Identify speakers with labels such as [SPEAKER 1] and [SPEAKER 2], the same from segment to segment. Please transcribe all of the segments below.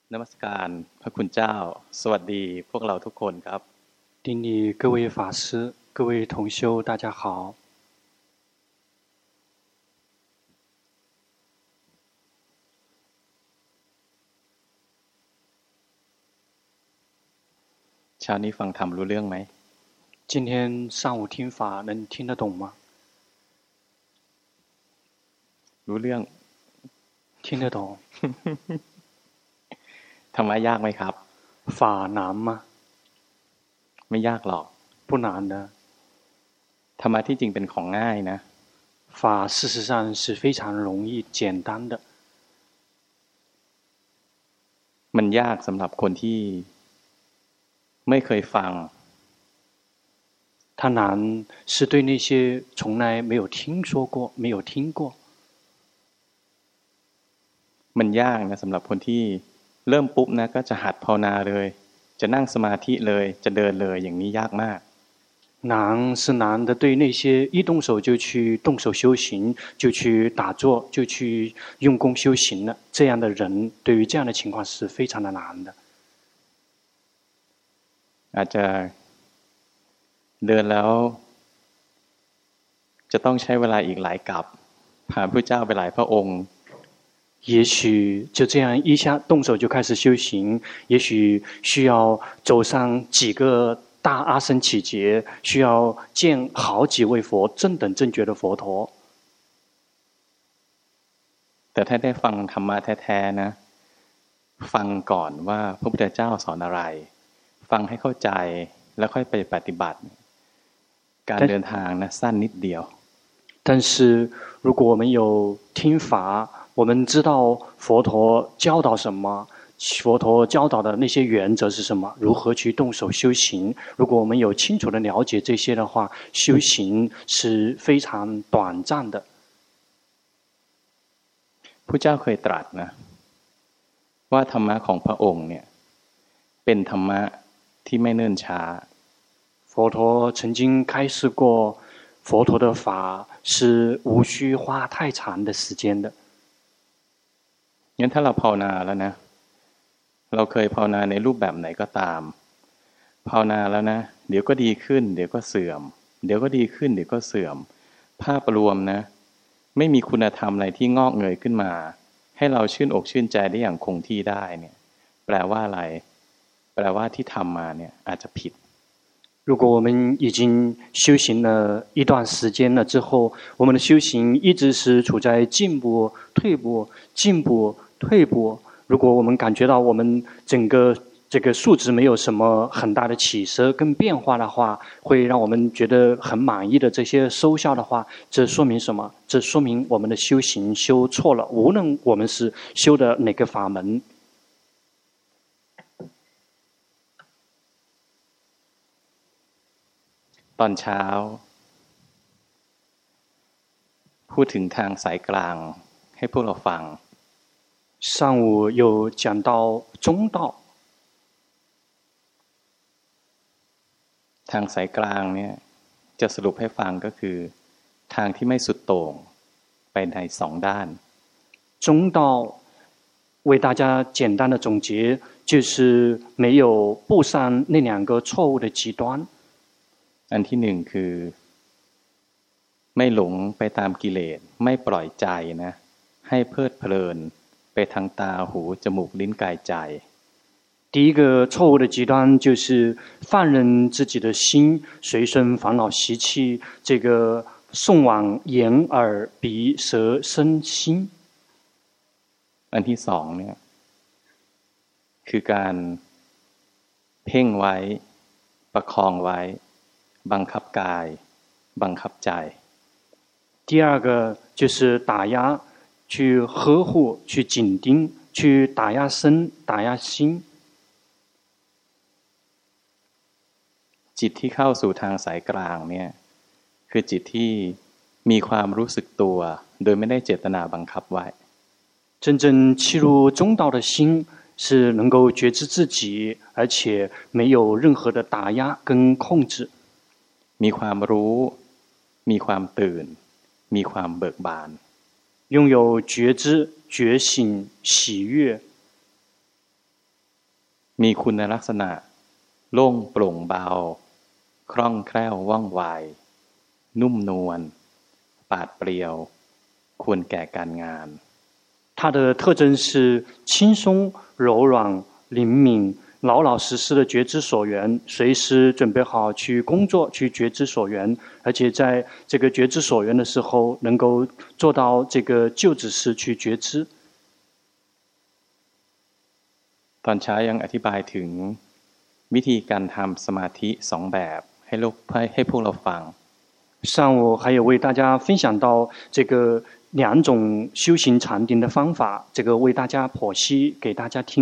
[SPEAKER 1] นมัสการพระคุณเจ้าสวัสดีพวกเราทุกคนครับ
[SPEAKER 2] 顶礼各位法師各位同修大家好
[SPEAKER 1] เช้านี้ฟังธรรมรู้เรื่องไหม
[SPEAKER 2] 今天上午聽法能聽得懂嗎
[SPEAKER 1] รู้เรื่อง
[SPEAKER 2] 聽得懂
[SPEAKER 1] ธรรมะยากไหมครับ
[SPEAKER 2] 法難嗎
[SPEAKER 1] ไม่ยากหรอก
[SPEAKER 2] 不難的
[SPEAKER 1] ธรรมะที่จริงเป็นของง่ายนะ
[SPEAKER 2] 法事實上是非常容易簡單的
[SPEAKER 1] มันยากสำหรับคนที่ไม่เคยฟัง
[SPEAKER 2] 它難是對那些從來沒有聽說過沒有聽過
[SPEAKER 1] มันยากนะสำหรับคนที่เริ่มปุ๊บนะก็จะหัดภาวนาเลยจะนั่งสมาธิเลยจะเดินเลยอย่างนี้ยากมาก
[SPEAKER 2] 難是難的對那些一動手就去動手修行就去打坐就去用功修行了這樣的人對於這樣的情況是非常的難的
[SPEAKER 1] อาจจะเดินแล้วจะต้องใช้เวลาอีกหลายกับผ่านพระเจ้าไปหลายพระองค์
[SPEAKER 2] 也許就這樣一下動手就開始修行也許需要走上幾個大阿僧祇劫需要見好幾位佛正等正覺的佛陀
[SPEAKER 1] แต่ถ้าได้ฟังธรรมะแท้ๆนะฟังก่อนว่าพระพุทธเจ้าสอนอะไรฟังให้เข้าใจแล้วค่อยไปปฏิบัติการเดินทางนะสั้นนิดเดียว
[SPEAKER 2] 但是如果我們有聽法我們知道佛陀教導什麼佛陀教導的那些原則是什麼如何去動手修行如果我們有清楚的了解這些的話修行是非常短暫的
[SPEAKER 1] พระเจ้าเคยตรัสนะว่าธรรมะของพระองค์เนี่ยเป็นธรรมะที่ไม่เนิ่นช้า
[SPEAKER 2] 佛陀曾經開示過佛陀的法是無需花太長的時間的
[SPEAKER 1] งั้นถ้าเราภาวนาแล้วนะเราเคยภาวนาในรูปแบบไหนก็ตามภาวนาแล้วนะเดี๋ยวก็ดีขึ้นเดี๋ยวก็เสื่อมเดี๋ยวก็ดีขึ้นเดี๋ยวก็เสื่อมภาพรวมนะไม่มีคุณธรรมอะไรที่งอกเงยขึ้นมาให้เราชื่นอกชื่นใจได้อย่างคงที่ได้เนี่ยแปลว่าอะไรแปลว่าที่ทำมาเนี่ยอาจจะผิด
[SPEAKER 2] 如果我们已經修行了一段時間了之後我們的修行一直是處在進步退步進步退步如果我們感覺到我們整個這個數值沒有什麼很大的起色跟變化的話會讓我們覺得很滿意的這些收效的話這說明什麼這說明我們的修行修錯了無論我們是修的哪個法門
[SPEAKER 1] ตอนเช้าพูดถึงทางสายกลางให้พวกเราฟัง
[SPEAKER 2] 上午有講到中道
[SPEAKER 1] ทางสายกลางเนี่ยจะสรุปให้ฟังก็คือทางที่ไม่สุดโต่งไปในสองด้าน
[SPEAKER 2] 中道為大家簡單的總結就是沒有步上那兩個錯誤的極端
[SPEAKER 1] อันที่หนึ่งคือไม่หลงไปตามกิเลสไม่ปล่อยใจนะให้เพลิดเพลินไปทางตาหูจมูกลิ้นกายใจ
[SPEAKER 2] 第一個錯誤的極端就是放任自己的心隨順煩惱習氣這個送往眼耳鼻舌身心
[SPEAKER 1] อันที่สองเนี่ยคือการเพ่งไว้ประคองไว้บังคับกายบังคับใจ
[SPEAKER 2] 第二個就是打壓去呵護去緊盯去打壓身打壓心
[SPEAKER 1] จิตที่เข้าสู่ทางสายกลางเนี่ยคือจิตที่มีความรู้สึกตัวโดยไม่ได้เจตนาบังคับไว้
[SPEAKER 2] 真正契入中道的心是能夠覺知自己而且沒有任何的打壓跟控制
[SPEAKER 1] มีความรู้มีความตื่นมีความเบิกบาน
[SPEAKER 2] 擁有覺知覺醒喜悅
[SPEAKER 1] มีคุณลักษณะโล่งโปร่งเบาคล่องแคล่วว่องไวนุ่มนวลปราดเปรียวควรแก่การงาน
[SPEAKER 2] 它的特征是轻松柔软灵敏老老實實的覺知所緣隨時準備好去工作去覺知所緣而且在這個覺知所緣的時候能夠做到這個就只是去覺知
[SPEAKER 1] ตอนเช้ายังอธิบายถึงวิธีการทำสมาธิสองแบบให้พวกเราฟัง
[SPEAKER 2] 上午還有為大家分享到這個兩種修行禪定的方法這個為大家剖析給大家聽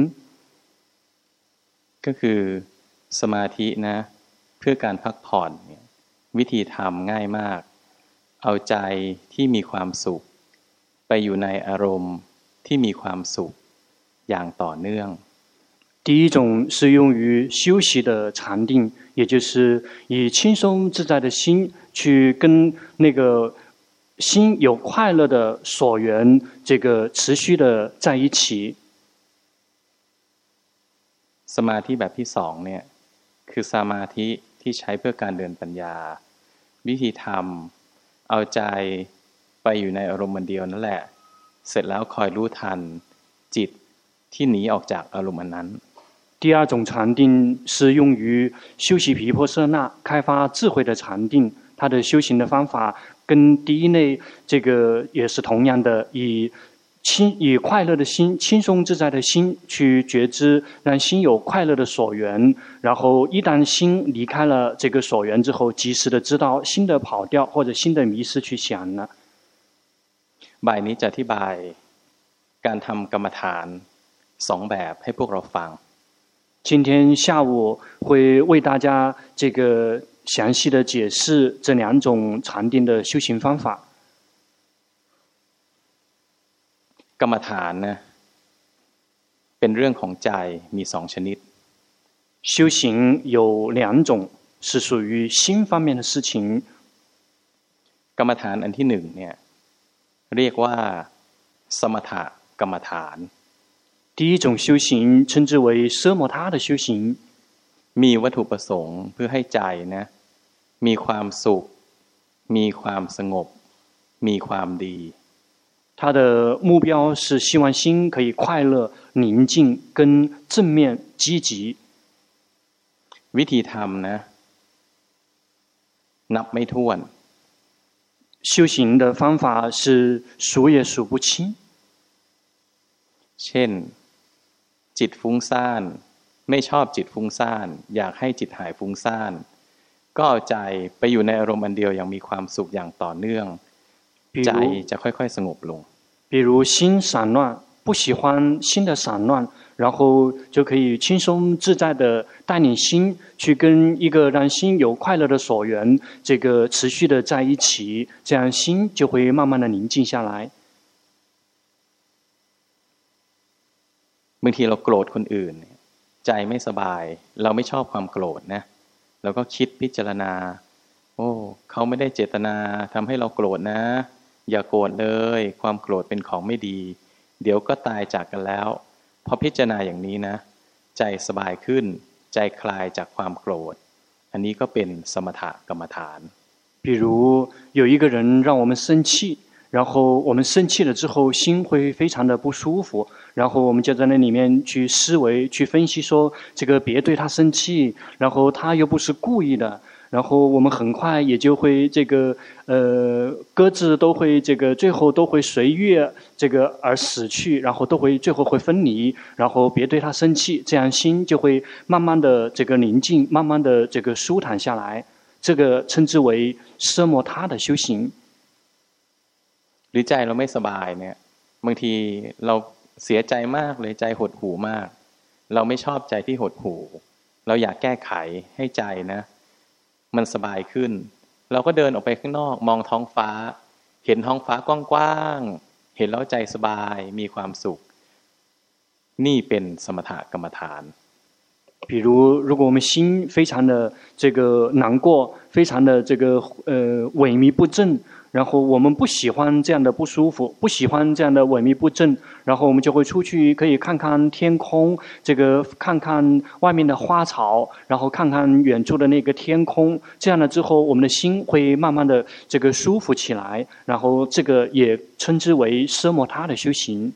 [SPEAKER 1] ก็คือสมาธินะเพื่อการพักผ่อนเนี่ยวิธีทำง่ายมากเอาใจที่มีความสุขไปอยู่ในอารมณ์ที่มีความสุขอย่างต่อเนื่อง
[SPEAKER 2] 第一種是用於休息的禪定也就是以輕鬆自在的心去跟那個心有快樂的所緣這個持續的在一起
[SPEAKER 1] สมาธิแบบที่สองเนี่ยคือสมาธิที่ใช้เพื่อการเดินปัญญาวิธีทำเอาใจไปอยู่ในอารมณ์เดียวนั่นแหละเสร็จแล้วคอยรู้ทันจิตที่หนีออกจากอารมณ์นั้น
[SPEAKER 2] 第二種禪定是用於修習毗婆舍那開發智慧的禪定它的修行的方法跟第一類這個也是同樣的以快樂的心輕鬆自在的心去覺知讓心有快樂的所緣然後一旦心離開了這個所緣之後及時的知道心的跑掉或者心的迷失去想了
[SPEAKER 1] บ่ายนี้จะอธิบายการทำกรรมฐานสองแบบให้พวกเราฟัง
[SPEAKER 2] 今天下午會為大家這個詳細的解釋這兩種禪定的修行方法
[SPEAKER 1] กรรมฐานนะเป็นเรื่องของใจมีสองชนิด
[SPEAKER 2] 修行有兩種是屬於心方面的事情
[SPEAKER 1] กรรมฐานอันที่หนึ่งเนี่ยเรียกว่าสมถกรรมฐาน
[SPEAKER 2] 第一種修行稱之為奢摩他的修行
[SPEAKER 1] มีวัตถุประสงค์เพื่อให้ใจนะมีความสุขมีความสงบมีความดี
[SPEAKER 2] 他的目標是希望心可以快樂寧靜跟正面積極
[SPEAKER 1] วิธีทำนะนับไม่ถ้วน
[SPEAKER 2] 修行的方法是數也數不清
[SPEAKER 1] เช่นจิตฟุ้งซ่านไม่ชอบจิตฟุ้งซ่านอยากให้จิตหายฟุ้งซ่านก็เอาใจไปอยู่ในอารมณ์อันเดียวอย่างมีความสุขอย่างต่อเนื่องใจจะค่อยๆสงบลง
[SPEAKER 2] 比如心散亂不喜歡心的散亂然後就可以輕鬆自在的帶領心去跟一個讓心有快樂的所緣這個持續的在一起這樣心就會慢慢的寧靜下來
[SPEAKER 1] บางทีเราโกรธคนอื่นใจไม่สบายเราไม่ชอบความโกรธนะเราก็คิดพิจารณาโอ้เขาไม่ได้เจตนาทำให้เราโกรธนะอย่าโกรธเลยความโกรธเป็นของไม่ดีเดี๋ยวก็ตายจากกันแล้วพอพิจารณาอย่างนี้นะใจสบายขึ้นใจคลายจากความโกรธอันนี้ก็เป็นสมถกรรมฐาน
[SPEAKER 2] 比如有一个人讓我們生氣然後我們生氣了之後心會非常的不舒服然後我們就在那裡面去思維去分析說這個別對他生氣然後他又不是故意的然後我們很快也就會這個各自都會這個最後都會隨月這個而死去然後都會最後會分離然後別對他生氣這樣心就會慢慢的這個寧靜慢慢的這個舒坦下來這個稱之為奢摩他的修行
[SPEAKER 1] หรือใจเราไม่สบายเนี่ยบางทีเราเสียใจมากเลยใจหดหู่มากเราไม่ชอบใจที่หดหู่เราอยากแก้ไขให้ใจนะมันสบายขึ้นเราก็เดินออกไปข้างนอกมองท้องฟ้าเห็นท้องฟ้ากว้างๆเห็นแล้วใจสบายมีความสุขนี่เป็นสมถกรรมฐาน
[SPEAKER 2] 比如，如果我们心非常的这个难过，非常的这个萎靡不振，然後我們不喜歡這樣的不舒服，不喜歡這樣的萎靡不振，然後我們就會出去，可以看看天空，這個看看外面的花草，然後看看遠處的那個天空，這樣了之後，我們的心會慢慢的這個舒服起來，然後這個也稱之為奢摩他的修行。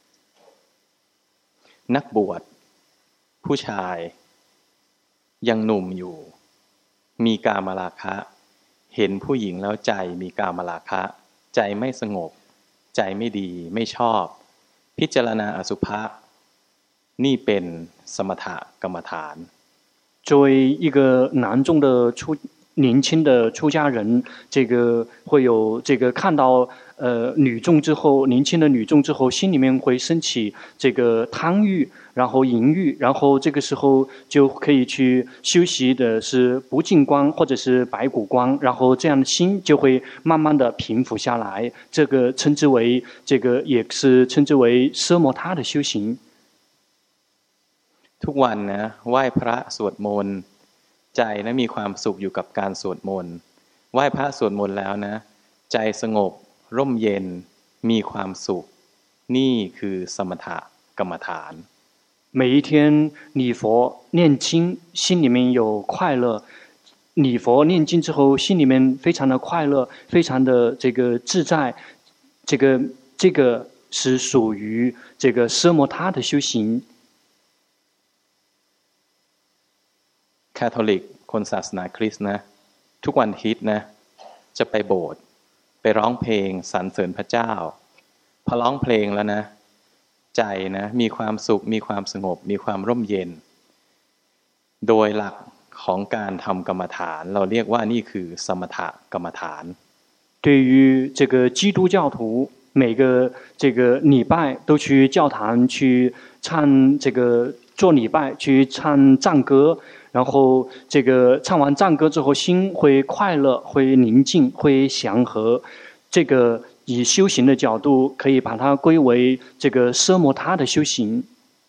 [SPEAKER 1] นักบวชผู้ชายยังหนุ่มอยู่มีกามราคะเห็นผู้หญิงแล้วใจมีกามราคะใจไม่สงบใจไม่ดีไม่ชอบพิจารณาอสุภะนี่เป็นสมถกรรมฐาน
[SPEAKER 2] 作為一個男眾的年輕的出家人，這個會有這個看到女眾之後，年輕的女眾之後，心裡面會升起這個貪欲，然後淫欲，然後這個時候就可以去修習的是不淨觀或者是白骨觀，然後這樣的心就會慢慢的平復下來。這個稱之為這個也是稱之為奢摩他的修行。
[SPEAKER 1] ทุกวันนะไหว้พระสวดมนต์ใจนะมีความสุขอยู่กับการสวดมนต์ไหว้พระสวดมนต์แล้วนะใจสงบร่มเย็นมีความสุขนี่คือสมถกรรมฐาน
[SPEAKER 2] 每一天禮佛念經，心裡面有快樂。禮佛念經之後，心裡面非常的快樂，非常的這個自在。這個是屬於這個奢摩他的修行。
[SPEAKER 1] คาทอลิกคนศาสนาคริสต์นะทุกวันอาทิตย์นะจะไปโบสถ์ไปร้องเพลงสรรเสริญพระเจ้าพอร้องเพลงแล้วนะใจนะมีความสุขมีความสงบมีความร่มเย็นโดยหลักของการทำกรรมฐานเราเรียกว่านี่คือสมถกรรมฐาน
[SPEAKER 2] 對於這個基督教徒每個這個禮拜都去教堂去唱這個做禮拜去唱讚歌，然後這個唱完讚歌之後心會快樂會寧靜會祥和，這個以修行的角度可以把它歸為這個奢摩他的修行。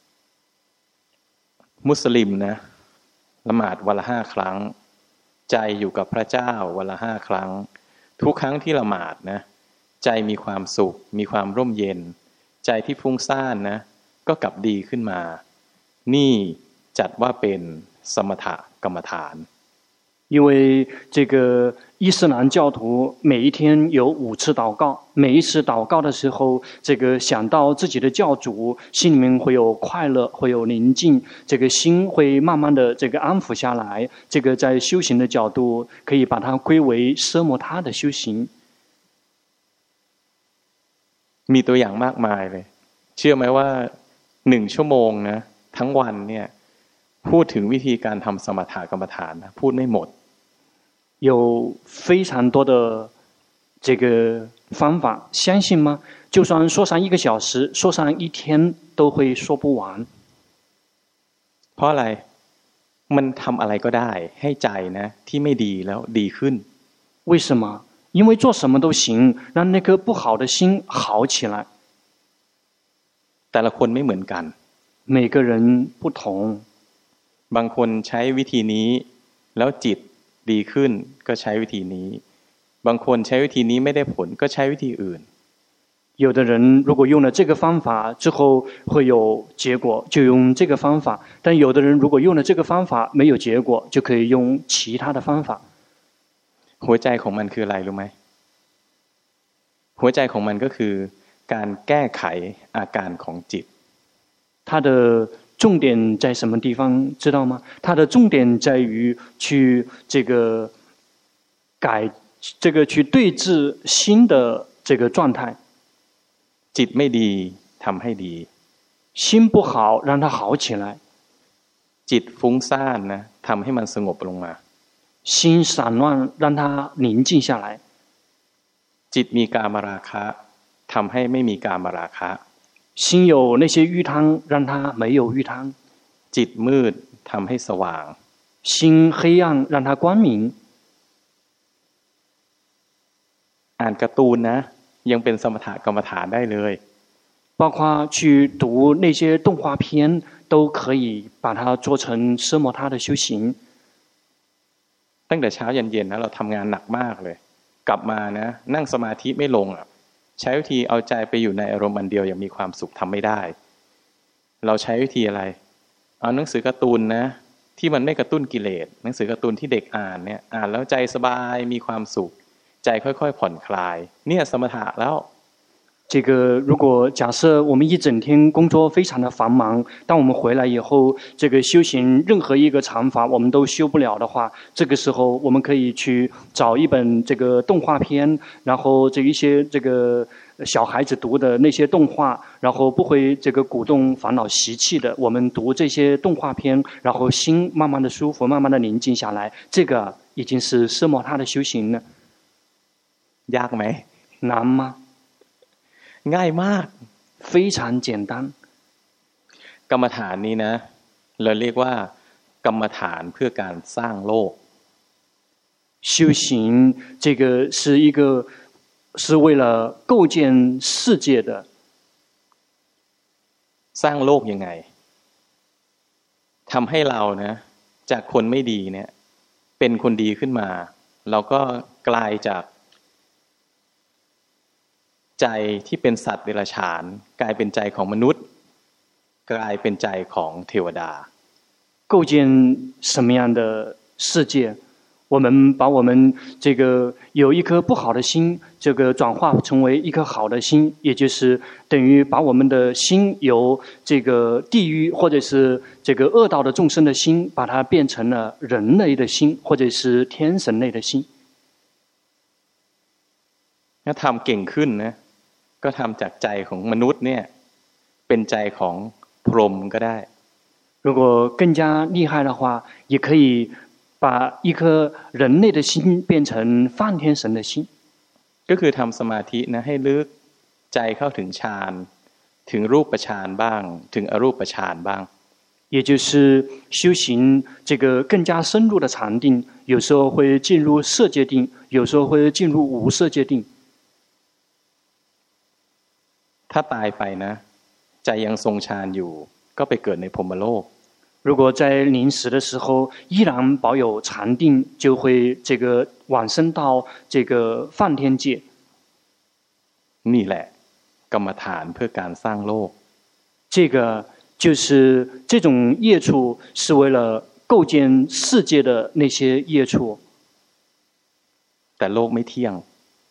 [SPEAKER 1] มุสลิมนะละหมาดวันละ5 ครั้งใจอยู่กับพระเจ้าวันละ5 ครั้งทุกครั้งที่ละหมาดนะใจมีความสุขมีความร่มเย็นใจที่ฟุ้งซ่านนะก็กลับดีขึ้นมานี่จัดว่าเป็นสมถกรรมฐาน
[SPEAKER 2] 因為這個伊斯蘭教徒每一天有5次禱告，每一次禱告的時候，這個想到自己的教主，心裡面會有快樂，會有寧靜，這個心會慢慢的這個安撫下來。這個在修行的角度，可以把它歸為奢摩他的修行。
[SPEAKER 1] มีตัวอย่างมากมายเลยเชื่อไหมว่า1 ชั่วโมงนะทั้งวันเนี่ยพูดถึงวิธีการทำสมถกรรมฐานนะพูดไม่หมด
[SPEAKER 2] 有非常多的這個方法，相信嗎？就算說上1個小時，說上1天，都會說不完。
[SPEAKER 1] เพราะอะไรมันทำอะไรก็ได้ให้ใจนะที่ไม่ดีแล้วดีขึ้น
[SPEAKER 2] 為什麼？因為做什麼都行，讓那顆不好的心好起來。
[SPEAKER 1] แต่ละคนไม่เหมือนกัน
[SPEAKER 2] 每個人不同。
[SPEAKER 1] บางคนใช้วิธีนี้แล้วจิตดีขึ้นก็ใช้วิธีนี้บางคนใช้วิธีนี้ไม่ได้ผลก็ใช้วิธีอื่น
[SPEAKER 2] 有的人如果用了這個方法之後會有結果，就用這個方法；但有的人如果用了這個方法沒有結果，就可以用其他的方法。
[SPEAKER 1] หัวใจของมันคืออะไรรู้ไหมหัวใจของมันก็คือการแก้ไขอาการของจิต
[SPEAKER 2] 它的重點在什麼地方知道嗎？它的重點在於去這個去對治心的這個狀態。
[SPEAKER 1] จิตไม่ดีทำให้ดี
[SPEAKER 2] 心不好讓它好起來
[SPEAKER 1] จิตฟุ้งซ่านนะทำให้มันสงบลงมา
[SPEAKER 2] 心散亂讓它寧靜下來
[SPEAKER 1] จิตมีกามราคะทำให้ไม่มีกามราคะ
[SPEAKER 2] 心有那些欲貪讓它沒有欲貪
[SPEAKER 1] จิตมืดทำให้สว่าง
[SPEAKER 2] 心黑暗讓它光明
[SPEAKER 1] อ่านการ์ตูนนะยังเป็นสมถกรรมฐานได้เลย
[SPEAKER 2] 包括去讀那些動畫片，都可以把它做成奢摩他的修行。
[SPEAKER 1] ตั้งแต่เช้าเย็นๆนะเราทำงานหนักมากเลยกลับมานะนั่งสมาธิไม่ลงอ่ะใช้วิธีเอาใจไปอยู่ในอารมณ์อันเดียวอย่างมีความสุขทำไม่ได้เราใช้วิธีอะไรเอาหนังสือการ์ตูนนะที่มันไม่กระตุ้นกิเลสหนังสือการ์ตูนที่เด็กอ่านเนี่ยอ่านแล้วใจสบายมีความสุขใจค่อยๆผ่อนคลายเนี่ยสมถะแล้ว
[SPEAKER 2] 这个，如果假设我们一整天工作非常的繁忙，当我们回来以后，这个修行任何一个禅法我们都修不了的话，这個時候我們可以去找一本這個動畫片，然後這一些這個小孩子讀的那些動畫，然後不會這個鼓動煩惱習氣的，我們讀這些動畫片，然後心慢慢的舒服，慢慢的寧靜下來，這個已經是奢摩他的修行了。
[SPEAKER 1] ยากไหม
[SPEAKER 2] 難嗎？
[SPEAKER 1] ง่ายมาก
[SPEAKER 2] 非常簡單
[SPEAKER 1] กรรมฐานนี้นะเราเรียกว่ากรรมฐานเพื่อการสร้างโลก
[SPEAKER 2] 修行這個是為了構建世界的
[SPEAKER 1] สร้างโลกยังไงทำให้เรานะจากคนไม่ดีเนี่ยเป็นคนดีขึ้นมาเราก็กลายจากใจที่เป็นสัตว์เดรัจฉานกลายเป็นใจของมนุษย์กลายเป็นใจของเทวดา
[SPEAKER 2] 構建什麼樣的世界我們把我們這個有一顆不好的心這個轉化成為一顆好的心也就是等於把我們的心由這個地獄或者是這個惡道的眾生的心把它變成了人類的心或者是天神類的心
[SPEAKER 1] ถ้าทำเก่งขึ้นนะก็ทำจากใจของมนุษย์เนี่ยเป็นใจของพรหมก็ได้
[SPEAKER 2] 如果更加厲害的話也可以把一顆人類的心變成梵天神的心
[SPEAKER 1] ก็คือทำสมาธินะให้ลึกใจเข้าถึงฌานถึงรูปฌานบ้างถึงอรูปฌานบ้าง
[SPEAKER 2] 也就是修行這個更加深入的禪定有時候會進入色界定有時候會進入無色界定
[SPEAKER 1] ถ้าตายไปนะใจยังทรงฌานอยู่ก็ไปเกิดในพรหมโลก
[SPEAKER 2] 如果在臨死的時候依然保有禪定就會這個往生到這個梵天界
[SPEAKER 1] นี่แหละกรรมฐานเพื่อการสร้างโลก
[SPEAKER 2] 這個就是這種業處是為了構建世界的那些業處
[SPEAKER 1] แต่โลกไม่เที่ยง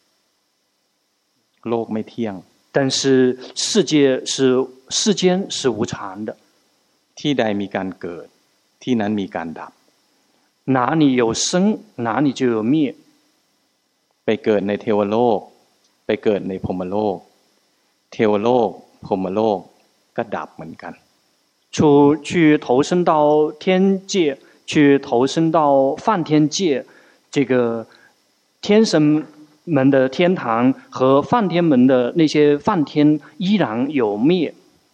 [SPEAKER 1] โลกไม่เที่ยง
[SPEAKER 2] 但是世界是世間是無常的
[SPEAKER 1] ที่ใดมีการเกิดที่นั้นมีการดับ
[SPEAKER 2] 哪裡有生哪裡就有滅
[SPEAKER 1] ไปเกิดในเทวโลกไปเกิดในพรหมโลกเทวโลกพรหมโลกก็ดับเหมือนกัน
[SPEAKER 2] 去投生到天界去投生到梵天界這個天神們的天堂和梵天們的那些梵天依然有滅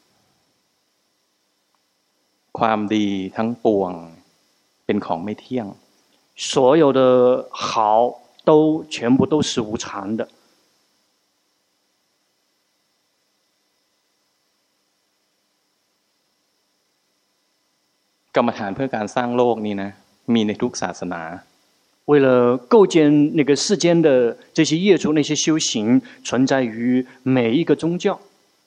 [SPEAKER 1] ความดีทั้งปวงเป็นของไม่เที่ยง
[SPEAKER 2] 所有的好都全部都是無常的
[SPEAKER 1] กรรมฐานเพื่อการสร้างโลกนี้นะมีในทุกศาสนา
[SPEAKER 2] 為了構建那個世間的這些業處那些修行存在於每一個宗教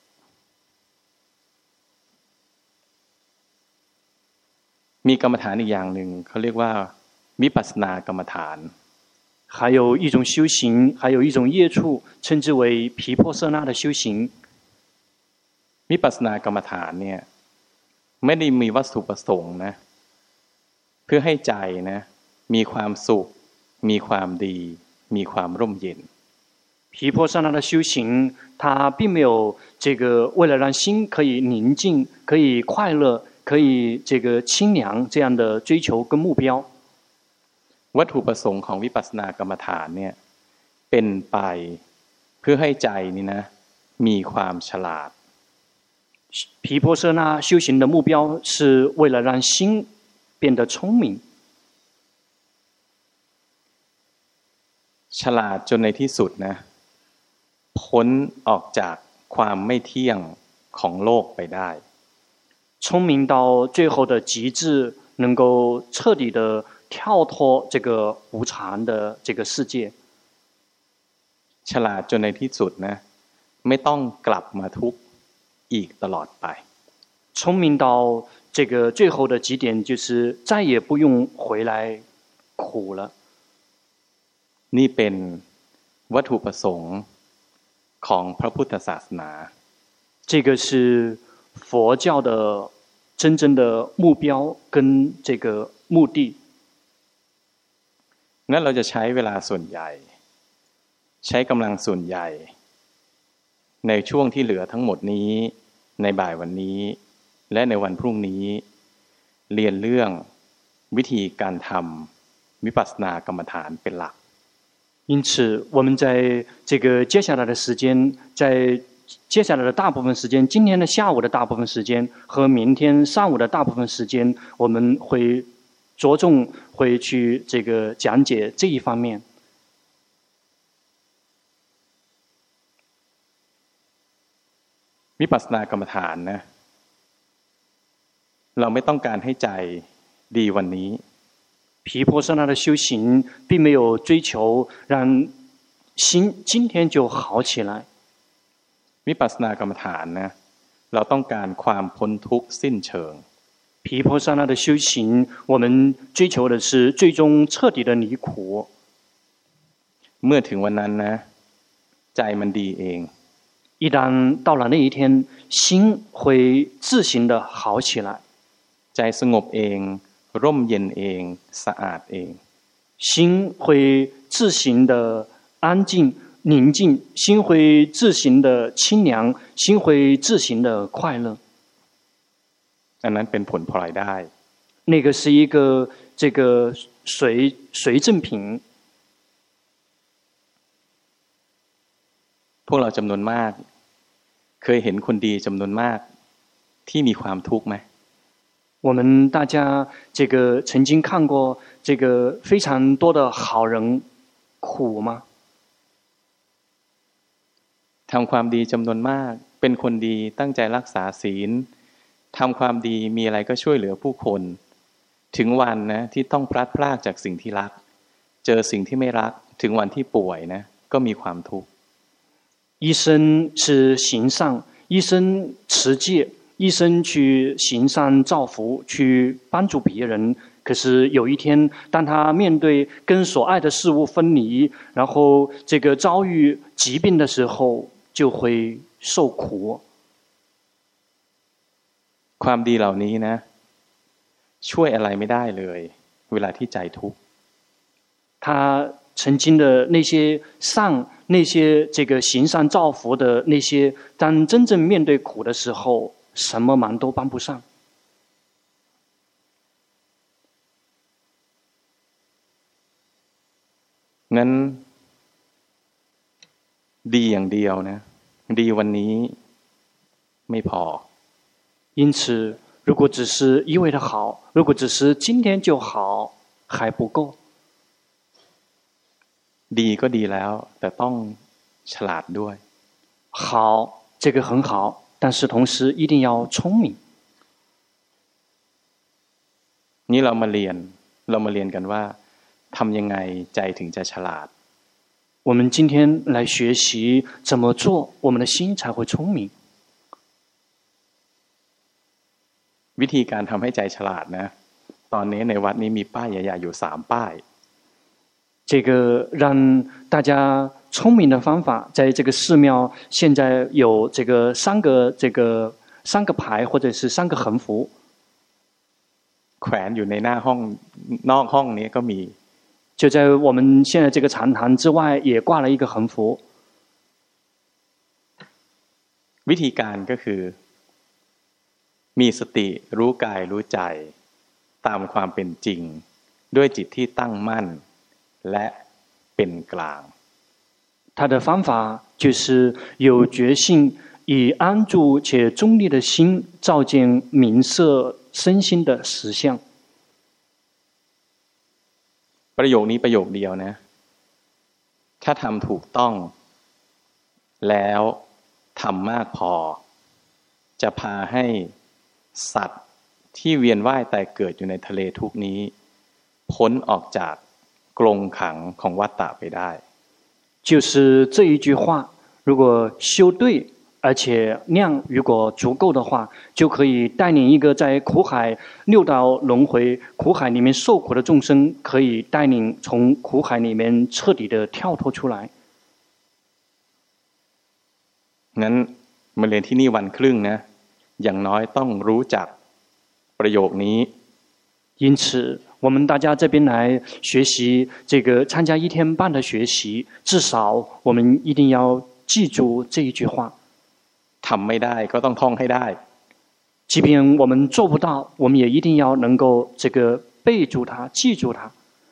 [SPEAKER 1] มีกรรมฐานอีกอย่างหนึ่งเขาเรียกว่าวิปัสสนากรรมฐาน
[SPEAKER 2] 還有一種修行還有一種業處稱之為毗婆舍那的修行
[SPEAKER 1] วิปัสสนากรรมฐานเนี่ยไม่ได้มีวัตถุประสงค์นะเพื่อให้ใจนะมีความสุขมีความดีมีความร่มเย็น
[SPEAKER 2] 毗婆舍那的修行它並沒有這個為了讓心可以寧靜可以快樂可以這個清涼這樣的追求跟目標
[SPEAKER 1] วัตถุประสงค์ของวิปัสสนากรรมฐานเนี่ยเป็นไปเพื่อให้ใจนี่นะมีความฉลาด
[SPEAKER 2] 毗婆舍那修行的目標是為了讓心變得聰明
[SPEAKER 1] ฉลาดจนในที่สุดนะพ้นออกจากความไม่เที่ยงของโลกไปได้
[SPEAKER 2] 聪明到最后的极致，能够彻底的跳脱这个无常的这个世界。
[SPEAKER 1] ฉลาดจนในที่สุดนะไม่ต้องกลับมาทุกข์อีกตลอดไป
[SPEAKER 2] 聪明到这个最后的极点，就是再也不用回来苦了。
[SPEAKER 1] นี่เป็นวัตถุประสงค์ของพระพุทธศาสนา
[SPEAKER 2] 这个是佛教的真正的目标跟这个目的。
[SPEAKER 1] งั้นเราจะใช้เวลาส่วนใหญ่ใช้กำลังส่วนใหญ่ในช่วงที่เหลือทั้งหมดนี้ในบ่ายวันนี้และในวันพรุ่งนี้เรียนเรื่องวิธีการทำวิปัสสนากรรมฐานเป็นหลัก
[SPEAKER 2] 因此我们在这个接下来的时间，在接下来的大部分时间，今天的下午的大部分时间和明天上午的大部分时间，我们会着重会去这个讲解这一方面。
[SPEAKER 1] วิปัสสนากรรมฐานนะเราไม่ต้องการให้ใจดีวันนี้
[SPEAKER 2] 毗婆舍那的修行并没有追求让心今天就好起来。
[SPEAKER 1] วิปัสสนากรรมฐานนะเราต้องการความพ้นทุกข์สิ้นเชิง
[SPEAKER 2] 毗婆舍那的修行我们追求的是最終徹底的離苦
[SPEAKER 1] เมื่อถึงวันนั้นนะใจมันดีเอง
[SPEAKER 2] 一旦到了那一天心會自行的好起來
[SPEAKER 1] ใจสงบเองร่มเย็นเองสะอาดเอง
[SPEAKER 2] 心會自行的安靜寧靜心會自行的清涼心會自行的快樂
[SPEAKER 1] อันนั้นเป็นผลพลอยได้
[SPEAKER 2] 那個是一個這個隨贈品
[SPEAKER 1] พวกเราจำนวนมากเคยเห็นคนดีจำนวนมากที่มีความทุกข์ไหม
[SPEAKER 2] 我们大家这个曾經看過這個非常多的好人苦嗎
[SPEAKER 1] ทำความดีจำนวนมากเป็นคนดีตั้งใจรักษาศีลทำความดีมีอะไรก็ช่วยเหลือผู้คนถึงวันนะที่ต้องพลัดพรากจากสิ่งที่รักเจอสิ่งที่ไม่รักถึงวันที่ป่วยนะก็มีความทุกข์
[SPEAKER 2] 一生是行善一生持戒一生去行善造福去幫助別人可是有一天當他面對跟所愛的事物分離然後這個遭遇疾病的時候就會受苦
[SPEAKER 1] ความดีเหล่านี้นะช่วยอะไรไม่ได้เลยเวลาที่ใจทุกข์
[SPEAKER 2] 他曾經的那些善那些這個行善造福的那些當真正面對苦的時候什麼忙都幫不上
[SPEAKER 1] งั้นดีอย่างเดียวนะดีวันนี้ไม่พอ
[SPEAKER 2] 因此如果只是一味的好如果只是今天就好還不夠
[SPEAKER 1] ดีก็ดีแล้วแต่ต้องฉลาดด้วย
[SPEAKER 2] 好這個很好但是同時一定要聰明
[SPEAKER 1] นี่เรามาเรียนกันว่าทำยังไงใจถึงจะฉลาด
[SPEAKER 2] 我們今天來學習怎麼做我們的心才會聰明
[SPEAKER 1] วิธีการทำให้ใจฉลาดนะตอนนี้ในวัดนี้มีป้ายใหญ่ๆอยู่3ป้าย
[SPEAKER 2] 這個讓大家聰明的方法在這個寺廟現在有這個三個牌或者是3個橫幅
[SPEAKER 1] แขวนอยู่ในหน้าห้องนอกห้องนี้ก็มี
[SPEAKER 2] 就在我們現在這個禪堂之外也掛了一個橫幅
[SPEAKER 1] วิธีการก็คือมีสติรู้กายรู้ใจตามความเป็นจริงด้วยจิตที่ตั้งมั่นและเป็นกลาง
[SPEAKER 2] 他的方法就是有覺性以安住且中立的心照見明色身心的實相
[SPEAKER 1] ประโยคนี้ประโยคเดียวนะถ้าทำถูกต้องแล้วทำมากพอจะพาให้สัตว์ที่เวียนว่ายตายเกิดอยู่ในทะเลทุกนี้พ้นออกจากกรงขังของวัฏฏะไปได้
[SPEAKER 2] 就是这一句话，如果修对，而且量如果足夠的話，就可以帶領一個在苦海六道輪迴苦海裡面受苦的眾生，可以帶領從苦海裡面徹底的跳脫出來。
[SPEAKER 1] งั้นมาเรียนที่นี่วันครึ่งนะอย่างน้อยต้องรู้จักประโยคนี้
[SPEAKER 2] 因此我們大家這邊來學習這個參加1天半的學習，至少我們一定要記住這一句話。
[SPEAKER 1] ทำไม่ได้ก็ต้องท่องให้ได้
[SPEAKER 2] 即便我們做不到，我們也一定要能夠這個背住它，記住它。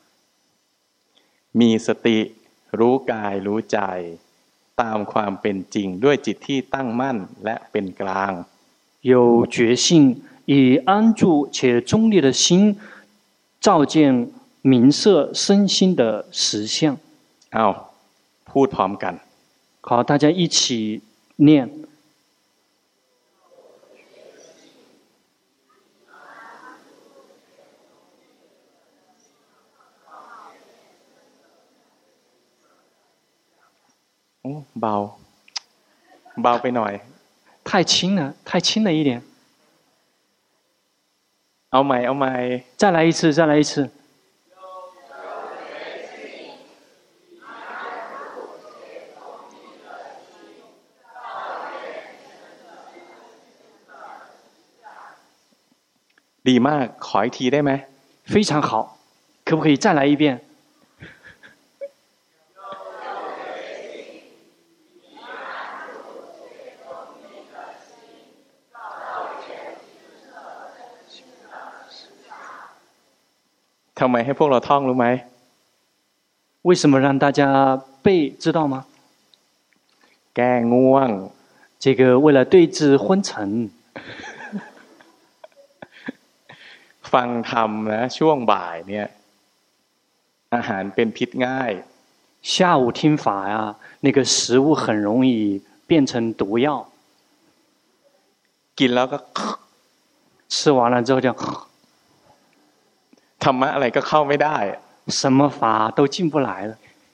[SPEAKER 1] มีสติรู้กายรู้ใจตามความเป็นจริงด้วยจิตที่ตั้งมั่นและเป็นกลาง
[SPEAKER 2] 有覺性，以安住且中立的心照見明色身心的實相。
[SPEAKER 1] เอาพูดพร้อมกัน
[SPEAKER 2] 好，大家一起念。
[SPEAKER 1] เบาเบาไปหน่อย
[SPEAKER 2] 太輕了，太輕了一點。
[SPEAKER 1] เอาใหม่
[SPEAKER 2] 再來一次，再來一次。
[SPEAKER 1] ดีมากขออีกทีได้ไหม
[SPEAKER 2] 非常好，可不可以再來一遍？
[SPEAKER 1] ทำไมให้พวกเราท่องรู้ไหม
[SPEAKER 2] 為什麼讓大家背知道嗎？
[SPEAKER 1] แก้ง่วง
[SPEAKER 2] 這個為了對治昏沉。
[SPEAKER 1] ฟังธรรมนะช่วงบ่ายเนี่ยอาหารเป็นพิษง่าย
[SPEAKER 2] 下午聽法呀，那個食物很容易變成毒藥。
[SPEAKER 1] กินแล้วก็
[SPEAKER 2] 吃完了之後就
[SPEAKER 1] ธรรมะอะไรก็เข้าไม่ได้
[SPEAKER 2] 什麼法都進不來了。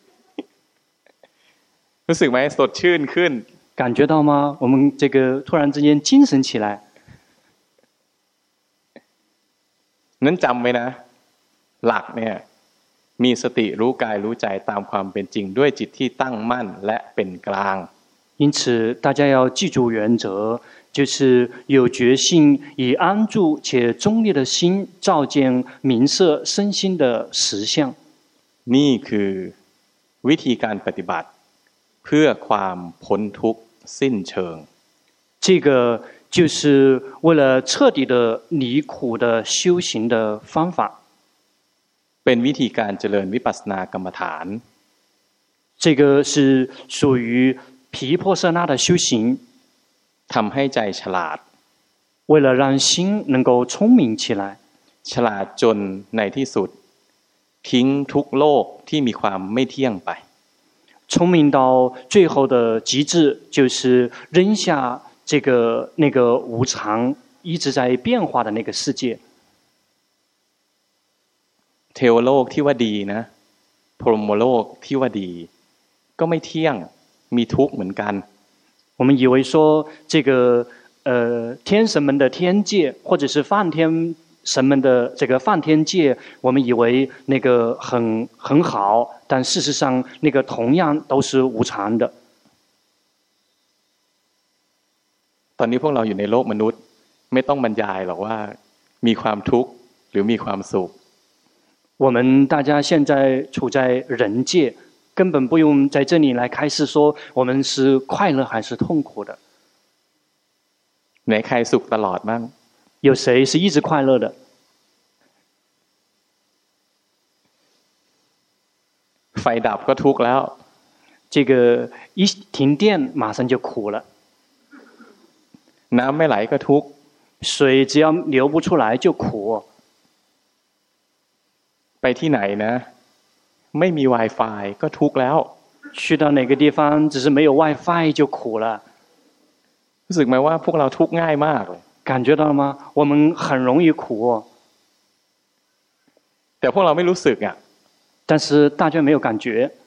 [SPEAKER 1] รู้สึกไหมสดชื่นขึ้น
[SPEAKER 2] 感覺到嗎？我們這個突然之間精神起來。
[SPEAKER 1] นั้นจำไว้นะหลักเนี่ยมีสติรู้กายรู้ใจตามความเป็นจริงด้วยจิตที่ตั้งมั่นและเป็นกลาง
[SPEAKER 2] 因此大家要記住原則，就是有決心，以安住且中立的心照見明色身心的實相。
[SPEAKER 1] นี่คือวิธีการปฏิบัติเพื่อความพ้นทุกข์สิ้นเชิง
[SPEAKER 2] 這個就是為了徹底的離苦的修行的方法。
[SPEAKER 1] เป็นวิธีการเจริญวิปัสสนากรรมฐาน
[SPEAKER 2] 這個是屬於毗婆舍那的修行，
[SPEAKER 1] ทำให้ใจฉลาด
[SPEAKER 2] 為了讓心能夠聰明起來，
[SPEAKER 1] ฉลาดจนในที่สุดทิ้งทุกโลกที่มีความไม่เที่ยงไป
[SPEAKER 2] 聰明到最後的極致，就是扔下這個那個無常一直在變化的那個世界。
[SPEAKER 1] เทวโลกที่ว่าดีนะพรหมโลกที่ว่าดีก็ไม่เที่ยงมีทุกข์เหมือนกัน
[SPEAKER 2] 我們以為說這個天神們的天界，或者是梵天神們的這個梵天界，我們以為那個很好，但事實上那個同樣都是無常的。
[SPEAKER 1] ตอนนี้พวกเราอยู่ในโลกมนุษย์ไม่ต้องบรรยายหรอกว่ามีความทุกข์หรือมีความสุข
[SPEAKER 2] 我們大家現在處在人界，根本不用在這裡來開示說我們是快樂還是痛苦的。
[SPEAKER 1] ไหนใครสุขตลอดบ้าง
[SPEAKER 2] 有誰是一直快樂的？
[SPEAKER 1] ไฟดับก็ทุกข์แล้ว
[SPEAKER 2] 這個一停電馬上就苦了。
[SPEAKER 1] น้ำไม่ไหลก็ทุกข์
[SPEAKER 2] 水只要流不出來就苦。
[SPEAKER 1] ไปที่ไหนนะไม่มี Wi-Fi ก็ทุกข์แล้ว
[SPEAKER 2] 去到哪個地方只是沒有 Wi-Fi 就苦了。
[SPEAKER 1] รู้สึกไหมว่าพวกเราทุกข์ง่ายมากเลย
[SPEAKER 2] 感觉到了吗？我们很容易苦哦。
[SPEAKER 1] แต่พวกเราไม่รู้สึกอ่ะ
[SPEAKER 2] 但是大家没有感觉。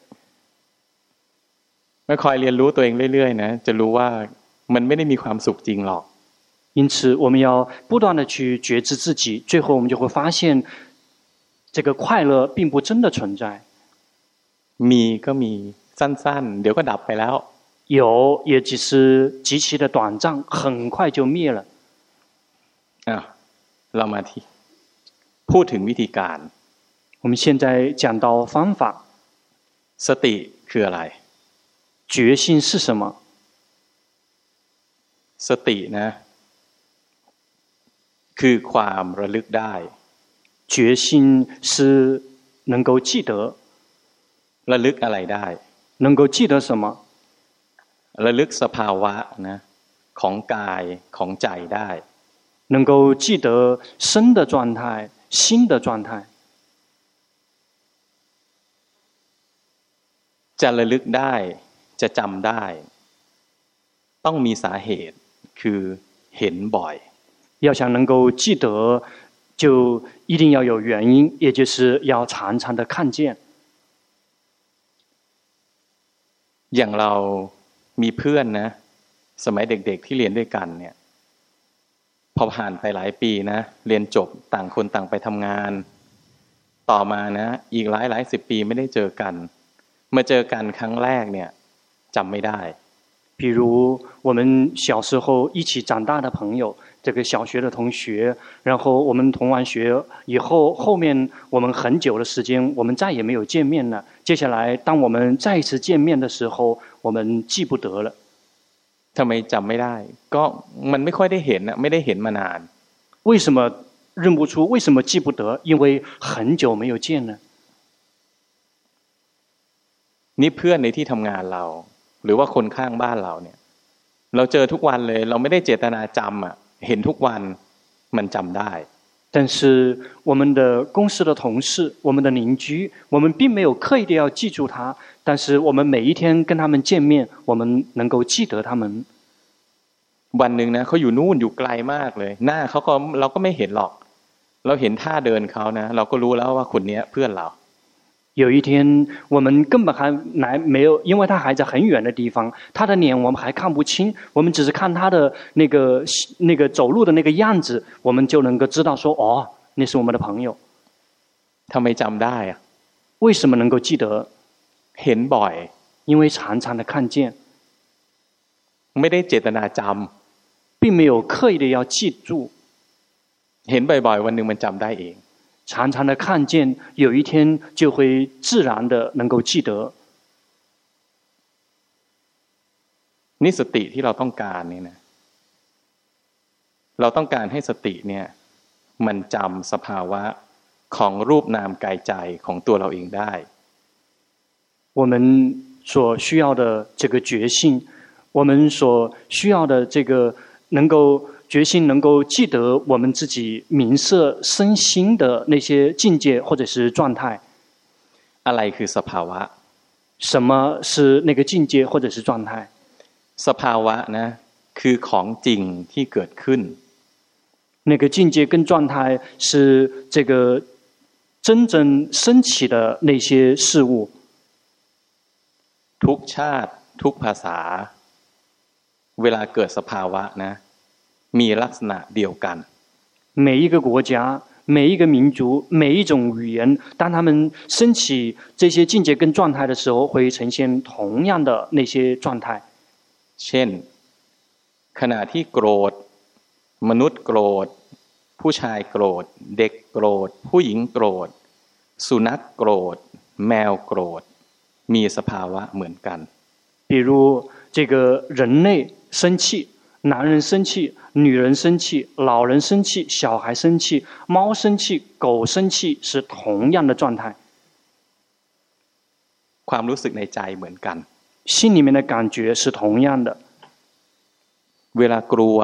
[SPEAKER 1] ไม่คอยเรียนรู้ตัวเองเรื่อยๆนะจะรู้ว่ามันไม่ได้มีความสุขจริงหรอก
[SPEAKER 2] 因此我们要不断的去觉知自己，最后我们就会发现这个快乐并不真的存在。
[SPEAKER 1] มีก็มีสั้นๆเดี๋ยวก็ดับไปแล้ว
[SPEAKER 2] 有也只是极其的短暫，很快就滅了。
[SPEAKER 1] เรามาที่พูดถึงวิธีการ
[SPEAKER 2] 我们現在講到方法。
[SPEAKER 1] สติคืออะไร
[SPEAKER 2] 覺性是什麼？
[SPEAKER 1] สตินะคือความระลึกได้
[SPEAKER 2] 覺性是能夠記得。
[SPEAKER 1] ระลึกอะไรได้
[SPEAKER 2] 能夠記得什麼？
[SPEAKER 1] ระลึกสภาวะนะของกายของใจได้
[SPEAKER 2] 能夠記得身的狀態、心的狀態。
[SPEAKER 1] จะระลึกได้จะจำได้ต้องมีสาเหตุคือเห็นบ่อย
[SPEAKER 2] 要想能夠記得就一定要有原因，也就是要常常的看見。
[SPEAKER 1] อย่างเรามีเพื่อนนะสมัยเด็กๆที่เรียนด้วยกันเนี่ยพอผ่านไปหลายปีนะเรียนจบต่างคนต่างไปทำงานต่อมานะอีกหลายสิบปีไม่ได้เจอกันมาเจอกันครั้งแรกเนี่ยจำไม่ได้
[SPEAKER 2] 比如我们小時候一起長大的朋友，這個小學的同學，然後我們同完學以後，後面我們很久的時間，我們再也沒有見面了。接下來，當我們再一次見面的時候，我們記不得了。
[SPEAKER 1] ทำไมจำไม่ได้ก็มันไม่ค่อยได้เห็นนะไม่ได้เห็นมานาน
[SPEAKER 2] 為什麼認不出？為什麼記不得？因為很久沒有見了。
[SPEAKER 1] นี่เพื่อนในที่ทำงานเราหรือว่าคนข้างบ้านเราเนี่ยเราเจอทุกวันเลยเราไม่ได้เจตนาจำอ่ะเห็นทุกวันมันจำได้
[SPEAKER 2] 但是我們的公司的同事，我們的鄰居，我們並沒有刻意的要記住他，但是我們每一天跟他們見面，我們能夠記得他們。
[SPEAKER 1] วันหนึ่งนะเขาอยู่นู่นอยู่ไกลมากเลยหน้าเขาก็เราก็ไม่เห็นหรอกเราเห็นท่าเดินเขานะเราก็รู้แล้วว่าคนนี้เพื่อนเรา
[SPEAKER 2] 有一天我們根本還沒有，因為他還在很遠的地方，他的臉我們還看不清，我們只是看他的那個走路的那個樣子，我們就能夠知道說哦，那是我們的朋友。
[SPEAKER 1] ทำไมจำได้อะ
[SPEAKER 2] 為什麼能夠記得？
[SPEAKER 1] เห็นบ่อย
[SPEAKER 2] 因為常常的看見，
[SPEAKER 1] ไม่ได้เจตนาจำ
[SPEAKER 2] 並沒有刻意的要記住。
[SPEAKER 1] เห็นบ่อยๆวันหนึ่งมันจำได้เอง
[SPEAKER 2] 常常的看見，有一天就會自然的能夠記得。
[SPEAKER 1] นี่สติที่เราต้องการนี่นะเราต้องการให้สติเนี่ยมันจำสภาวะของรูปนามกายใจของตัวเราเองได้
[SPEAKER 2] 我們所需要的這個覺性，我們所需要的這個能夠決心能夠記得我們自己明色身心的那些境界或者是狀態。
[SPEAKER 1] อะไรคือสภาวะ
[SPEAKER 2] 什麼是那個境界或者是狀態？
[SPEAKER 1] สภาวะนะคือของจริงที่เกิดขึ้น
[SPEAKER 2] 那個境界跟狀態是這個真正升起的那些事物。
[SPEAKER 1] ทุกชาติทุกภาษาเวลาเกิดสภาวะนะมีลักษณะเดียวกัน
[SPEAKER 2] 每一個國家每一個民族每一種語言當他們升起這些境界跟狀態的時候會呈現同樣的那些狀態
[SPEAKER 1] เช่นขณะที่โกรธมนุษย์โกรธผู้ชายโกรธเด็กโกรธผู้หญิงโกรธสุนัขโกรธแมวโกรธมีสภาวะเหมือนกัน
[SPEAKER 2] 比如這個人類生氣男人生氣女人生氣老人生氣小孩生氣貓生氣狗生氣是同樣的狀態
[SPEAKER 1] ความรู้สึกในใจเหมือนกัน
[SPEAKER 2] 心裡面的感覺是同樣的
[SPEAKER 1] เวลากลัว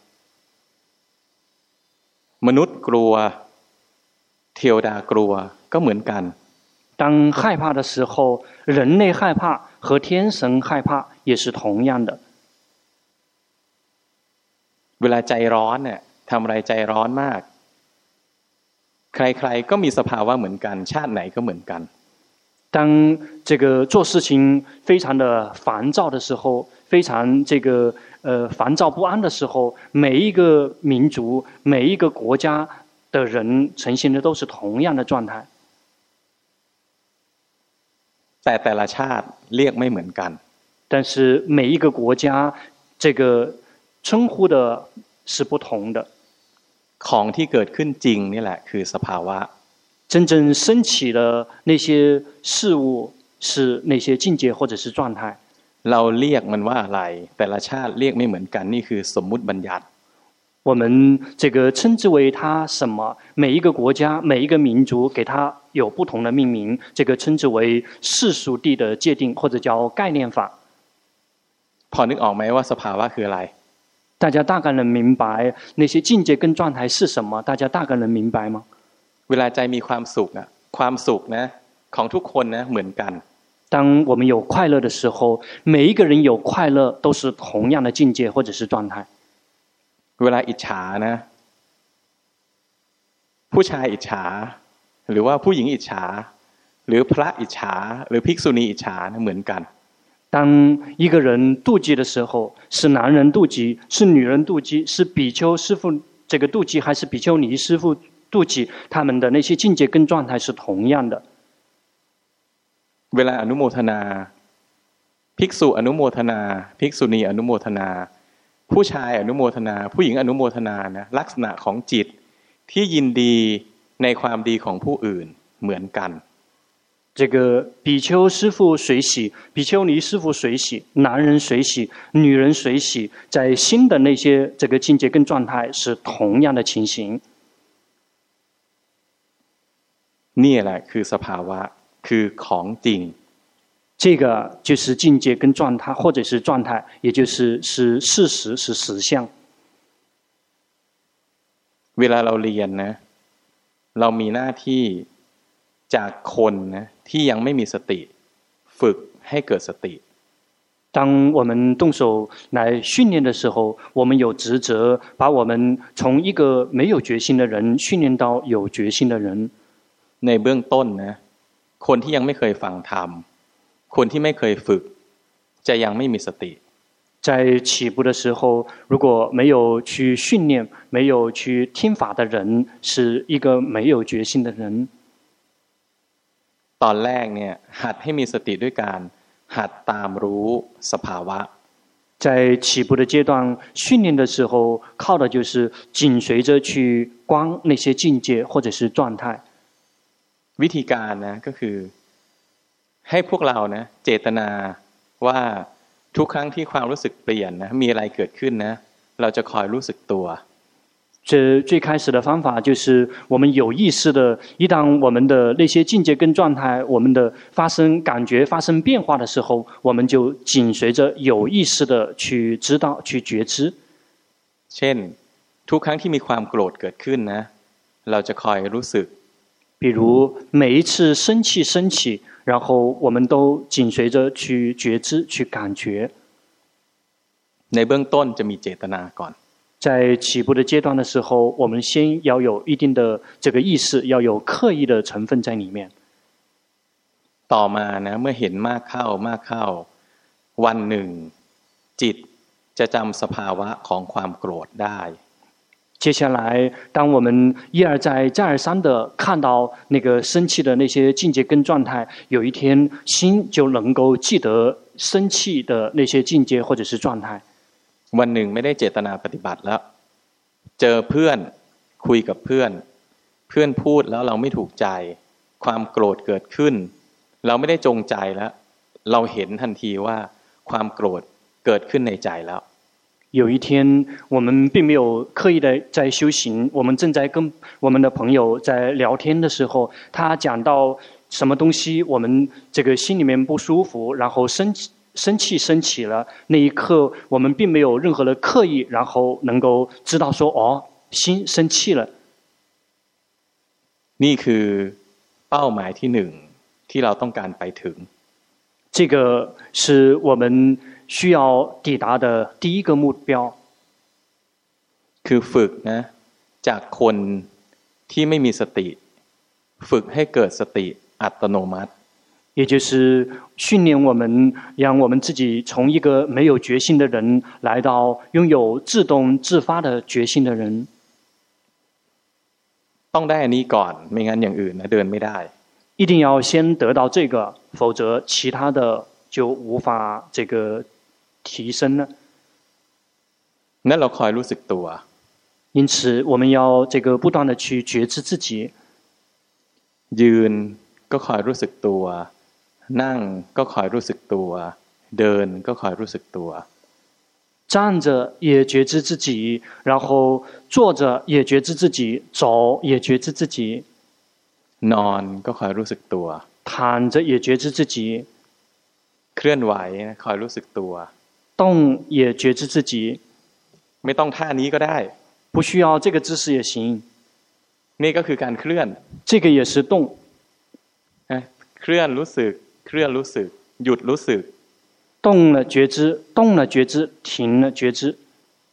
[SPEAKER 1] มนุษย์กลัวเทวดากลัวก็เหมือนกัน
[SPEAKER 2] 當害怕的時候人類害怕和天神害怕也是同樣的
[SPEAKER 1] เวลาใจร้อนเนี่ยทำอะไรใจร้อนมากใครๆก็มีสภาวะเหมือนกันชาติไหนก็เหมือนกัน
[SPEAKER 2] 当这个做事情非常的烦躁的时候，非常烦躁不安的时候，每一个民族、每一个国家的人呈现的都是同樣的狀態。
[SPEAKER 1] แต่ละชาติเรียกไม่เหมือนกัน
[SPEAKER 2] 但是每一個國家這個稱呼的是不同的。
[SPEAKER 1] ของที่เกิดขึ้นจริงนี่แหละคือสภาวะ
[SPEAKER 2] 真正升起的那些事物是那些境界或者是狀態。
[SPEAKER 1] เราเรียกมันว่าอะไรแต่ละชาติเรียกไม่เหมือนกันนี่คือสมมุติบัญญัติ
[SPEAKER 2] 我們這個稱之為它什麼，每一個國家每一個民族給它有不同的命名，這個稱之為世俗諦的界定或者叫概念法。
[SPEAKER 1] พอนึกออกไหมว่าสภาวะคืออะไร
[SPEAKER 2] 大家大概能明白那些境界跟狀態是什麼？大家大概能明白嗎？
[SPEAKER 1] เวลาใจมีความสุขความสุขนะของทุกคนนะเหมือนกัน
[SPEAKER 2] 當我們有快樂的時候，每一個人有快樂都是同樣的境界或者是狀態。
[SPEAKER 1] เวลาอิจฉานะผู้ชายอิจฉาหรือว่าผู้หญิงอิจฉาหรือพระอิจฉาหรือภิกษุณีอิจฉานะเหมือนกัน
[SPEAKER 2] 當一個人妒忌的時候，是男人妒忌，是女人妒忌，是比丘師父這個妒忌，還是比丘尼師父妒忌，他們的那些境界跟狀態是同樣的。
[SPEAKER 1] เวลาอนุโมทนาภิกษุอนุโมทนาภิกษุณีอนุโมทนาผู้ชายอนุโมทนาผู้หญิงอนุโมทนานะลักษณะของจิตที่ยินดีในความดีของผู้อื่นเหมือนกัน
[SPEAKER 2] 這個比丘師父隨喜，比丘尼師父隨喜，男人隨喜，女人隨喜，在心的那些這個境界跟狀態是同樣的情形。
[SPEAKER 1] นี่แหละคือสภาวะคือของจริง
[SPEAKER 2] 這個就是境界跟狀態，或者是狀態，也就是事實，是實相。
[SPEAKER 1] เวลาเราเรียนนะเรามีหน้าที่จากคนนะที่ยังไม่มีสติฝึกให้เกิดสติ
[SPEAKER 2] 當我們動手來訓練的時候，我們有職責把我們從一個沒有決心的人訓練到有決心的人。
[SPEAKER 1] ในเบื้องต้นนะคนที่ยังไม่เคยฟังธรรมคนที่ไม่เคยฝึกจะยังไม่มีสติ
[SPEAKER 2] 在起步的時候，如果沒有去訓練，沒有去聽法的人，是一個沒有決心的人。
[SPEAKER 1] ตอนแรกเนี่ยหัดให้มีสติด้วยการหัดตามรู้สภาวะ
[SPEAKER 2] 在起步的階段訓練的時候，靠的就是緊隨着去觀那些境界或者是狀態。
[SPEAKER 1] วิธีการนะก็คือให้พวกเรานะเจตนาว่าทุกครั้งที่ความรู้สึกเปลี่ยนนะมีอะไรเกิดขึ้นนะเราจะคอยรู้สึกตัว
[SPEAKER 2] 這最開始的方法就是我們有意識的，一旦我們的那些境界跟狀態，我們的發生感覺發生變化的時候，我們就緊隨着有意識的去知道、去覺知。
[SPEAKER 1] เช่นทุกครั้งที่มีความโกรธเกิดขึ้นนะเราจะคอยรู้สึก
[SPEAKER 2] 比如每一次生氣升起，然後我們都緊隨着去覺知、去感覺。
[SPEAKER 1] ในเบื้องต้นจะมีเจตนาก่อน
[SPEAKER 2] 在起步的階段的時候，我們先要有一定的這個意識，要有刻意的成分在裡面。
[SPEAKER 1] ต่อมานะเมื่อเห็นมากเข้าวันหนึ่งจิตจะจำสภาวะของความโกรธได้
[SPEAKER 2] 接下來，當我們一而再、再而三的看到那個生氣的那些境界跟狀態，有一天心就能夠記得生氣的那些境界或者是狀態。
[SPEAKER 1] วันหนึ่งไม่ได้เจตนาปฏิบัติแล้วเจอเพื่อนคุยกับเพื่อนพูดแล้วเราไม่ถูกใจความโกรธเกิดขึ้นเราไม่ได้จงใจแล้วเราเห็นทันทีว่าความโกรธเกิดขึ้นในใจแล้ว
[SPEAKER 2] 有一天我們並沒有刻意的在修行，我們正在跟我們的朋友在聊天的時候，他講到什麼東西我們這個心裡面不舒服，然後生氣升起了，那一刻我們並沒有任何的刻意，然後能夠知道說哦，心生氣了。
[SPEAKER 1] นี่คือเป้าหมายที่หนึ่งที่เราต้องการไปถึง
[SPEAKER 2] 這個是我們需要抵達的第一個目標。
[SPEAKER 1] คือฝึกนะจากคนที่ไม่มีสติฝึกให้เกิดสติอัตโนมัติ
[SPEAKER 2] 也就是训练我们，让我们自己从一个没有觉性的人，来到擁有自動自發的覺性的人。
[SPEAKER 1] ต้องได้อันนี้ก่อนไม่งั้นอย่างอื่นนะเดินไม่ได้
[SPEAKER 2] 一定要先得到這個，否則其他的就無法這個提升了。
[SPEAKER 1] นั่นเราคอยรู้สึกตัว
[SPEAKER 2] 因此，我們要這個不斷地去覺知自己。
[SPEAKER 1] ยืนก็คอยรู้สึกตัวนั่งก็คอยรู้สึกตัวเดินก็คอยรู้สึกตัว
[SPEAKER 2] 站着也覺知自己，然後坐着也覺知自己，走也覺知自己。
[SPEAKER 1] นอนก็คอยรู้สึกตัว
[SPEAKER 2] 躺着也覺知自己，
[SPEAKER 1] เคลื่อนไหวคอยรู้สึกตัว
[SPEAKER 2] 動也覺知自己。
[SPEAKER 1] ไม่ต้องท่านี้ก็ได้
[SPEAKER 2] 不需要這個姿勢也行。
[SPEAKER 1] นี่ก็คือการเคลื่อน
[SPEAKER 2] 這個也是動。
[SPEAKER 1] เคลื่อนรู้สึกเคลื่อนรู้สึกหยุดรู้สึก
[SPEAKER 2] 動了覺知，動了覺知，停了覺知。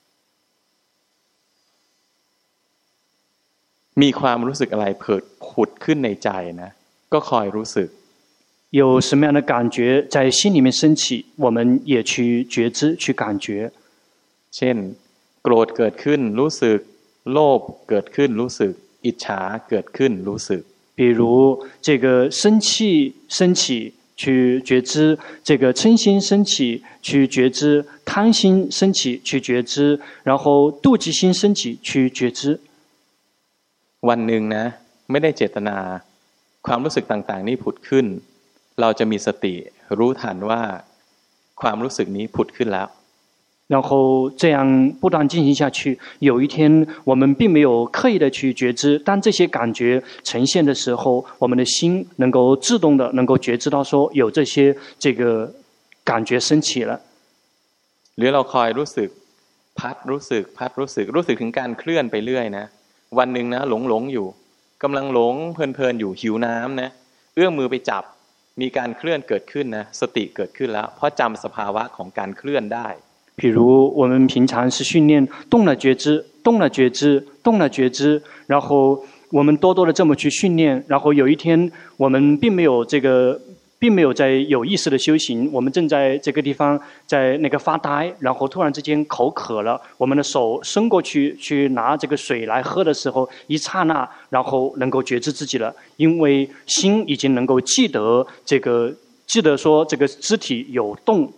[SPEAKER 1] มีความรู้สึกอะไรผุดขึ้นในใจนะก็คอยรู้สึก
[SPEAKER 2] 有什麼樣的感覺在心裡面升起，我們也去覺知，去感覺。
[SPEAKER 1] เช่นโกรธเกิดขึ้นรู้สึกโลภเกิดขึ้นรู้สึกอิจฉาเกิดขึ้นรู้สึก
[SPEAKER 2] 比如這個生氣升起去覺知，這個嗔心升起去覺知，貪心升起去覺知，然後妒忌心升起去覺知。
[SPEAKER 1] วันหนึ่งนะไม่ได้เจตนาความรู้สึกต่างๆนี้ผุดขึ้นเราจะมีสติรู้ทันว่าความรู้สึกนี้ผุดขึ้นแล้ว
[SPEAKER 2] 然後這樣不斷進行下去，有一天我們並沒有刻意的去覺知，當這些感覺呈現的時候，我們的心能夠自動的能夠覺知到說有這些這個感覺升起了。
[SPEAKER 1] หรือเราคอยรู้สึกพัดรู้สึกพัดรู้สึกรู้สึกถึงการเคลื่อนไปเรื่อยนะวันหนึ่งนะหลงอยู่กำลังหลงเพลินอยู่หิวน้ำนะเอื้อมมือไปจับมีการเคลื่อนเกิดขึ้นนะสติเกิดขึ้นแล้วเพราะจำสภาวะของการเคลื่อนได้
[SPEAKER 2] 比如我們平常是訓練動了覺知，動了覺知，動了覺知，然後我們多多的這麼去訓練，然後有一天我們並沒有在有意識的修行，我們正在這個地方在那個發呆，然後突然之間口渴了，我們的手伸過去拿這個水來喝的時候，一剎那，然後能夠覺知自己了，因為心已經能夠記得說這個肢體有動。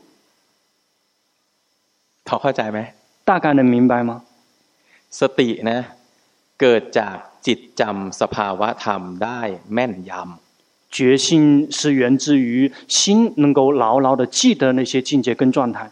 [SPEAKER 1] พอเข้าใจไหม
[SPEAKER 2] 大概能明白嗎？
[SPEAKER 1] สตินะเกิดจากจิตจำสภาวะธรรมได้แม่นยำ
[SPEAKER 2] 覺性是源自於心能夠牢牢的記得那些境界跟狀態。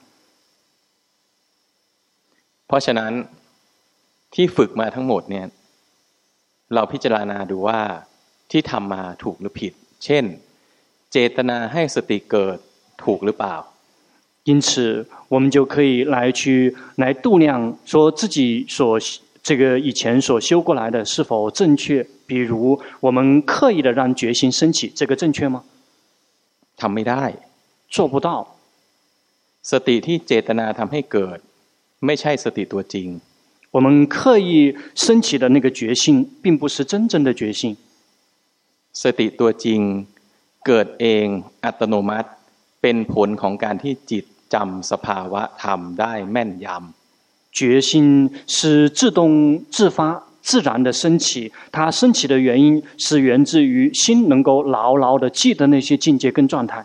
[SPEAKER 1] เพราะฉะนั้นที่ฝึกมาทั้งหมดเนี่ยเราพิจารณาดูว่าที่ทำมาถูกหรือผิดเช่นเจตนาให้สติเกิดถูกหรือเปล่า
[SPEAKER 2] 因此我們就可以來度量說自己這個以前所修過來的是否正確，比如我們刻意的讓覺性升起，這個正確嗎？
[SPEAKER 1] ทำไม่ได้
[SPEAKER 2] 做不到。
[SPEAKER 1] สติที่เจตนาทำให้เกิดไม่ใช่สติตัวจริง
[SPEAKER 2] 我們刻意升起的那個覺性並不是真正的覺性
[SPEAKER 1] สติตัวจริงเกิดเองอัตโนมัติเป็นผลของการที่จิตจำสภาวะธรรมได้แม่นยำ
[SPEAKER 2] 覺性是自動自發自然的升起，它升起的原因是源自於心能夠牢牢的記得那些境界跟狀態。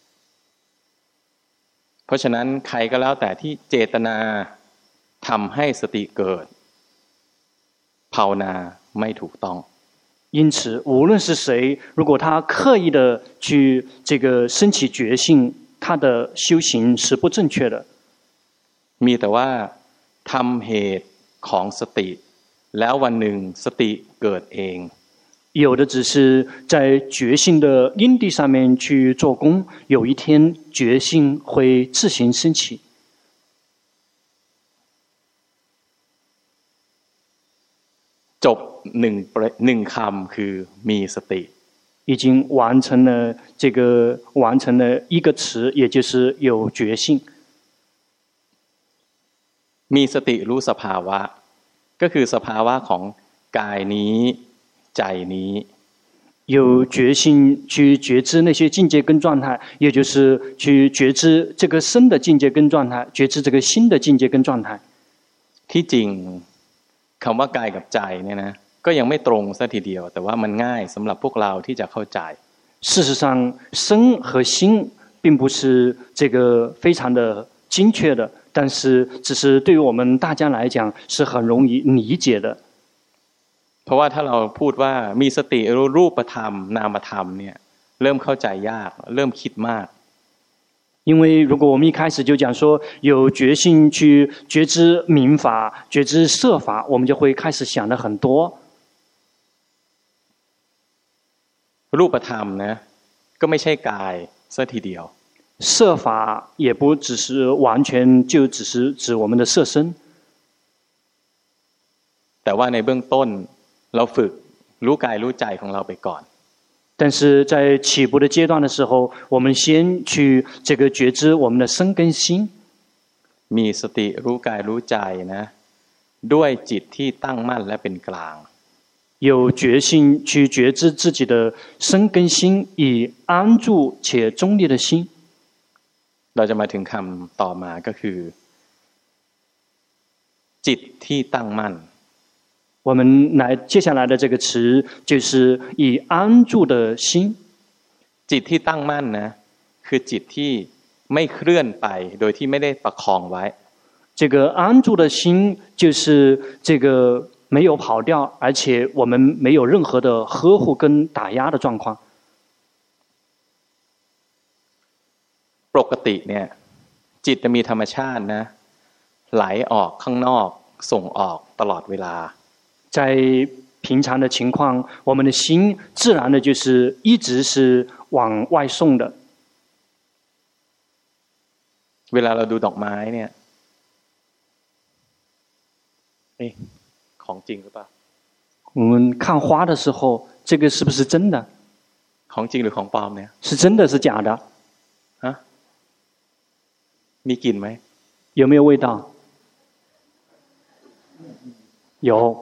[SPEAKER 1] เพราะฉะนั้นใครก็แล้วแต่ที่เจตนาทำให้สติเกิดภาวนาไม่ถูกต้อง
[SPEAKER 2] 因此無論是誰，如果他刻意的去這個升起覺性，他的修行是不正確的。
[SPEAKER 1] มีแต่ว่าทำเหตุของสติแล้ววันหนึ่งสติเกิดเอง
[SPEAKER 2] 有的只是在覺性的因地上面去做功，有一天覺性會自行升起。
[SPEAKER 1] จบหนึ่งคำคือมีสติ
[SPEAKER 2] 已經完成了一個詞，也就是有覺性。
[SPEAKER 1] มีสติรู้สภาวะก็คือสภาวะของกายนี้ใจนี้
[SPEAKER 2] 有决心去觉知那些境界跟状态，也就是去觉知这个身的境界跟状态，觉知这个心的境界跟状态。
[SPEAKER 1] ที่จริงคำว่ากายกับใจเนี่ยนะก็ยังไม่ตรงซะทีเดียวแต่ว่ามันง่ายสำหรับพวกเราที่จะเข้าใจ
[SPEAKER 2] 事实上，身和心并不是这个非常的精确的，但是只是对于我们大家来讲是很容易理解的。
[SPEAKER 1] เพราะว่าถ้าเราพูดว่ามีสติรู้รูปธรรมนามธรรมเนี่ยเริ่มเข้าใจยากเริ่มคิดมาก
[SPEAKER 2] 因为如果我们一開始就講說有決心去覺知明法、覺知色法，我們就會開始想得很多。
[SPEAKER 1] รูปธรรมนะก็ไม่ใช่กายซะทีเดียว
[SPEAKER 2] 色法也不只是完全就只是指我們的色身，
[SPEAKER 1] แต่ว่าในเบื้องต้นเราฝึกรู้กายรู้ใจของเราไปก่อน
[SPEAKER 2] 但是在起步的階段的時候，我們先去這個覺知我們的身跟心。
[SPEAKER 1] มีสติรู้กายรู้ใจนะด้วยจิตที่ตั้งมั่นและเป็นกลาง
[SPEAKER 2] 有決心去覺知自己的身跟心，以安住且中立的心。
[SPEAKER 1] เราจะมาถึงคำต่อมาก็คือจิตที่ตั้งมั่น
[SPEAKER 2] 我們接下來的這個詞就是以安住的心。
[SPEAKER 1] จิตที่ตั้งมั่นนะคือจิตที่ไม่เคลื่อนไปโดยที่ไม่ได้ประคองไว้
[SPEAKER 2] 這個安住的心就是這個沒有跑掉，而且我們沒有任何的呵護跟打壓的狀況。
[SPEAKER 1] ปกติเนี่ยจิตจะมีธรรมชาตินะไหลออกข้างนอกส่งออกตลอดเวลา
[SPEAKER 2] 在平常的情況，我們的心自然的就是一直是往外送的。
[SPEAKER 1] เวลาเราดูดอกไม้เนี่ยของจริงหรือเปล่า
[SPEAKER 2] 我們看花的時候，這個是不是真的？
[SPEAKER 1] ของจริงหรือของปลอมเนี่ย
[SPEAKER 2] 是真的是假的？
[SPEAKER 1] ฮะมีกลิ่นไหม
[SPEAKER 2] 有沒有味道？有。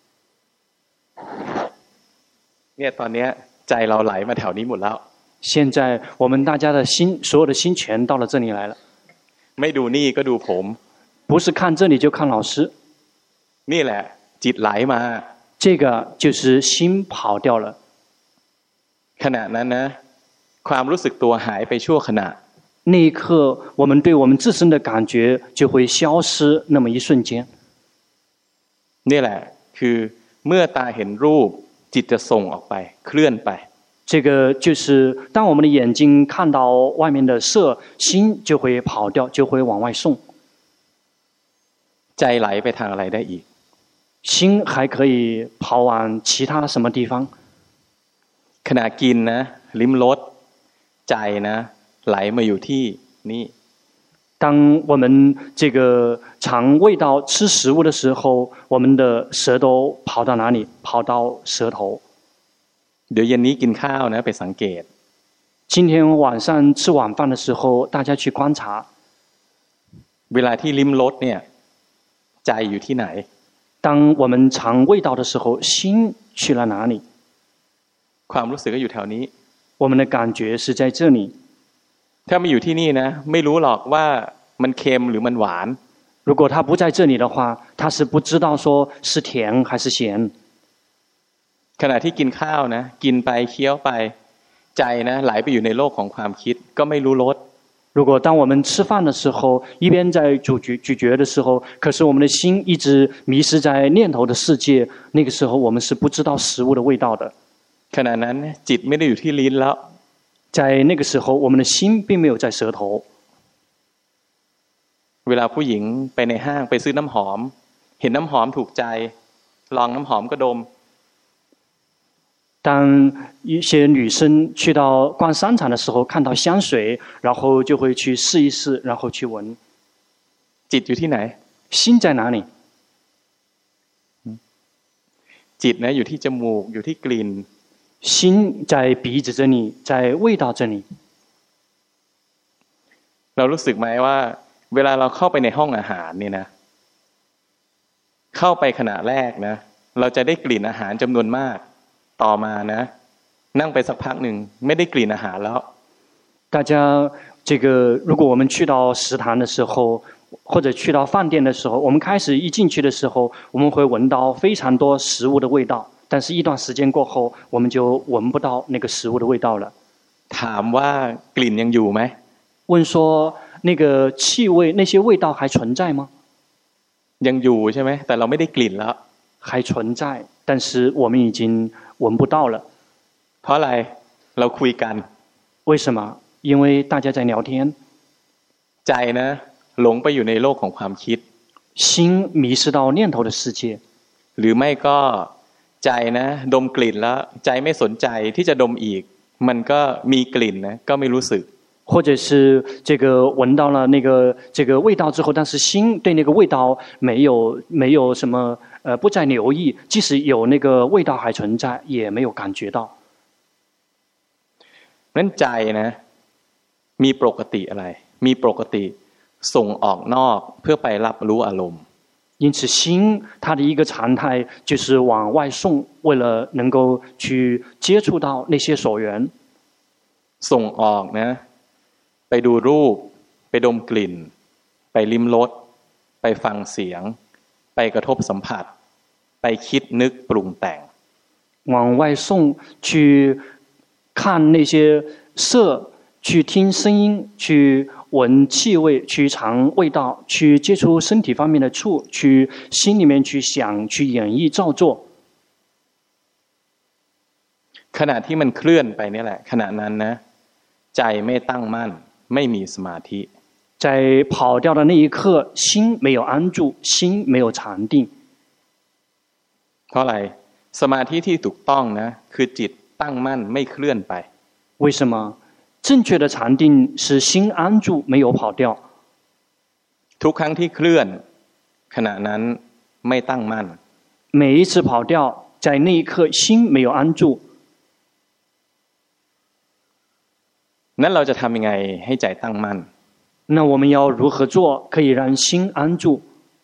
[SPEAKER 1] เนี่ยตอนนี้ใจเราไหลมาแถวนี้หมดแล้ว
[SPEAKER 2] 現在我們大家的心，所有的心全到了這裡來了。
[SPEAKER 1] ไม่ดูนี่ก็ดูผม
[SPEAKER 2] 不是看這裡就看老師。
[SPEAKER 1] นี่แหละจิตไหลมา
[SPEAKER 2] 這個就是心跑掉了。
[SPEAKER 1] ขณะนั้นนะความรู้สึกตัวหายไปชั่วขณะ
[SPEAKER 2] 那一刻，我們對我們自身的感覺就會消失那麼一瞬間。
[SPEAKER 1] นี่แหละคือเมื่อตาเห็นรูปจิตจะส่งออกไปเคลื่อนไป
[SPEAKER 2] 這個就是當我們的眼睛看到外面的色，心就會跑掉，就會往外送。
[SPEAKER 1] ใจไหลไปทางอะไรได้อีก
[SPEAKER 2] 心還可以跑往其他什麼地方？
[SPEAKER 1] ขณะกินนะลิ้มรสใจนะไหลมาอยู่ที่นี่
[SPEAKER 2] 當我們這個嘗味道吃食物的時候，我們的舌頭跑到哪裡？跑到舌頭。
[SPEAKER 1] เดี๋ยวเย็นนี้กินข้าวนะไปสังเกต
[SPEAKER 2] 今天晚上吃晚飯的時候，大家去觀察。
[SPEAKER 1] เวลาที่ลิ้มรสเนี่ยใจอยู่ที่ไหน
[SPEAKER 2] 當我們嘗味道的時候，心去了哪裡？
[SPEAKER 1] ความรู้สึกก็อยู่แถวนี้
[SPEAKER 2] 我們的感覺是在這裡。
[SPEAKER 1] ถ้าไม่อยู่ที่นี่นะไม่รู้หรอกว่ามันเค็มหรือมันหวาน
[SPEAKER 2] 如果他不在這裡的話，他是不知道說是甜還是鹹。
[SPEAKER 1] ขณะที่กินข้าวนะกินไปเคี้ยวไปใจนะไหลไปอยู่ในโลกของความคิดก็ไม่รู้รส
[SPEAKER 2] 如果當我們吃飯的時候，一邊在咀嚼的時候，可是我們的心一直迷失在念頭的世界，那個時候我們是不知道食物的味道的。
[SPEAKER 1] ขณะนั้นจิตไม่ได้อยู่ที่ลิ้นแล้ว
[SPEAKER 2] 在那個時候，我們的心並沒有在舌頭。
[SPEAKER 1] เวลาผู้หญิงไปในห้างไปซื้อน้ำหอมเห็นน้ำหอมถูกใจลองน้ำหอมก็ดม
[SPEAKER 2] 當一些女生去到逛商場的時候，看到香水，然後就會去試一試，然後去聞。
[SPEAKER 1] จิตอยู่ที่ไหน
[SPEAKER 2] 心在哪裡？
[SPEAKER 1] จิตนะอยู่ที่จมูกอยู่ที่กลิ่น
[SPEAKER 2] 心在鼻子這裡，在味道這裡。
[SPEAKER 1] เรารู้สึกไหมว่าเวลาเราเข้าไปในห้องอาหารเนี่ยนะเข้าไปขณะแรกนะเราจะได้กลิ่นอาหารจำนวนมากต่อมานะนั่งไปสักพักหนึ่งไม่ได้กลิ่นอาหารแล้ว
[SPEAKER 2] 大家如果我们去到食堂的时候或者去到飯店的時候我們開始一進去的時候我們會聞到非常多食物的味道但是一段時間過後我們就聞不到那個食物的味道了
[SPEAKER 1] ถามว่ากลิ่นยังอยู่ไหม
[SPEAKER 2] 問說那個氣味那些味道還存在嗎
[SPEAKER 1] ยังอยู่ใช่ไหมแต่เราไม่ได้กลิ่นแล้ว
[SPEAKER 2] 還存在但是我們已經聞不到了
[SPEAKER 1] เพราะอะไรเราคุยกัน
[SPEAKER 2] 為什麼因為大家在聊天
[SPEAKER 1] ใจนะหลงไปอยู่ในโลกของความคิด
[SPEAKER 2] 心迷失到念頭的世界
[SPEAKER 1] หรือไม่ก็ใจนะดมกลิ่นแล้วใจไม่สนใจที่จะดมอีกมันก็มีกลิ่นนะก็ไม่รู้สึก
[SPEAKER 2] 或者是聞到了這個味道之後但是心對那個味道沒有什麼不再留意即使有那個味道還存在也沒有感覺到
[SPEAKER 1] นั้นใจนะมีปกติอะไรมีปกติส่งออกนอกเพื่อไปรับรู้อารมณ์
[SPEAKER 2] 因此心它的一個常態就是往外送為了能夠去接觸到那些所緣
[SPEAKER 1] ส่งออกนะไปดูรูปไปดมกลิ่นไปลิ้มรสไปฟังเสียงไปกระทบสัมผัสไปคิดนึกปรุงแต่ง
[SPEAKER 2] 往外送去看那些色去聽聲音去聞氣味去嘗味道去接觸身體方面的觸去心裡面去想去演繹造作
[SPEAKER 1] ขณะที่มันเคลื่อนไปนี่แหละขณะนั้นนะใจไม่ตั้งมั่นไม่มีสมาธิ
[SPEAKER 2] 在跑掉的那一刻心沒有安住心沒有禪定
[SPEAKER 1] เพราะอะไรสมาธิที่ถูกต้องนะคือจิตตั้งมั่นไม่เคลื่อนไป
[SPEAKER 2] 為什麼正確的禪定是心安住沒有跑掉
[SPEAKER 1] ทุกครั้งที่เคลื่อนขณะนั้นไม่ตั้งมั่น
[SPEAKER 2] 每一次跑掉在那一刻心沒有安住
[SPEAKER 1] นั้นเราจะทำยังไงให้ใจตั้งมั่น
[SPEAKER 2] 那我們要如何做可以讓心安住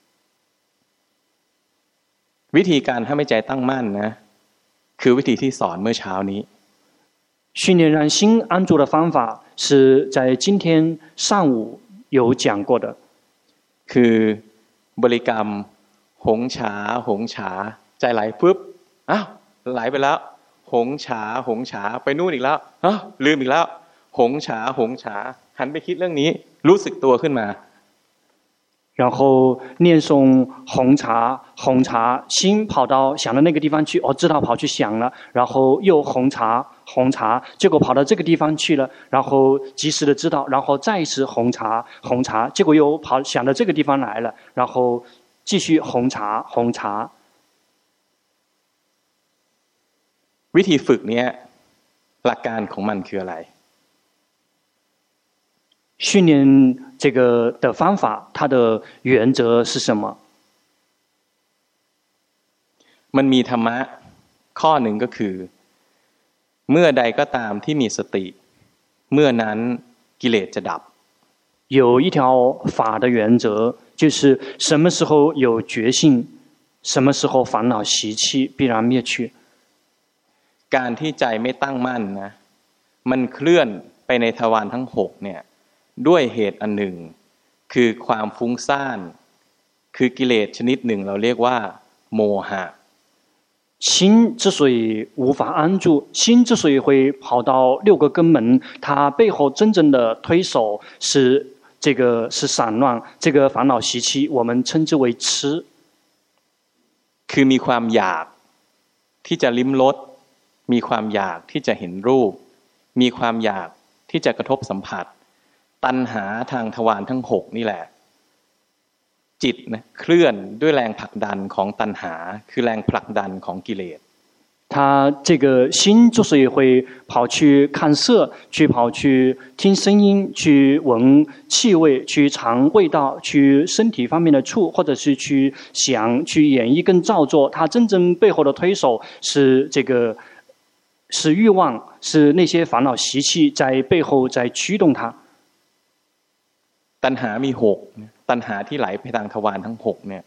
[SPEAKER 1] วิธีการทำให้ใจตั้งมั่นนะคือวิธีที่สอนเมื่อเช้านี้
[SPEAKER 2] 訓練讓心安住的方法是在今天上午有講過的
[SPEAKER 1] คือบริกรรมหงฉาหงฉาใจไหลปุ๊บอ้าวไหลไปแล้วหงฉาหงฉาไปนู่นอีกแล้วอ้าวลืมอีกแล้วหงฉาหงฉาหันไปคิดเรื่องนี้รู้สึกตัวขึ้นมา
[SPEAKER 2] 然後念誦紅茶紅茶心跑到想的那個地方去知道跑去想了然後又紅茶紅茶結果跑到這個地方去了然後及時的知道然後再一次紅茶紅茶結果又想到這個地方來了然後繼續紅茶紅茶
[SPEAKER 1] วิธีฝึกเนี้ยหลักการของมันคืออะไร
[SPEAKER 2] 訓練這個的方法它的原則是什麼
[SPEAKER 1] มันมีธรรมะข้อหนึ่งก็คือเมื่อใดก็ตามที่มีสติเมื่อนั้นกิเลสจะดับ
[SPEAKER 2] 有一條法的原則就是什麼時候有覺性什麼時候煩惱習氣必然滅去
[SPEAKER 1] การที่ใจไม่ตั้งมั่นนะมันเคลื่อนไปในทวารทั้งหกเนี่ยด้วยเหตุอันหนึ่งคือความฟุ้งซ่านคือกิเลสชนิดหนึ่งเราเรียกว่าโมหะ
[SPEAKER 2] 心之所以無法安住心之所以會跑到六個根門它背後真正的推手是散亂這個煩惱習氣我們稱之為痴
[SPEAKER 1] คือมีความอยากที่จะลิ้มรสมีความอยากที่จะเห็นรูปมีความอยากที่จะกระทบสัมผัสตัณหาทางทวารทั้งหกนี่แหละจิตนะเคลื่อนด้วยแรงผลักดันของตัณหาคือแรงผลักดันของกิเลส
[SPEAKER 2] 他這個心之所以會跑去看色去跑去聽聲音去聞氣味去嘗味道去身體方面的觸或者是去想去演繹跟造作它真正背後的推手是是慾望是那些煩惱習氣在背後在驅動它
[SPEAKER 1] ตัณหามีหกตัณหาที่ไหลไปทางทวารทั้งหกเนี่ย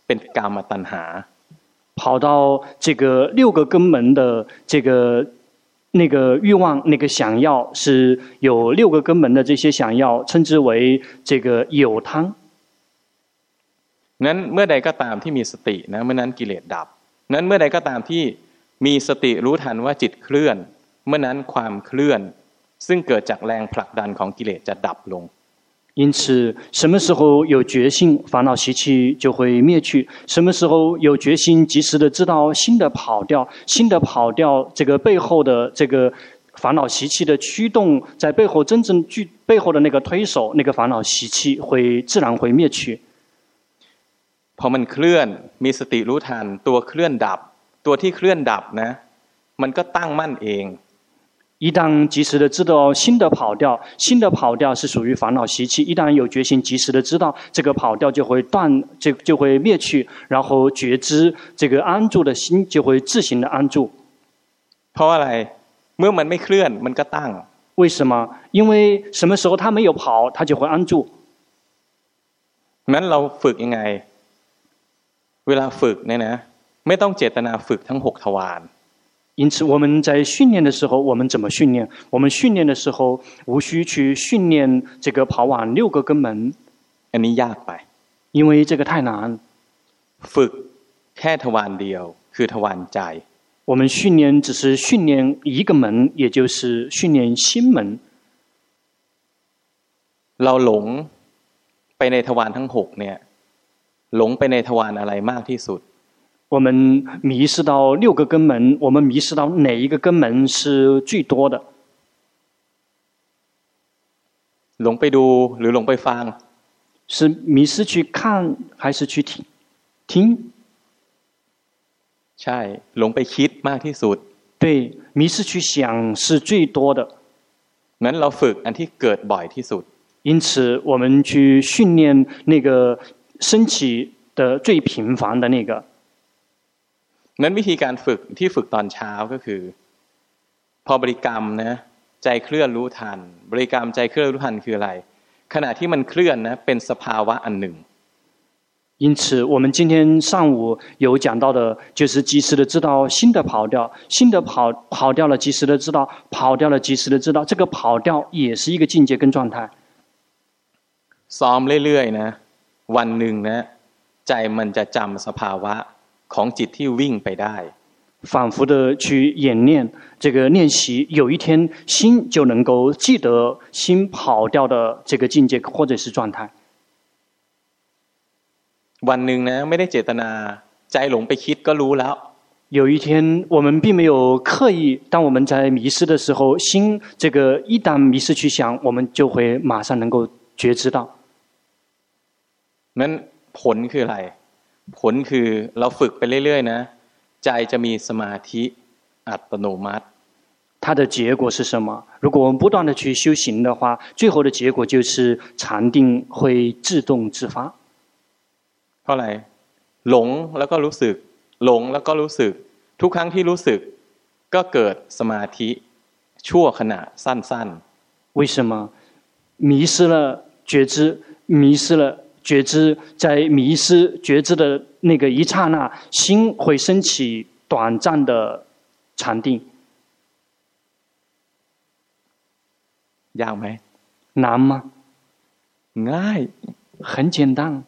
[SPEAKER 1] เป็นกามตัณหา
[SPEAKER 2] 跑到这个6个根门的这个那个欲望那个想要是有6个根门的这些想要称之为这个有贪
[SPEAKER 1] นั้นเมื่อใดก็ตามที่มีสตินะเมื่อนั้นกิเลสดับนั้นเมื่อใดก็ตามที่มีสติรู้ทันว่าจิตเคลื่อนเมื่อนั้นความเคลื่อนซึ่งเกิดจากแรงผลักดันของกิเลสจะดับลง
[SPEAKER 2] 因此什麼時候有決心煩惱習氣就會滅去什麼時候有決心及時的知道心的跑掉這個背後的這個煩惱習氣的驅動在背後真正背後的那個推手那個煩惱習氣會自然會滅去
[SPEAKER 1] พอมันเคลื่อนมีสติรู้ทันตัวเคลื่อนดับตัวที่เคลื่อนดับนะมันก็ตั้งมั่นเอง
[SPEAKER 2] 一旦及時的知道心的跑掉是屬於煩惱習氣一旦有決心及時的知道這個跑掉就會滅去然後覺知這個安住的心就會自行的安住
[SPEAKER 1] เพราะอะไรเมื่อมันไม่เคลื่อนมันก็ตั้ง
[SPEAKER 2] 為什麼因為什麼時候它沒有跑它就會安住
[SPEAKER 1] นั้นเราฝึกยังไงเวลาฝึกเนี่ยนะไม่ต้องเจตนาฝึกทั้ง6ทวาร
[SPEAKER 2] 因此我們在訓練的時候我們怎麼訓練我們訓練的時候無需去訓練這個跑完6個根門
[SPEAKER 1] อันนี้ยากไป
[SPEAKER 2] 因為這個太難
[SPEAKER 1] ฝึกแค่ทวารเดียวคือทวารใจ
[SPEAKER 2] 我們訓練只是訓練一個門也就是訓練心門
[SPEAKER 1] เราหลงไปในทวารทั้ง6เนี่ยหลงไปในทวารอะไรมากที่สุด
[SPEAKER 2] 我們迷失到6個根門我們迷失到哪一個根門是最多的
[SPEAKER 1] หลงไปดูหรือหลงไปฟัง
[SPEAKER 2] 是迷失去看還是去聽
[SPEAKER 1] ใช่หลงไปคิดมากที่สุด
[SPEAKER 2] 對迷失去想是最多的
[SPEAKER 1] งั้นเราฝึกอันที่เกิดบ่อยที่สุด
[SPEAKER 2] 因此我們去訓練那個升起的最頻繁的那個
[SPEAKER 1] นั้นวิธีการฝึกที่ฝึกตอนเช้าก็คือพอบริกรรมนะใจเคลื่อนรู้ทันบริกรรมใจเคลื่อนรู้ทันคืออะไรขณะที่มันเคลื่อนนะเป็นสภาวะอันหนึ่ง
[SPEAKER 2] 因此我們今天上午有講到的就是及時的知道心的跑掉心的跑掉了及時的知道跑掉了及時的知道這個跑掉也是一個境界跟狀態
[SPEAKER 1] ซ้อมเรื่อยๆนะวันหนึ่งนะใจมันจะจำสภาวะของจิตที่วิ่งไปได้
[SPEAKER 2] 反覆的去演練這個練習有一天心就能夠記得心跑掉的這個境界或者是狀態
[SPEAKER 1] วันหนึ่งนะไม่ได้เจตนาใจหลงไปคิดก็รู้แล้ว
[SPEAKER 2] 有一天我們並沒有刻意當我們在迷失的時候心這個一旦迷失去想我們就會馬上能夠覺知到
[SPEAKER 1] นั้นผลคืออะไรผลคือเราฝึกไปเรื่อยๆนะใจจะมีสมาธิอัตโนมัติ
[SPEAKER 2] 它的結果是什麼如果我們不斷的去修行的話最後的結果就是禪定會自動自發
[SPEAKER 1] เพราะอะไรหลงแล้วก็รู้สึกหลงแล้วก็รู้สึกทุกครั้งที่รู้สึกก็เกิดสมาธิชั่วขณะสั้น
[SPEAKER 2] ๆ為什麼迷失了覺知迷失了覺知在迷失覺知的那個一剎那心會升起短暫的禪定
[SPEAKER 1] ยากไหม
[SPEAKER 2] 難嗎
[SPEAKER 1] ง่าย
[SPEAKER 2] 很簡單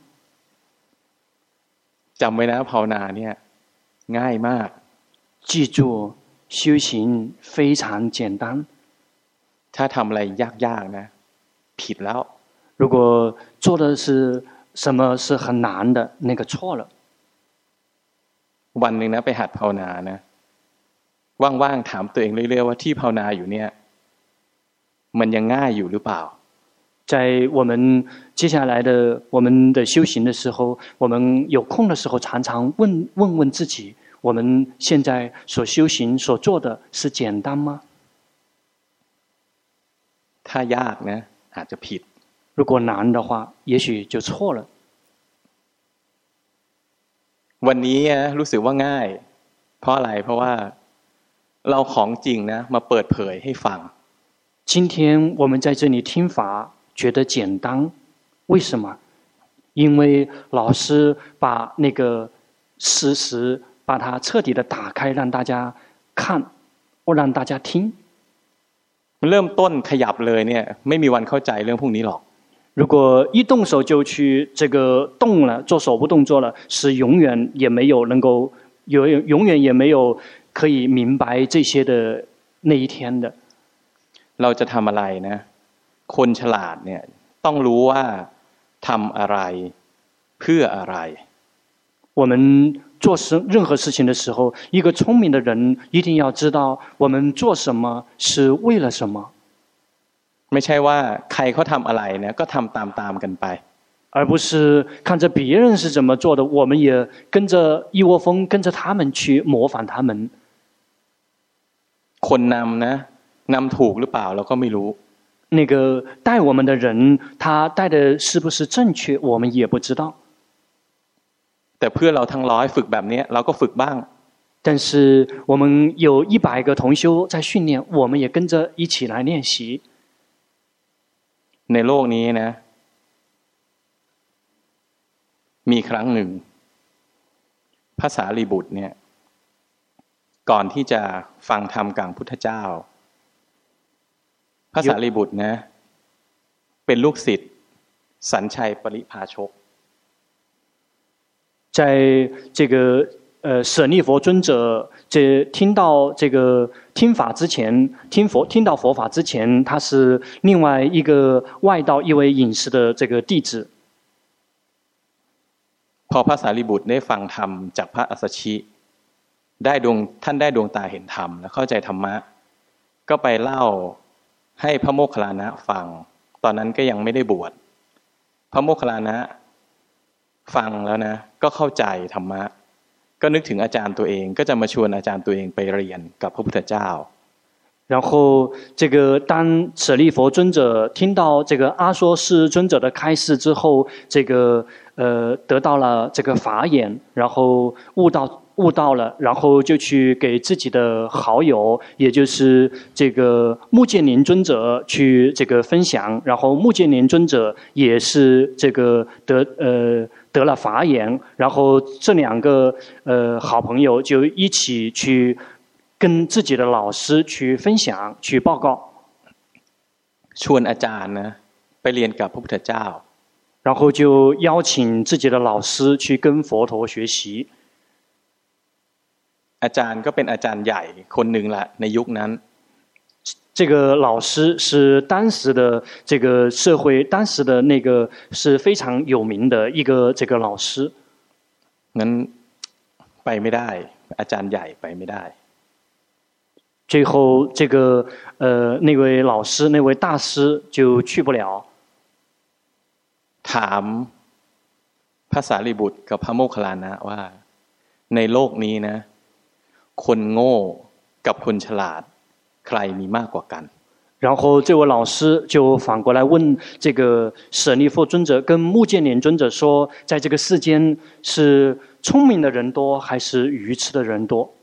[SPEAKER 1] จำไว้นะภาวนาเนี่ยง่ายมาก
[SPEAKER 2] 記住修行非常簡單
[SPEAKER 1] ถ้าทำอะไรยากๆนะผิดแล้ว
[SPEAKER 2] 如果做的是什麼是很難的那個錯了
[SPEAKER 1] วันหนึ่งนะไปหัดภาวนานะว่างๆถามตัวเองเรื่อยๆว่าที่ภาวนาอยู่เนี่ยมันยังง่ายอยู่หรือเปล่า
[SPEAKER 2] 在我們接下來的我們的修行的時候我們有空的時候常常問自己我們現在所修行所做的是簡單嗎
[SPEAKER 1] ถ้ายากนะอาจจะผิด
[SPEAKER 2] 如果難的話也許就錯了
[SPEAKER 1] วันนี้รู้สึกว่าง่ายเพราะอะไรเพราะว่าเราของจริงนะมาเปิดเผยให้ฟัง
[SPEAKER 2] 今天我們在這裡聽法覺得簡單為什麼因为老師把那個事實把它徹底的打開，讓大家看，或讓大家聽。
[SPEAKER 1] เริ่มต้นขยับเลยเนี่ยไม่มีวันเข้าใจเรื่องพวกนี้หรอก
[SPEAKER 2] 如果一動手就去這個動了，做手部動作了，是永遠也沒有能夠永遠也沒有可以明白這些的那一天的。
[SPEAKER 1] เราจะทำอะไรนะคนฉลาดเนี่ยต้องรู้ว่าทำอะไรเพื่ออะไร
[SPEAKER 2] 我們做任何事情的時候，一個聰明的人一定要知道我們做什麼是為了什麼。
[SPEAKER 1] ไม่ใช่ว่าใครเขาทำอะไรเนี่ยก็ทำตามกันไป
[SPEAKER 2] 而不是看着別人是怎麼做的，我們也跟着一窩蜂跟着他們去模仿他們。
[SPEAKER 1] คนนำนะนำถูกหรือเปล่าเราก็ไม่รู้
[SPEAKER 2] 那個帶我們的人，他帶的是不是正確，我們也不知道。
[SPEAKER 1] แต่เพื่อนเราทั้ง100ฝึกแบบนี้เราก็ฝึกบ้าง
[SPEAKER 2] 但是我們有100個同修在訓練，我們也跟着一起來練習。
[SPEAKER 1] ในโลกนี้นะมีครั้งหนึ่งพระสารีบุตรเนี่ยก่อนที่จะฟังธรรมกับพุทธเจ้าพระสารีบุตรนะเป็นลูกศิษย์สัญชัยปริภาชก
[SPEAKER 2] 在這個舍利弗尊者聽到這個聽法之前，聽到佛法之前，他是另外一個外道一位隱士的這個弟子。
[SPEAKER 1] พอพระสารีบุตรได้ฟังธรรมจากพระอัสสชิท่านได้ดวงตาเห็นธรรมและเข้าใจธรรมะก็ไปเล่าให้พระโมคคัลลานะฟังตอนนั้นก็ยังไม่ได้บวชพระโมคคัลลานะฟังแล้วนะก็เข้าใจธรรมะก็นึกถึงอาจารย์ตัวเองก็จะมาชวนอาจารย์ตัวเองไปเรียนกับพระพุทธเจ้า
[SPEAKER 2] 然後這個當舍利弗尊者聽到這個阿說示尊者的開示之後，這個得到了這個法眼，然後悟到了，然後就去給自己的好友，也就是這個目犍連尊者去這個分享，然後目犍連尊者也是這個得了法眼，然後這兩個好朋友就一起去跟自己的老師去分享去報告
[SPEAKER 1] ชวนอาจารย์นะไปเรียนกับพระพุทธเจ้า
[SPEAKER 2] 然後就邀請自己的老師去跟佛陀學習
[SPEAKER 1] อาจารย์ก็เป็นอาจารย์ใหญ่คนหนึ่งละในยุคนั้น
[SPEAKER 2] 這個老師是當時的這個社會當時的那個是非常有名的一個這個老師
[SPEAKER 1] งั้นไปไม่ได้อาจารย์ใหญ่ไปไม่ได้
[SPEAKER 2] 最後這個那位老師那位大師就去不了
[SPEAKER 1] ถามพระสารีบุตรกับพระโมคคัลลานะว่าในโลกนี้นะคนโง่กับคนฉลาดใครมีมากกว่ากัน
[SPEAKER 2] 然後這位老師就反過來問這個舍利弗尊者跟目犍連尊者說在這個世間是聰明的人多還是愚痴的人多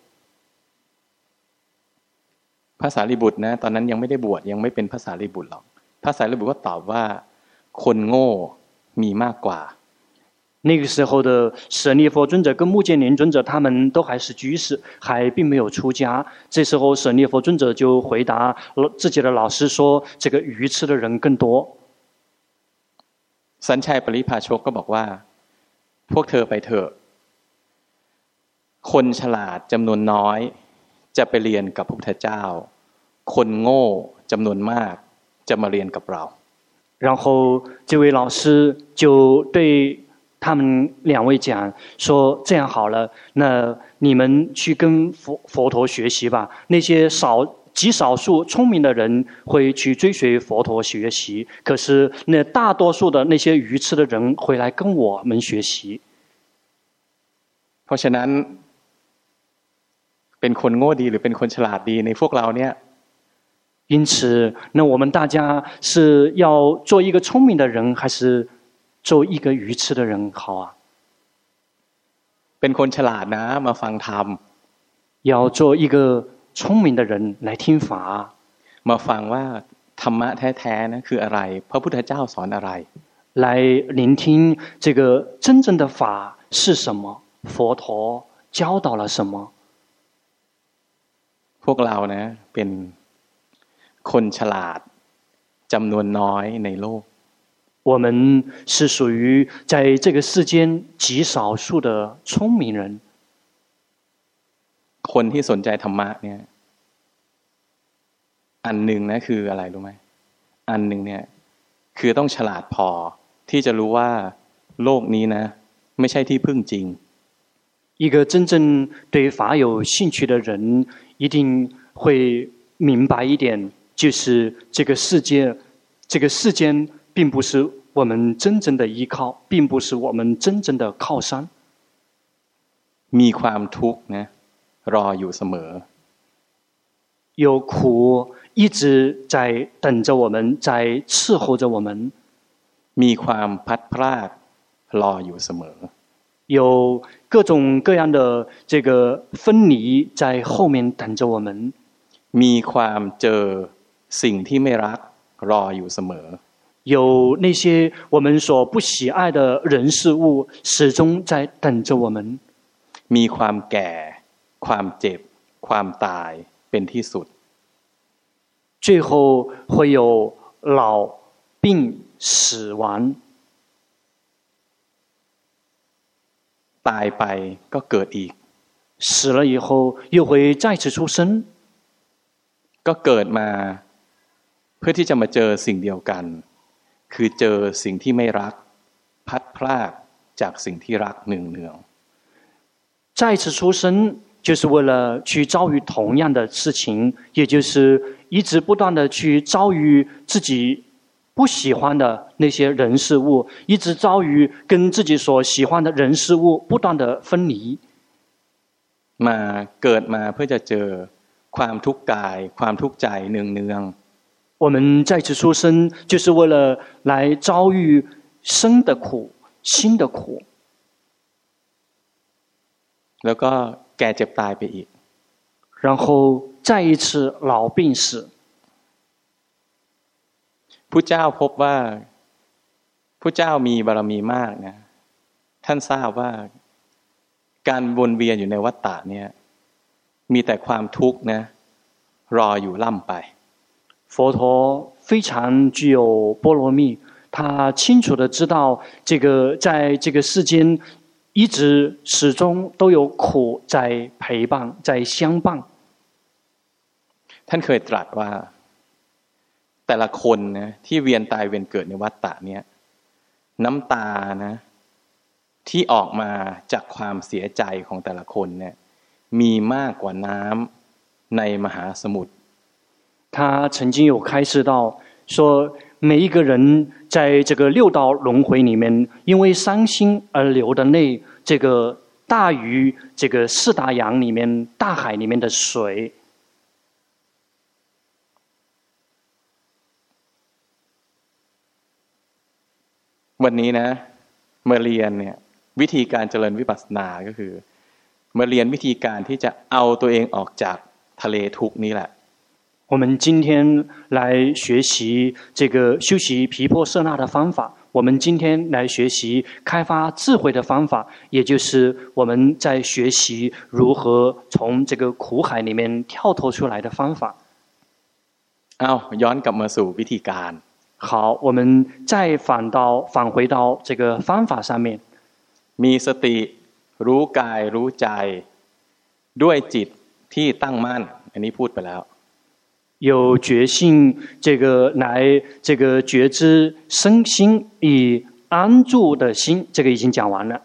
[SPEAKER 1] พระสารีบุตรนะตอนนั้นยังไม่ได้บวชยังไม่เป็นพระสารีบุตรหรอกพระสารีบุตรก็ตอบว่าคนโง่มีมากกว่า
[SPEAKER 2] 那個時候的舍利弗尊者跟目犍連尊者他們都還是居士還並沒有出家這時候舍利弗尊者就回答自己的老師說這個愚痴的人更多
[SPEAKER 1] สัญชัยปริภาชกก็บอกว่าพวกเธอไปเถอะคนฉลาดจำนวนน้อยจะไปเรียนกับพระพุทธเจ้าคนโง่จำนวนมากจะมาเรียนกับเรา
[SPEAKER 2] 然後這位老師就對他們兩位講說這樣好了那你們去跟佛陀學習吧那些極少數聰明的人會去追隨佛陀學習可是那大多數的那些愚痴的人會來跟我們學習
[SPEAKER 1] เพราะฉะนั้นเป็นคนโง่ดีหรือเป็นคนฉลาดดีในพวกเราเนี่ย
[SPEAKER 2] 因此那我們大家是要做一個聰明的人還是做一個愚痴的人好啊
[SPEAKER 1] เป็นคนฉลาดนะมาฟังธรรม
[SPEAKER 2] 要做一個聰明的人來聽法
[SPEAKER 1] มาฟังว่าธรรมะแท้ๆนะคืออะไรพระพุทธเจ้าสอนอะไร
[SPEAKER 2] 來聆聽這個真正的法是什麼，佛陀教導了什麼。
[SPEAKER 1] พวกเรานะเป็นคนฉลาดจำนวนน้อยในโลก
[SPEAKER 2] 我們是屬於在這個世間極少數的聰明人。
[SPEAKER 1] คนที่สนใจธรรมะเนี่ยอันหนึ่งนะคืออะไรรู้ไหมอันหนึ่งเนี่ยคือต้องฉลาดพอที่จะรู้ว่าโลกนี้นะไม่ใช่ที่พึ่งจริง
[SPEAKER 2] 一個真正對法有興趣的人一定會明白一點，就是這個世間並不是我們真正的依靠，並不是我們真正的靠山。
[SPEAKER 1] มีความทุกข์นะรออยู่เสมอ
[SPEAKER 2] 有苦一直在等着我們，在伺候着我們。
[SPEAKER 1] มีความพัดพรากรออยู่เสมอ
[SPEAKER 2] 有各種各樣的這個分離在後面等着我們。
[SPEAKER 1] มีความเจอสิ่งที่ไม่รักรออยู่เสมอ
[SPEAKER 2] 有那些我們所不喜愛的人事物始終在等着我們。
[SPEAKER 1] มีความแก่ความเจ็บความตายเป็นที่สุด
[SPEAKER 2] 最後會有老病死亡
[SPEAKER 1] ตายไปก็เกิดอีก
[SPEAKER 2] 死了以後又會再次出生
[SPEAKER 1] ก็เกิดมาเพื่อที่จะมาเจอสิ่งเดียวกันคือเจอสิ่งที่ไม่รักพัดพรากจากสิ่งที่รักเนือง
[SPEAKER 2] 再次出生就是為了去遭遇同樣的事情，也就是一直不斷的去遭遇自己不喜歡的那些人事物，一直遭遇跟自己所喜歡的人事物不斷的分離。
[SPEAKER 1] มาเกิดมาเพื่อจะเจอความทุกข์กายความทุกข์ใจเนือง
[SPEAKER 2] 我們再次出生就是為了來遭遇生的苦心的苦
[SPEAKER 1] แล้วก็แก่เจ็บตายไปอีก
[SPEAKER 2] 然後再一次老病死
[SPEAKER 1] พุทธเจ้าพบว่าพุทธเจ้ามีบารมีมากนะท่านทราบว่าการวนเวียนอยู่ในวัฏฏะเนี่ยมีแต่ความทุกข์นะรออยู่ล่ำไป
[SPEAKER 2] 佛陀非常具有波羅蜜，他清楚地知道這個在這個世間一直始終都有苦在陪伴在相伴
[SPEAKER 1] ท่านเคยตรัสว่าแต่ละคนนะที่เวียนตายเวียนเกิดในวัฏฏะเนี่ยน้ำตานะที่ออกมาจากความเสียใจของแต่ละคนเนี่ยมีมากกว่าน้ำในมหาสมุทร
[SPEAKER 2] 他曾經有開示到說每一個人在這個六道輪迴裡面因為傷心而流的淚這個大於這個四大洋裡面大海裡面的水
[SPEAKER 1] วันนี้นะมาเรียนเนี่ยวิธีการเจริญวิปัสสนาก็คือมาเรียนวิธีการที่จะเอาตัวเองออกจากทะเลทุกข์นี้แหละ
[SPEAKER 2] 我們今天來學習這個修習毗婆舍那的方法，我們今天來學習開發智慧的方法，也就是我們在學習如何從這個苦海裡面跳脫出來的方法。
[SPEAKER 1] ย้อนกลับมาสู่วิธีการ
[SPEAKER 2] 好，我們再返回到這個方法上面。
[SPEAKER 1] มีสติรู้กายรู้ใจด้วยจิตที่ตั้งมั่นอันนี้พูดไปแล้ว
[SPEAKER 2] 有覺性這個來這個覺知身心以安住的心，這個已經講完了。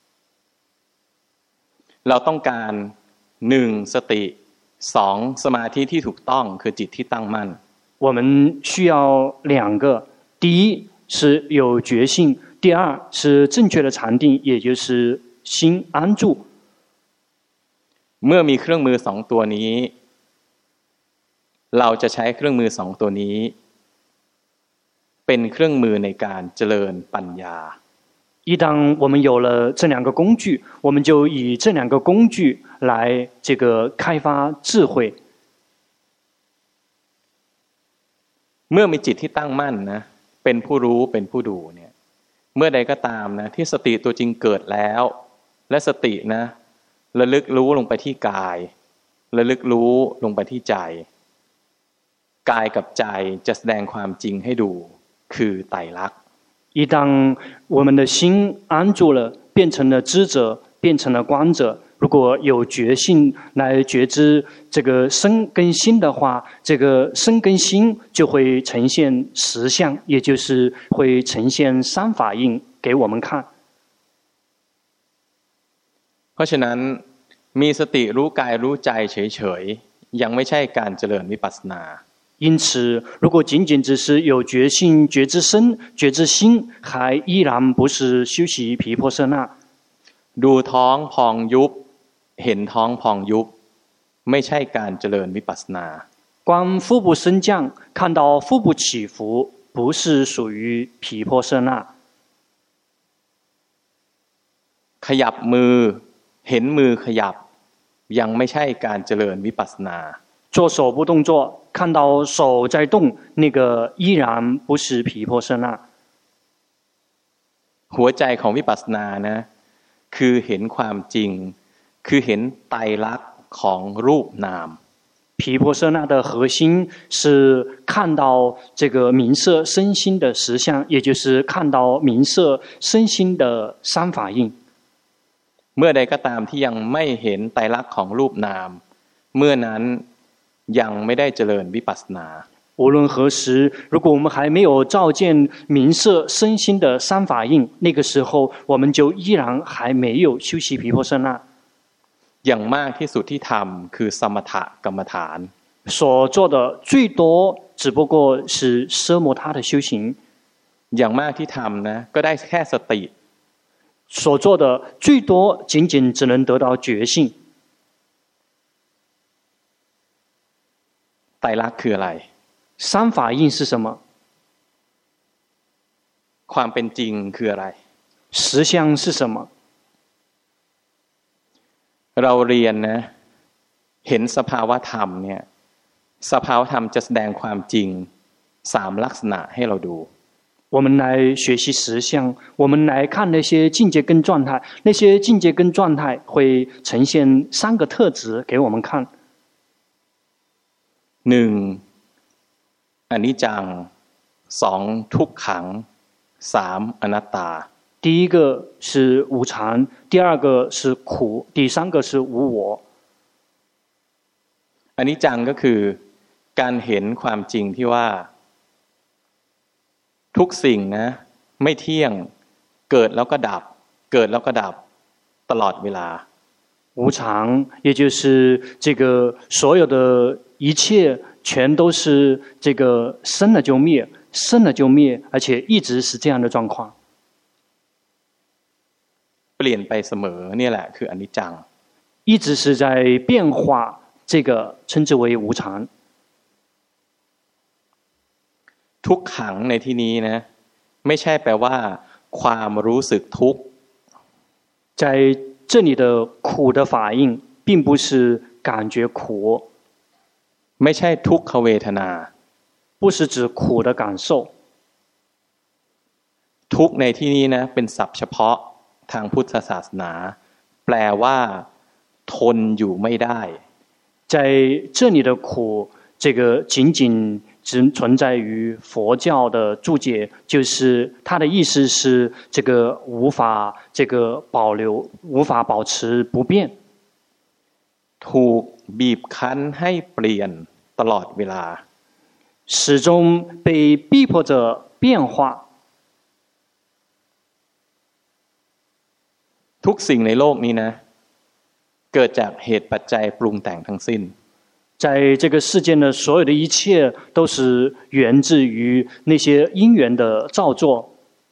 [SPEAKER 1] เราต้องการ1สติ2สมาธิที่ถูกต้องคือจิตที่ตั้งมั่น
[SPEAKER 2] 我們需要2個，第一是有覺性，第二是正確的禪定，也就是心安住。
[SPEAKER 1] เมื่อมีเครื่องมือ2ตัวนี้เราจะใช้เครื่องมือ2ตัวนี้เป็นเครื่องมือในการเจริญปัญญา
[SPEAKER 2] 一當我們有了這2個工具，我們就以這2個工具來這個開發智慧。
[SPEAKER 1] เมื่อมีจิตที่ตั้งมั่นนะเป็นผู้รู้เป็นผู้ดูเนี่ยเมื่อใดก็ตามนะที่สติตัวจริงเกิดแล้วและสตินะระลึกรู้ลงไปที่กายระลึกรู้ลงไปที่ใจกายกับใจจะแสดงความจริงให้ดูคือไตรลักษณ์
[SPEAKER 2] 一旦我们的心安住了，变成了知者，变成了观者。如果有觉性來覺知這個身跟心的話，這個身跟心就會呈現實相，也就是會呈現三法印給我們看。
[SPEAKER 1] เพราะฉะนั้นมีสติรู้กายรู้ใจเฉยๆยังไม่ใช่การเจริญวิปัสสนา
[SPEAKER 2] 因此，如果僅僅只是有覺性、覺知身、覺知心，還依然不是修習毗婆舍那。
[SPEAKER 1] ดูท้องพองยุบเห็นท้องพองยุบไม่ใช่การเจริญวิปัสสนา
[SPEAKER 2] 觀腹部升降，看到腹部起伏，不是屬於毗婆舍那。
[SPEAKER 1] ขยับมือเห็นมือขยับยังไม่ใช่การเจริญวิปัสสนา
[SPEAKER 2] 做手部動作，看到手在動，那個依然不是毗婆舍那。
[SPEAKER 1] หัวใจของวิปัสสนานะคือเห็นความจริงคือเห็นไตรลักษณ์ของรูปนาม
[SPEAKER 2] 毗婆舍那的核心是看到這個名色身心的實相，也就是看到名色身心的三法印。
[SPEAKER 1] เมื่อใดก็ตามที่ยังไม่เห็นไตรลักษณ์ของรูปนามเมื่อนั้นยังไม่ได้เจริญวิปัสสนา
[SPEAKER 2] 無論何時，如果我們還沒有照見名色身心的三法印，那個時候我們就依然還沒有修習毗婆舍那。
[SPEAKER 1] อย่างมากที่สุดที่ทำคือสมถกรรมฐาน
[SPEAKER 2] 所做的最多只不過是奢摩他的修行。
[SPEAKER 1] อย่างมากที่ทำนะก็ได้แค่สติ
[SPEAKER 2] 所做的最多僅僅只能得到覺性。
[SPEAKER 1] ไตรลักษณ์คืออะไร
[SPEAKER 2] 三法印是什麼？
[SPEAKER 1] ความเป็นจริงคืออะไร
[SPEAKER 2] 實相是什麼？
[SPEAKER 1] เราเรียนนะเห็นสภาวะธรรมเนี่ยสภาวะธรรมจะแสดงความจริง3ลักษณะให้เราดู
[SPEAKER 2] 我們來學習實相，我們來看那些境界跟狀態，那些境界跟狀態會呈現3個特質給我們看。
[SPEAKER 1] 1อนิจจัง2ทุกขัง3อนัตตา
[SPEAKER 2] 第一個是無常，第二個是苦，第三個是無我。
[SPEAKER 1] อนิจจังก็คือการเห็นความจริงที่ว่าทุกสิ่งนะไม่เที่ยงเกิดแล้วก็ดับเกิดแล้วก็ดับตลอดเวลา
[SPEAKER 2] 無常也就是這個所有的一切全都是這個生了就滅，生了就滅，而且一直是這樣的狀況。
[SPEAKER 1] เปลี่ยนไปเสมอเนี่ยแหละคืออนิจจัง
[SPEAKER 2] 一直是在變化，這個稱之為無常。
[SPEAKER 1] ทุกขังในที่นี้นะไม่ใช่แปลว่าความรู้สึกทุกข์
[SPEAKER 2] 在這裡的苦的法印並不是感覺苦
[SPEAKER 1] ไม่ใช่ทุกขเวทนา
[SPEAKER 2] 不是指苦的感受
[SPEAKER 1] ทุกในที่นี้นะเป็นศัพท์เฉพาะทางพุทธศาสนาแปลว่าทนอยู่ไม่ได้
[SPEAKER 2] 在這裡的苦這個僅僅只存在於佛教的注解，就是它的意思是這個無法這個保留，無法保持不變。
[SPEAKER 1] ถูกบีบคั้นให้เปลี่ยนตลอดเวลา
[SPEAKER 2] 始終被逼迫着變化。
[SPEAKER 1] ทุกสิ่งในโลกนี้นะเกิดจากเหตุปัจจัยปรุงแต่งทั้งสิ้น
[SPEAKER 2] 在這個世間的所有的一切都是源自於那些因緣的造作。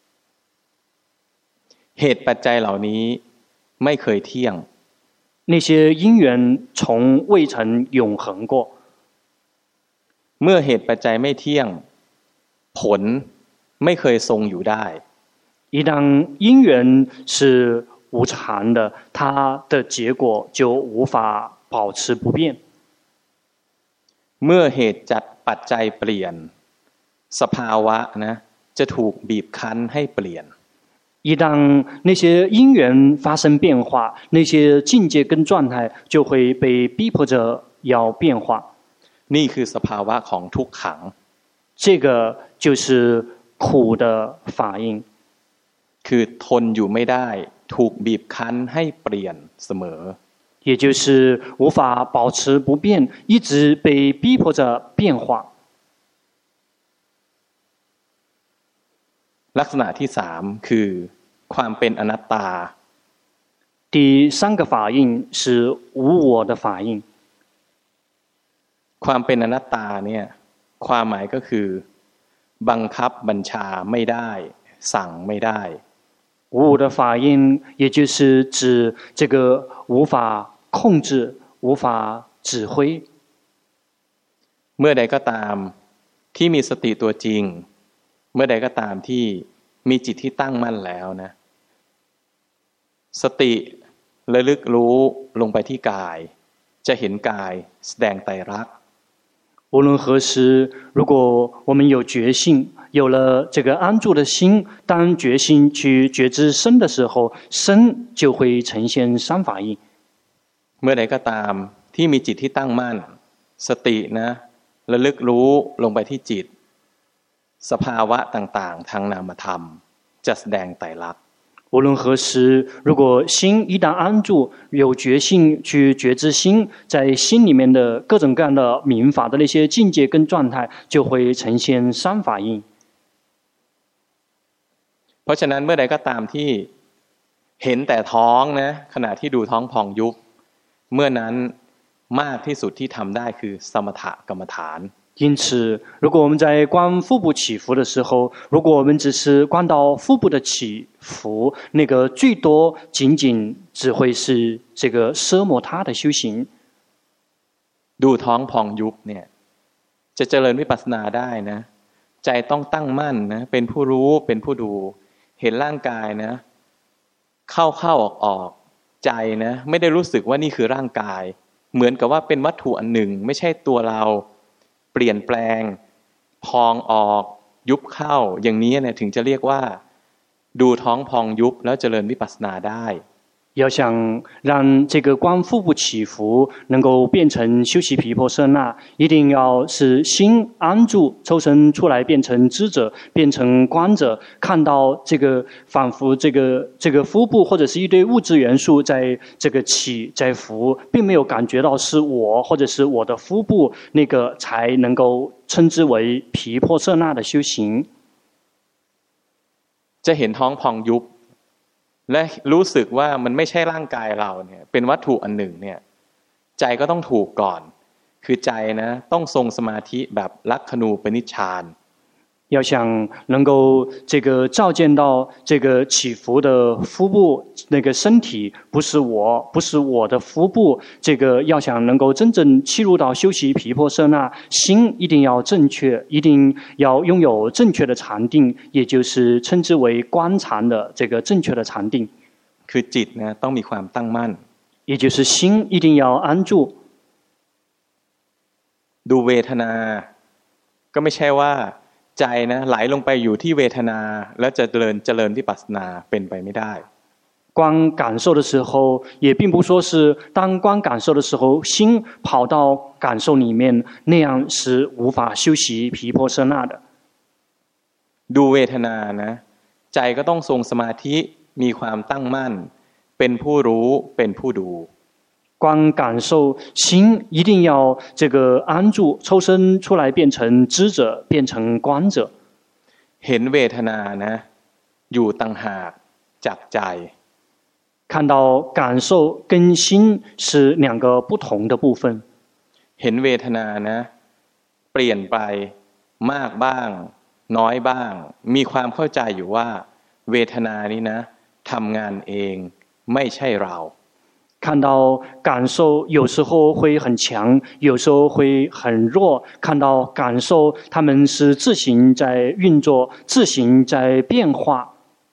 [SPEAKER 1] เหตุปัจจัยเหล่านี้ไม่เคยเที่ยง
[SPEAKER 2] 那些因緣從未曾永恆過。
[SPEAKER 1] เมื่อเหตุปัจจัยไม่เที่ยงผลไม่เคยทรงอยู่ได้
[SPEAKER 2] 一旦因緣是無常的，它的結果就無法保持不變。
[SPEAKER 1] เมื่อเหตุจัดปัจจัยเปลี่ยนสภาวะนะจะถูกบีบคั้นให้เปลี่ยน
[SPEAKER 2] 一旦那些因緣發生變化，那些境界跟狀態就會被逼迫着要變化。
[SPEAKER 1] นี่คือสภาวะของทุกขัง
[SPEAKER 2] 這個就是苦的法印，
[SPEAKER 1] คือทนอยู่ไม่ได้ถูกบีบคั้นให้เปลี่ยนเสมอ
[SPEAKER 2] 也就是無法保持不變，一直被逼迫着變化。
[SPEAKER 1] ลักษณะที่สามคือความเป็นอนัตตา
[SPEAKER 2] 第三個法印是無我的法印。
[SPEAKER 1] ความเป็นอนัตตาเนี่ยความหมายก็คือบังคับบัญชาไม่ได้สั่งไม่ได้
[SPEAKER 2] 無我的法印也就是指這個無法控制無法指揮。
[SPEAKER 1] เมื่อใดก็ตามที่มีสติตัวจริงเมื่อใดก็ตามที่มีจิตที่ตั้งมั่นแล้วนะสติระลึกรู้ลงไปที่กายจะเห็นกายแสดงไตรลักษณ์
[SPEAKER 2] 無論何時，如果我們有覺性，有了這個安住的心，當覺性去覺知身的時候，身就會呈現三法印。
[SPEAKER 1] เมื่อใดก็ตามที่มีจิตที่ตั้งมั่นสตินะระลึกรู้ลงไปที่จิตสภาวะต่างๆทางนามธรรมจะแสดงไตรลักษณ์
[SPEAKER 2] 無論何時，如果心一旦安住，有覺性去覺知心，在心裡面的各種各樣的明法的那些境界跟狀態，就會呈現三法印。
[SPEAKER 1] เพราะฉะนั้นเมื่อใดก็ตามที่เห็นแต่ท้องนะขณะที่ดูท้องพองยุบเมื่อนั้นมากที่สุดที่ทำได้คือสมถกรรมฐาน
[SPEAKER 2] 因此，如果我們在觀腹部起伏的時候，如果我們只是觀到腹部的起伏，那個最多僅僅只會是這個奢摩他的修行。
[SPEAKER 1] ดูท้องพองยุบเนี่ยจะเจริญวิปัสสนาได้นะใจต้องตั้งมั่นนะเป็นผู้รู้เป็นผู้ดูเห็นร่างกายนะเข้าออกใจนะไม่ได้รู้สึกว่านี่คือร่างกายเหมือนกับว่าเป็นวัตถุอันหนึ่งไม่ใช่ตัวเราเปลี่ยนแปลงพองออกยุบเข้าอย่างนี้เนี่ยถึงจะเรียกว่าดูท้องพองยุบแล้วเจริญวิปัสสนาได้
[SPEAKER 2] 要想讓這個觀腹部起伏能夠變成修習毗婆舍那，一定要是心安住，抽身出來變成知者，變成觀者，看到這個仿佛這個腹部或者是一堆物質元素在這個起在伏，並沒有感覺到是我或者是我的腹部，那個才能夠稱之為毗婆舍那的修行。
[SPEAKER 1] จะเห็นท้องพองยุบและรู้สึกว่ามันไม่ใช่ร่างกายเราเนี่ยเป็นวัตถุอันหนึ่งเนี่ยใจก็ต้องถูกก่อนคือใจนะต้องทรงสมาธิแบบลักขณูปนิชฌาน
[SPEAKER 2] 要想能夠這個照見到這個起伏的腹部，那個身體不是我，不是我的腹部，這個要想能夠真正契入到修習毗婆舍那，心一定要正確，一定要擁有正確的禪定，也就是稱之為觀禪的這個正確的禪定。
[SPEAKER 1] คือจิตนะต้องมีความตั้งมั่น
[SPEAKER 2] 也就是心一定要安住。
[SPEAKER 1] ดูเวทนาก็ไม่ใช่ว่าใจนะไหลลงไปอยู่ที่เวทนาแล้วจะเจริญวิปัสสนาเป็นไปไม่ได้
[SPEAKER 2] 觀感受的時候也並不說是當觀感受的時候心跑到感受裡面，那樣是無法修習毗婆舍那的。
[SPEAKER 1] ดูเวทนานะใจก็ต้องทรงสมาธิมีความตั้งมั่นเป็นผู้รู้เป็นผู้ดู
[SPEAKER 2] 觀感受心一定要這個安住，抽身出來變成知者，變成觀者。
[SPEAKER 1] เห็นเวทนานะอยู่ต่างหากจากใจ
[SPEAKER 2] 看到感受跟心是兩個不同的部分。
[SPEAKER 1] เห็นเวทนานะเปลี่ยนไปมากบ้างน้อยบ้างมีความเข้าใจอยู่ว่าเวทนานี้นะทำงานเองไม่ใช่เรา
[SPEAKER 2] 看到感受有時候會很強，有時候會很弱，看到感受他們是自行在運作，自行在變化。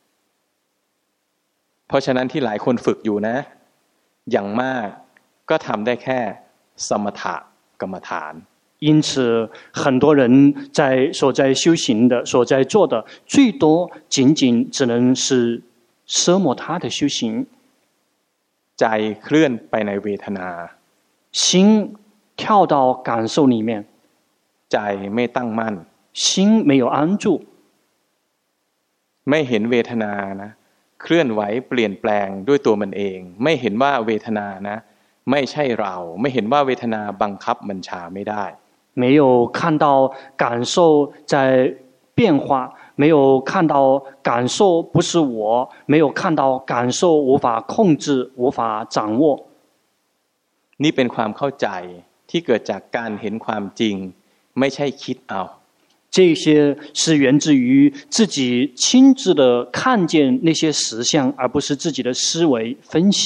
[SPEAKER 1] เพราะฉะนั้นที่หลายคนฝึกอยู่นะอย่างมากก็ทำได้แค่สมถกรรมฐาน
[SPEAKER 2] 因此很多人所在修行的所在做的最多僅僅只能是奢摩他的修行，
[SPEAKER 1] ใจเคลื่อนไปในเวทนา
[SPEAKER 2] 心跳到感受里面，
[SPEAKER 1] ใจไม่ตั้งมั่น
[SPEAKER 2] 心没有安住，
[SPEAKER 1] ไม่เห็นเวทนานะเคลื่อนไหวเปลี่ยนแปลงด้วยตัวมันเอง ไม่เห็นว่าเวทนานะไม่ใช่เรา ไม่เห็นว่าเวทนาบังคับบัญชาไม่ได้
[SPEAKER 2] 没有看到感受在变化，没有看到感受不是我，没有看到感受无法控制，无法掌握。
[SPEAKER 1] นี่เป็นความเข้าใจที่เกิดจากการเห็นความจริงไม่ใช่คิดเอา
[SPEAKER 2] 这些是源自于自己亲自的看见那些实相，而不是自己的思维分析。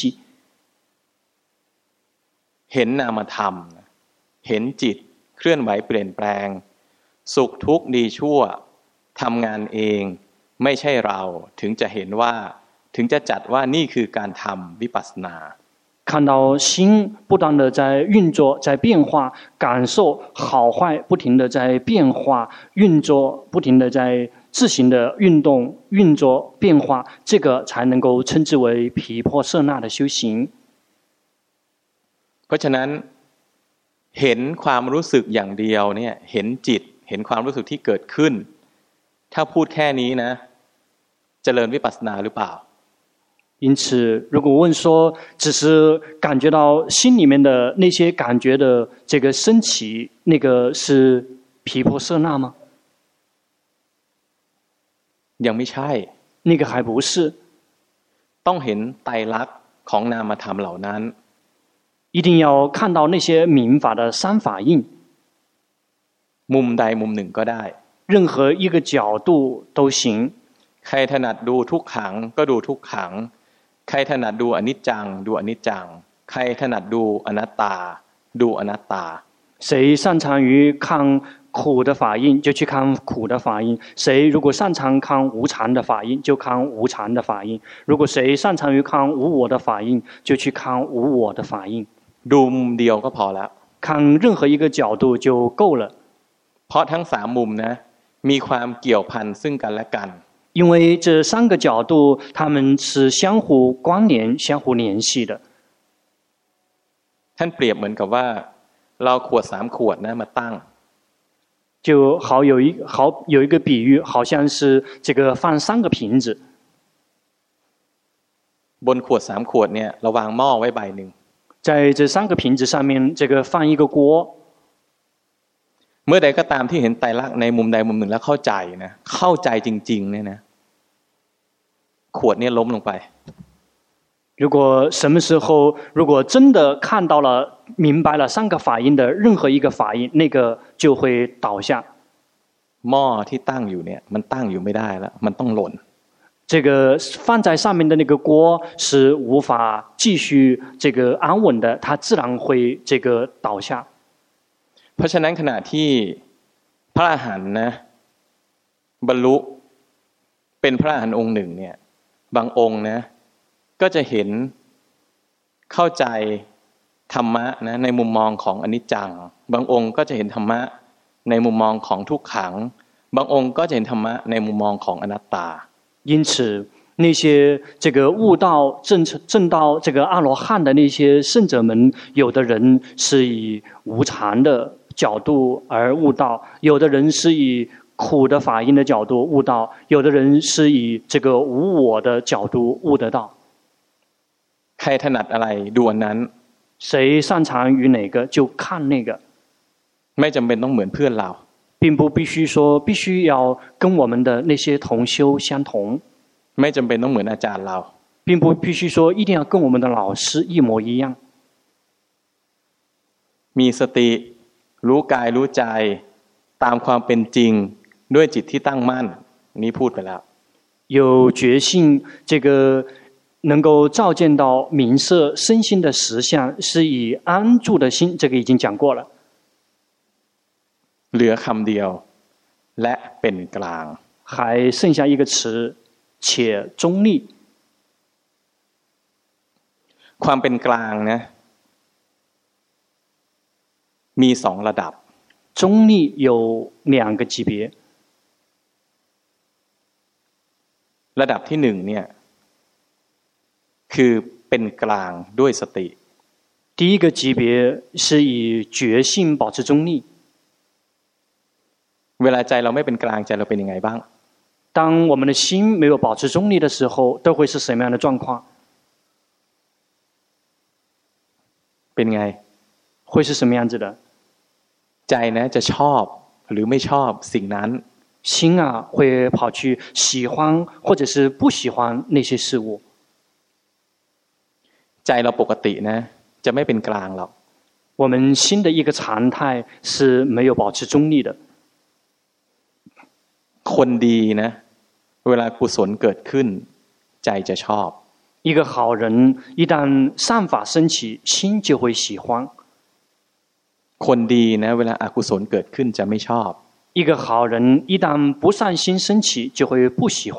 [SPEAKER 1] เห็นนามธรรมเห็นจิตเคลื่อนไหวเปลี่ยนแปลงสุขทุกข์ดีชั่วทำงานเองไม่ใช่เราถึงจะเห็นว่าถึงจะจัดว่านี่คือการทำวิปัสสนา
[SPEAKER 2] 看到心不断的在运作，在变化，感受好坏不停的在变化、运作，不停的在自行的运动、运作、变化，这个才能够称之为毗婆舍那的修行。
[SPEAKER 1] เพราะฉะนั้นเห็นความรู้สึกอย่างเดียวเนี่ยเห็นจิตเห็นความรู้สึกที่เกิดขึ้นถ้าพูดแค่นี้นะเจริญวิปัสสนาหรือเปล่า
[SPEAKER 2] 因此，如果问说只是感觉到心里面的那些感觉的这个升起，那个是毗婆舍那吗？
[SPEAKER 1] ยังไม่ใช่
[SPEAKER 2] 那个还不是。
[SPEAKER 1] ต้องเห็นไตรลักษณ์ของนามธรรมเหล่านั้น
[SPEAKER 2] 一定要看到那些民法的三法印，
[SPEAKER 1] มุมใดมุมหนึ่งก็ได้
[SPEAKER 2] 任何一个角度都行。
[SPEAKER 1] ใครถนัดดูทุกขังก็ดูทุกขังใครถนัดดูอนิจจังดูอนิจจังใครถนัดดูอนัตตาดูอนัตตา
[SPEAKER 2] 谁擅长于看苦的法印，就去看苦的法印；谁如果擅长看无常的法印，就看无常的法印；如果谁擅长于看无我的法印，就去看无我的法印。
[SPEAKER 1] ดูมุมเดียวก็พอแล้ว
[SPEAKER 2] 看任何一个角度就够了，
[SPEAKER 1] เพราะทั้งสามมุมนะมีความเกี่ยวพันซึ่งกันและกัน
[SPEAKER 2] 因为这三个角度它们是相互关联、相互联系的。
[SPEAKER 1] ท่านเปรียบเหมือนกับว่าเราขวด3ขวดนะมาตั้ง
[SPEAKER 2] 就有一个比喻，好像是这个放三个瓶子，
[SPEAKER 1] บนขวด3ขวดเนี่ยเราวางหม้อไว้ใบหนึ่ง
[SPEAKER 2] 在这三个瓶子上面，这个放一个锅。
[SPEAKER 1] เมื่อใดก็ตามที่เห็นไตรลักษณ์ในมุมใดมุมหนึ่งแล้วเข้าใจนะเข้าใจจริงๆเนี่ยนะขวดเนี่ยล้มลงไป
[SPEAKER 2] 如果什么时候，如果真的看到了、明白了三个法印的任何一个法印，那个就会倒下。
[SPEAKER 1] หม้อที่ตั้งอยู่เนี่ยมันตั้งอยู่ไม่ได้แล้วมันต้องหล่น
[SPEAKER 2] 这个放在上面的那个锅是无法继续这个安稳的，它自然会这个倒下。
[SPEAKER 1] เพราะฉะนั้นขณะที่พระอรหันต์นะบรรลุเป็นพระอรหันต์องค์หนึ่งเนี่ยบางองค์นะก็จะเห็นเข้าใจธรรมะนะในมุมมองของอนิจจังบางองค์ก็จะเห็นธรรมะในมุมมองของทุกขังบางองค์ก็จะเห็นธรรมะในมุมมองของอนัตตา
[SPEAKER 2] 因此，那些这个悟道证到这个阿罗漢的那些聖者們，有的人是以無常的角度而悟道，有的人是以苦的法印的角度悟道，有的人是以這個無我的角度悟得到。
[SPEAKER 1] ใครถนัดอะไรดูอันนั้น
[SPEAKER 2] 誰擅長於哪個就看那個，
[SPEAKER 1] ไม่จำเป็นต้องเหมือนเพื่อนเรา
[SPEAKER 2] 並不必須說必須要跟我們的那些同修相同，
[SPEAKER 1] ไม่จำเป็นต้องเหมือนอาจารย์เรา
[SPEAKER 2] 並不必須說一定要跟我們的老師一模一樣。
[SPEAKER 1] มีสติรู้กายรู้ใจตามความเป็นจริงด้วยจิตที่ตั้งมั่นนี้พูดไปแล้ว
[SPEAKER 2] 有覺性，這個能夠照見到明色身心的實相，是以安住的心，這個已經講過了。
[SPEAKER 1] เหลือคำเดียวและเป็นกลาง
[SPEAKER 2] 還剩下一個詞，且中立。
[SPEAKER 1] ความเป็นกลางนะมี2ระดับ
[SPEAKER 2] 中立有2個級別。
[SPEAKER 1] ระดับที่1เนี่ยคือเป็นกลางด้วยสติ
[SPEAKER 2] 第一个级別是以覺性保持中立。
[SPEAKER 1] เวลาใจเราไม่เป็นกลางใจเราเป็นยังไงบ้าง
[SPEAKER 2] 當我們的心沒有保持中立的時候，都會是什麼樣的狀況？
[SPEAKER 1] เป็นไง
[SPEAKER 2] 會是什麼樣子的？
[SPEAKER 1] ใจนะจะชอบหรือไม่ชอบสิ่งนั้น
[SPEAKER 2] 心啊會跑去喜歡或者是不喜歡那些事物。
[SPEAKER 1] ใจเราปกตินะจะไม่เป็นกลางหรอก
[SPEAKER 2] 我們心的一個常態是沒有保持中立的。
[SPEAKER 1] คนดีนะเวลากุศลเกิดขึ้นใจจะชอบ
[SPEAKER 2] 一個好人一旦善法升起，心就會喜歡。
[SPEAKER 1] คนดีนะเวลาอกุศลเกิดขึ้นจะไม่ชอบ
[SPEAKER 2] 一個好人一旦不善心升起，就會不喜歡。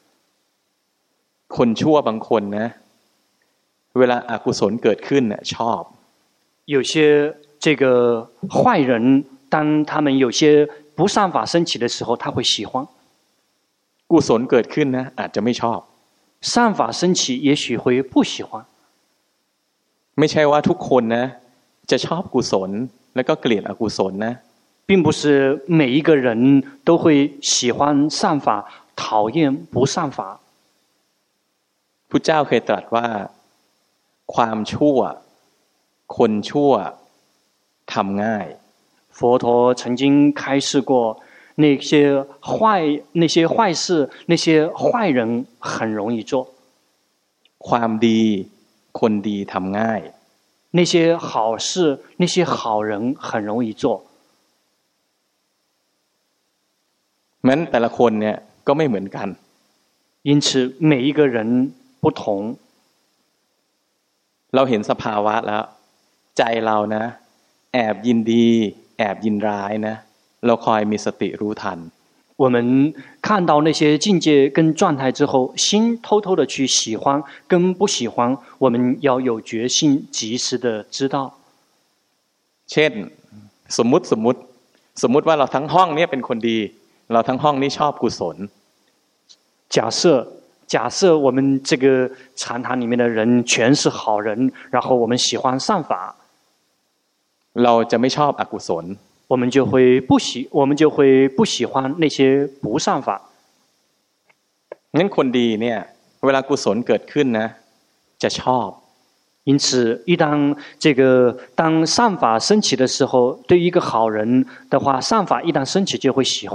[SPEAKER 1] คนชั่วบางคนนะเวลาอกุศลเกิดขึ้นน่ะชอบ
[SPEAKER 2] 有些這個壞人當他們有些不善法升起的時候，他會喜歡。
[SPEAKER 1] กุศลเกิดขึ้นนะอาจจะไม่ชอบ
[SPEAKER 2] 善法升起也許會不喜歡。
[SPEAKER 1] ไม่ใช่ว่าทุกคนนะจะชอบกุศลแล้วก็เกลียดอกุศลนะ
[SPEAKER 2] 並不是每一個人都會喜歡善法，討厭不善法。
[SPEAKER 1] พุทธเจ้าเคยตรัสว่าความชั่วคนชั่วทำง่าย
[SPEAKER 2] 佛陀曾經開示過那些壞事那些壞人很容易做
[SPEAKER 1] ความดีคนดีทำง่าย
[SPEAKER 2] 那些好事那些好人很容易做
[SPEAKER 1] งั้นแต่ละคนเนี่ยก็ไม่เหมือนกัน
[SPEAKER 2] 因此每一個人不同
[SPEAKER 1] เราเห็นสภาวะแล้วใจเรานะแอบยินดีแอบยินร้ายนะเราคอยมีสติรู้ทัน
[SPEAKER 2] 我們看到那些境界跟狀態之後，心偷偷的去喜歡跟不喜歡，我們要有決心，及時的知道。
[SPEAKER 1] เช่นสมมุติว่าเราทั้งห้องนี้เป็นคนดีเราทั้งห้องนี้ชอบกุศล
[SPEAKER 2] 假設我們這個禪堂裡面的人全是好人，然後我們喜歡善法，
[SPEAKER 1] เราจะไม่ชอบอกุศล
[SPEAKER 2] 我們就會不喜歡那些不善法。
[SPEAKER 1] งั้นคนดีเนี่ยเวลากุศลเกิดขึ้นนะจะชอบ
[SPEAKER 2] 因此當善法升起的時候，對於一個好人的話，善法一旦升起就會喜歡。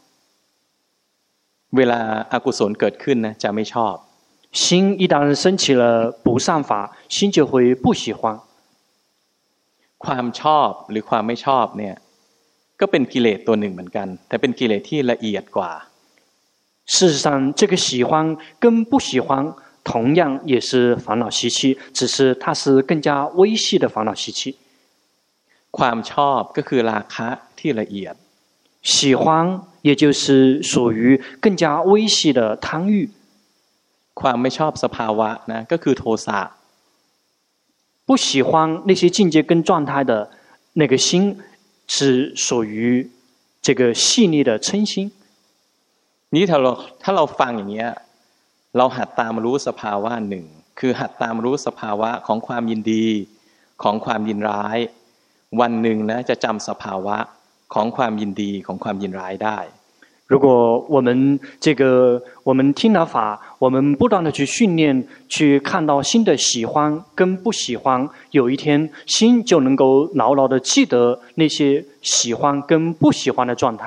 [SPEAKER 1] เวลาอกุศลเกิดขึ้นนะจะไม่ชอบ
[SPEAKER 2] 心一旦升起了不善法，心就會不喜歡。
[SPEAKER 1] ความชอบหรือความไม่ชอบเนี่ยก็เป็นกิเลสตัวหนึ่งเหมือนกันแต่เป็นกิเลสที่ละเอียดกว่า
[SPEAKER 2] 事實上這個喜歡跟不喜歡同樣也是煩惱習氣，只是它是更加微細的煩惱習氣。
[SPEAKER 1] ความชอบก็คือราคะที่ละเอียด
[SPEAKER 2] 喜歡也就是屬於更加微細的貪欲。
[SPEAKER 1] ความไม่ชอบสภาวะนะก็คือโทสะ
[SPEAKER 2] 不喜歡那些境界跟狀態的那個心是屬於這個細膩的嗔心。
[SPEAKER 1] นี่ถ้าเราฟังอย่างเงี้ยเราหัดตามรู้สภาวะหนึ่งคือหัดตามรู้สภาวะของความยินดีของความยินร้ายวันหนึ่งนะจะจำสภาวะของความยินดีของความยินร้ายได้
[SPEAKER 2] 如果我們聽了法，我們不斷的去訓練，去看到心的喜歡跟不喜歡，有一天心就能夠牢牢的記得那些喜歡跟不喜歡的狀態。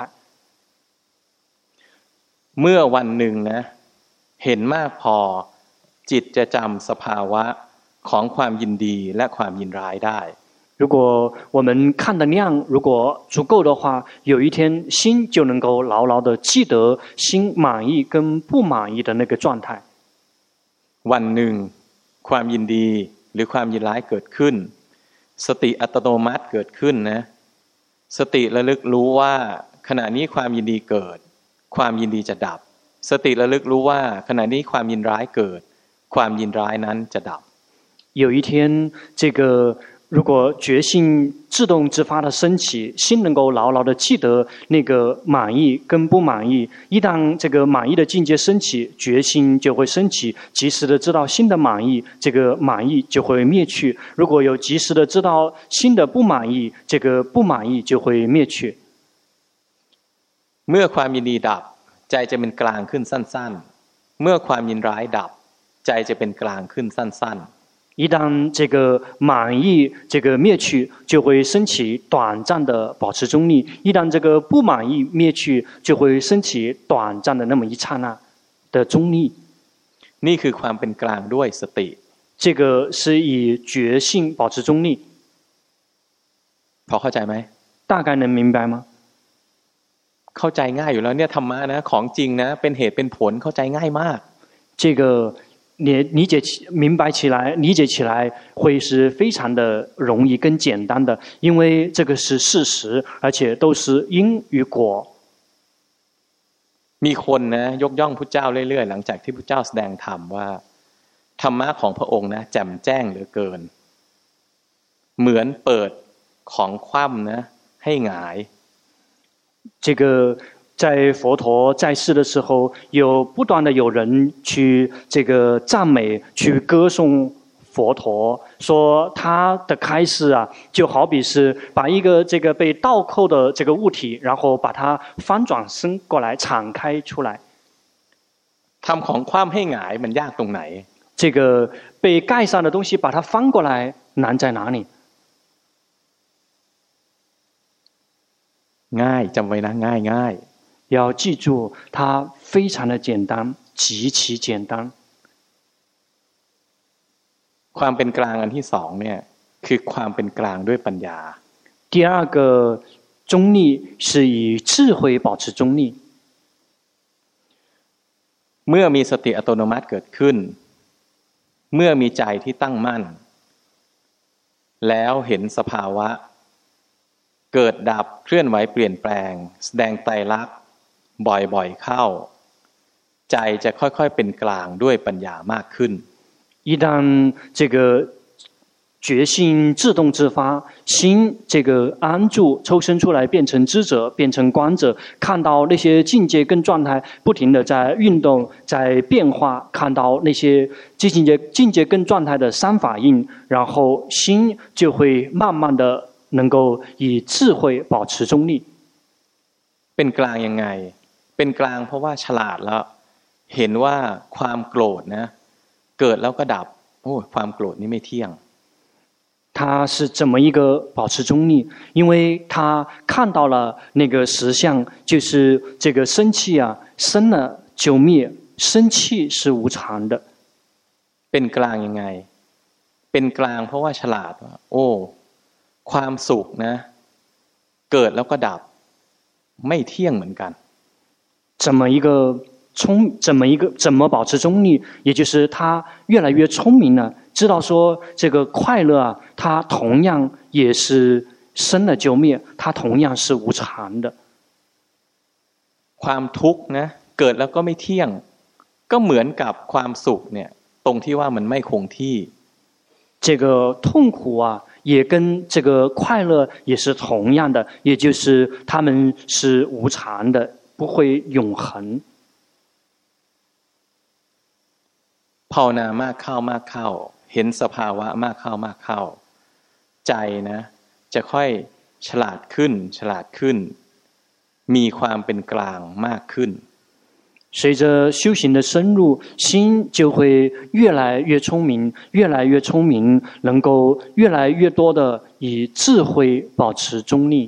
[SPEAKER 1] เมื่อวันหนึ่งนะเห็นมากพอจิตจะจำสภาวะของความยินดีและความยินร้ายได้
[SPEAKER 2] 如果我們看的量如果足夠的話，有一天心就能夠牢牢的記得心滿意跟不滿意的那個狀態。
[SPEAKER 1] วันหนึ่งความยินดีหรือความยินร้ายเกิดขึ้นสติอัตโนมัติเกิดขึ้นนะสติระลึกรู้ว่าขณะนี้ความยินดีเกิดความยินดีจะดับสติระลึกรู้ว่าขณะนี้ความยินร้ายเกิดความยินร้ายนั้นจะดับ
[SPEAKER 2] 有一天如果覺性自動自發的升起，心能夠牢牢的記得那個滿意跟不滿意，一旦這個滿意的境界升起，覺性就會升起，及時的知道新的滿意，這個滿意就會滅去。如果有及時的知道新的不滿意，這個不滿意就會滅去。
[SPEAKER 1] เมื่อความยินดีดับใจจะเป็นกลางขึ้นสั้นๆเมื่อความยินร้ายดับใจจะเป็นกลางขึ้นสั้นๆ
[SPEAKER 2] 一旦這個滿意這個滅去，就會升起短暫的保持中立；一旦這個不滿意滅去，就會升起短暫的那麼一剎那的中立。
[SPEAKER 1] นี่คือความเป็นกลางด้วยสติ
[SPEAKER 2] 這個是以覺性保持中立。
[SPEAKER 1] พอเข้าใจไหม
[SPEAKER 2] 大概能明白嗎？
[SPEAKER 1] เข้าใจง่ายอยู่แล้วเนี่ยธรรมะนะของจริงนะเป็นเหตุเป็นผลเข้าใจง่ายมาก
[SPEAKER 2] 這個明白起來，理解起來會是非常的容易跟簡單的，因為這個是事實，而且都是因與果。
[SPEAKER 1] มีคนนะยกย่องพุทธเจ้าเรื่อยๆหลังจากที่พุทธเจ้าแสดงธรรมว่าธรรมะของพระองค์นะแจ่มแจ้งเหลือเกินเหมือนเปิดของคว่ำนะให้หงาย
[SPEAKER 2] 這個在佛陀在世的時候，不斷的有人去這個讚美、去歌頌佛陀，說他的開示啊，就好比是把一個這個被倒扣的這個物體，然後把它翻轉身過來，敞開出來。
[SPEAKER 1] ทำของคว่ำให้หงายมันยากตรงไหน？
[SPEAKER 2] 這個被蓋上的東西把它翻過來，難在哪裡？
[SPEAKER 1] ง่ายจำไว้นะง่าย
[SPEAKER 2] 要記住，它非常的簡單，極其簡單。
[SPEAKER 1] ความเป็นกลางอันที่สองเนี่ยคือความเป็นกลางด้วยปัญญา
[SPEAKER 2] 第二個中立是以智慧保持中立。
[SPEAKER 1] เมื่อมีสติอัตโนมัติเกิดขึ้นเมื่อมีใจที่ตั้งมั่นแล้วเห็นสภาวะเกิดดับเคลื่อนไหวเปลี่ยนแปลงแสดงไตรลักษณ์บ่อยๆเข้าใจจะค่อยๆเป็นกลางด้วยปัญญามากขึ้น
[SPEAKER 2] 一旦這個覺性自動自發，心這個安住抽身出來，變成知者，變成觀者，看到那些境界跟狀態不停地在運動，在變化，看到那些境界跟狀態的三法印，然後心就會慢慢的能夠以智慧保持中立。
[SPEAKER 1] เป็นกลางยังไงเป็นกลางเพราะว่าฉลาดแล้วเห็นว่าความโกรธนะเกิดแล้วก็ดับโอ้ความโกรธนี่ไม่เที่ยง
[SPEAKER 2] 他是怎麼一個保持中立？因為他看到了那個實相，就是這個生氣啊，生了就滅，生氣是無常的。
[SPEAKER 1] เป็นกลางยังไงเป็นกลางเพราะว่าฉลาดว่าโอ้ความสุขนะเกิดแล้วก็ดับไม่เที่ยงเหมือนกัน
[SPEAKER 2] 怎麼保持中立？也就是他越來越聰明了，知道說這個快樂啊，它同樣也是生了就滅，它同樣是無常的。
[SPEAKER 1] ความทุกข์นะเกิดแล้วก็ไม่เที่ยงก็เหมือนกับความสุขเนี่ยตรงที่ว่ามันไม่คงที่
[SPEAKER 2] 這個痛苦啊也跟這個快樂也是同樣的，也就是他們是無常的，不會永恆。
[SPEAKER 1] ภาวนามากเข้าเห็นสภาวะมากเข้าใจนะจะค่อยฉลาดขึ้นมีความเป็นกลางมากขึ้น
[SPEAKER 2] 隨着修行的深入，心就會越來越聰明，能夠越來越多的以智慧保持中立。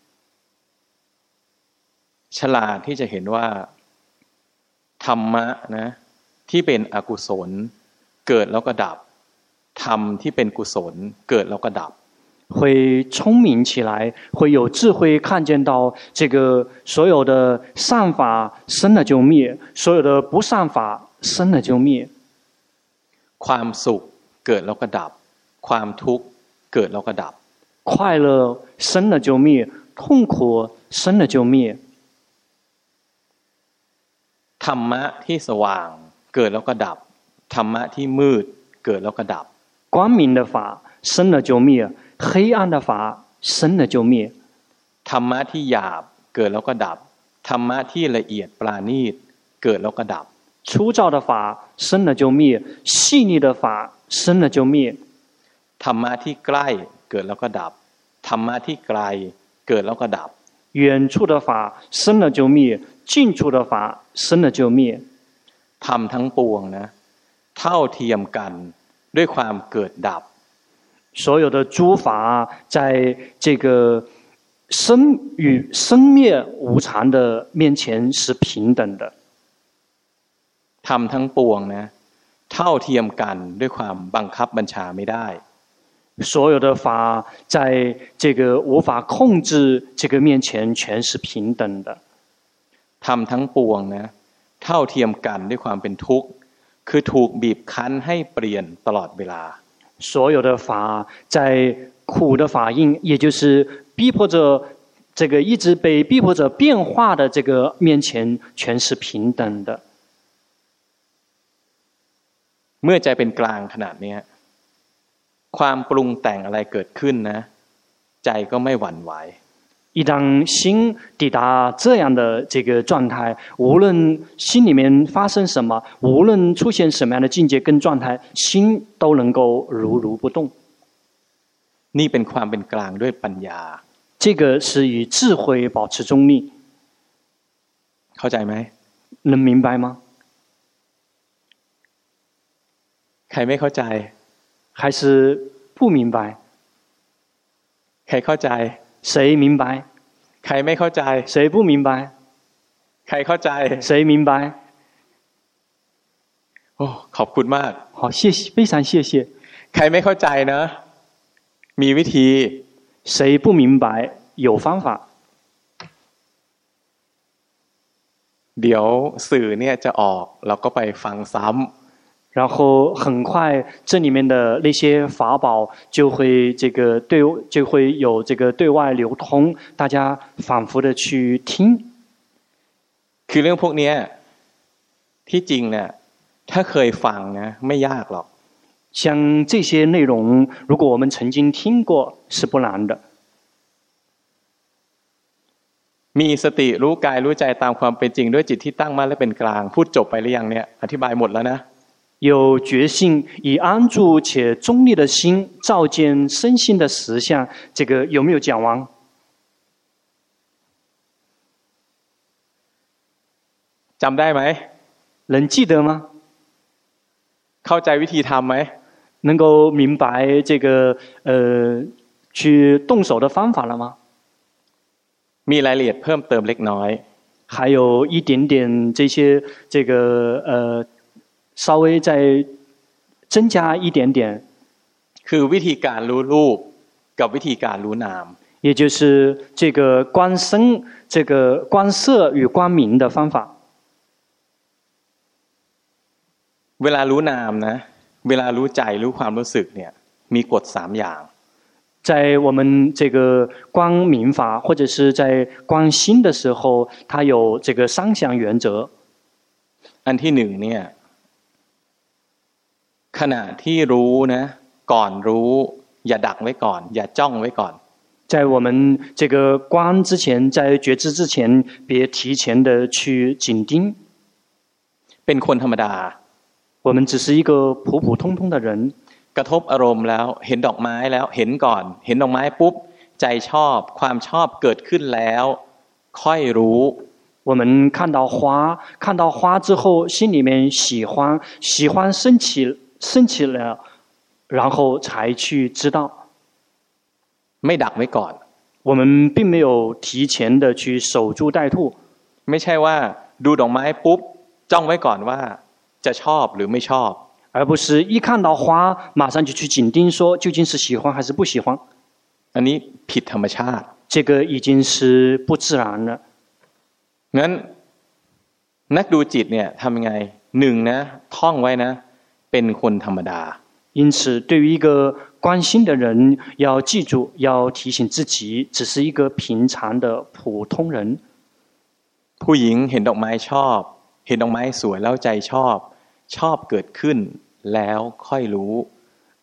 [SPEAKER 1] ฉลาดที่จะเห็นว่าธรรมะนะที่เป็นอกุศลเกิดแล้วก็ดับธรรมที่เป็นกุศลเกิดแล้วก็ดับ
[SPEAKER 2] 會聰明起來，會有智慧看見到這個所有的善法生了就滅，所有的不善法生了就滅。
[SPEAKER 1] ความสุขเกิดแล้วก็ดับความทุกข์เกิดแล้วก็ดับ
[SPEAKER 2] 快樂生了就滅，痛苦生了就滅。
[SPEAKER 1] ธรรมะที่สว่างเกิดแล้วก็ดับธรรมะที่มืดเกิดแล้วก็ดับ
[SPEAKER 2] 光明的法生了就滅， 黑暗的法生了就滅。
[SPEAKER 1] ธรรมะที่หยาบเกิดแล้วก็ดับธรรมะที่ละเอียดปราณีตเกิดแล้วก็ดับ
[SPEAKER 2] 粗糙的法生了就滅，細膩的法生了就滅。
[SPEAKER 1] ธรรมะที่ใกล้เกิดแล้วก็ดับธรรมะที่ไกลเกิดแล้วก็ดับ
[SPEAKER 2] 遠處的法生了就滅，近處的法生了就滅。
[SPEAKER 1] ธรรมทั้งปวงนะเท่าเทียมกันด้วยความเกิดดับ
[SPEAKER 2] 所有的諸法在這個生與生滅無常的面前是平等的。
[SPEAKER 1] ธรรมทั้งปวงนะเท่าเทียมกันด้วยความบังคับบัญชาไม่ได้
[SPEAKER 2] 所有的法在這個無法控制這個面前全是平等的。
[SPEAKER 1] ธรรมทั้งปวงนะเท่าเทียมกันด้วยความเป็นทุกข์คือถูกบีบคั้นให้เปลี่ยนตลอดเวลา
[SPEAKER 2] 所有的法在苦的法印，也就是逼迫着這個一直被逼迫着變化的這個面前全是平等的。
[SPEAKER 1] เมื่อใจเป็นกลางขนาดนี้ความปรุงแต่งอะไรเกิดขึ้นนะใจก็ไม่หวั่นไหว
[SPEAKER 2] 一當心抵達這樣的這個狀態，無論心裡面發生什麼，無論出現什麼樣的境界跟狀態，心都能夠如不動。
[SPEAKER 1] นี่เป็นความเป็นกลางด้วยปัญญา
[SPEAKER 2] 這個是以智慧保持中立。
[SPEAKER 1] เข้าใจไหม
[SPEAKER 2] 能明白嗎？
[SPEAKER 1] ใครไม่เข้าใจ
[SPEAKER 2] 還是不明白？
[SPEAKER 1] ใครเข้าใจ
[SPEAKER 2] 誰明白？
[SPEAKER 1] ใครไม่เข้าใจ
[SPEAKER 2] 誰不明白？
[SPEAKER 1] ใครเข้าใจ
[SPEAKER 2] 誰明白？
[SPEAKER 1] โอ้ขอบคุณมาก
[SPEAKER 2] 好，謝謝，非常謝謝。
[SPEAKER 1] ใครไม่เข้าใจนะมีวิธี
[SPEAKER 2] 誰不明白？有方法。
[SPEAKER 1] เดี๋ยวสื่อเนี่ยจะออกเราก็ไปฟังซ้ำ
[SPEAKER 2] 然後很快，這裡面的那些法寶就會有這個對外流通，大家反覆的去聽。
[SPEAKER 1] คือเรื่องพวกนี้ที่จริงเนี่ยถ้าเคยฟังนะไม่ยากหรอก
[SPEAKER 2] 像這些內容，如果我們曾經聽過，是不難的。
[SPEAKER 1] มีสติรู้กายรู้ใจตามความเป็นจริงด้วยจิตที่ตั้งมั่นและเป็นกลางพูดจบไปหรือยังเนี่ยอธิบายหมดแล้วนะ
[SPEAKER 2] 有覺性，以安住且中立的心照見身心的實相，這個有沒有講完？
[SPEAKER 1] จำได้ไหม
[SPEAKER 2] 能記得嗎？
[SPEAKER 1] เข้าใจวิธีทำไหม
[SPEAKER 2] 能夠明白這個去動手的方法了嗎？
[SPEAKER 1] มีรายละเอียดเพิ่มเติมเล็กน้อย
[SPEAKER 2] 還有一點點這個稍微再增加一點點
[SPEAKER 1] คือวิธีการรู้รูปกับวิธีการรู้นาม
[SPEAKER 2] 也就是這個觀身這個觀色與觀名的方法
[SPEAKER 1] เวลารู้นามนะเวลารู้ใจรู้ความรู้สึกเนี่ยมีกฎ3อย่าง
[SPEAKER 2] 在我們這個觀名法或者是在觀心的時候它有這個3項原則
[SPEAKER 1] อันที่1เนี่ยขณะที่รู้นะก่อนรู้อย่าดักไว้ก่อนอย่าจ้องไว้ก่อน
[SPEAKER 2] 在我們這個觀之前在覺知之前別提前的去緊盯
[SPEAKER 1] เป็นคนธรรมดา
[SPEAKER 2] 我們只是一個普普通通的人
[SPEAKER 1] กระทบอารมณ์แล้วเห็นดอกไม้แล้วเห็นก่อนเห็นดอกไม้ปุ๊บใจชอบความชอบเกิดขึ้นแล้วค่อยรู้
[SPEAKER 2] 我們看到花之後心裡面喜歡升起了然後才去知道
[SPEAKER 1] ไม่ดักไว้ก่อน
[SPEAKER 2] 我們並沒有提前的去守株待兔
[SPEAKER 1] ไม่ใช่ว่าดูดอกไม้ปุ๊บจ้องไว้ก่อนว่าจะชอบหรือไม่ชอบ
[SPEAKER 2] 而不是一看到花馬上就去緊盯說究竟是喜歡還是不喜歡
[SPEAKER 1] อันนี้ผิดธรรมชาติ
[SPEAKER 2] 這個已經是不自然了
[SPEAKER 1] งั้นนักดูจิตเนี่ยทำยังไง1นะท่องไว้นะเป็นคนธรรมดา
[SPEAKER 2] 因此對於一個觀心的人要記住要提醒自己只是一個平常的普通人
[SPEAKER 1] ผู้หญิงเห็นดอกไม้ชอบเห็นดอกไม้สวยแล้วใจชอบเกิดขึ้นแล้วค่อยรู้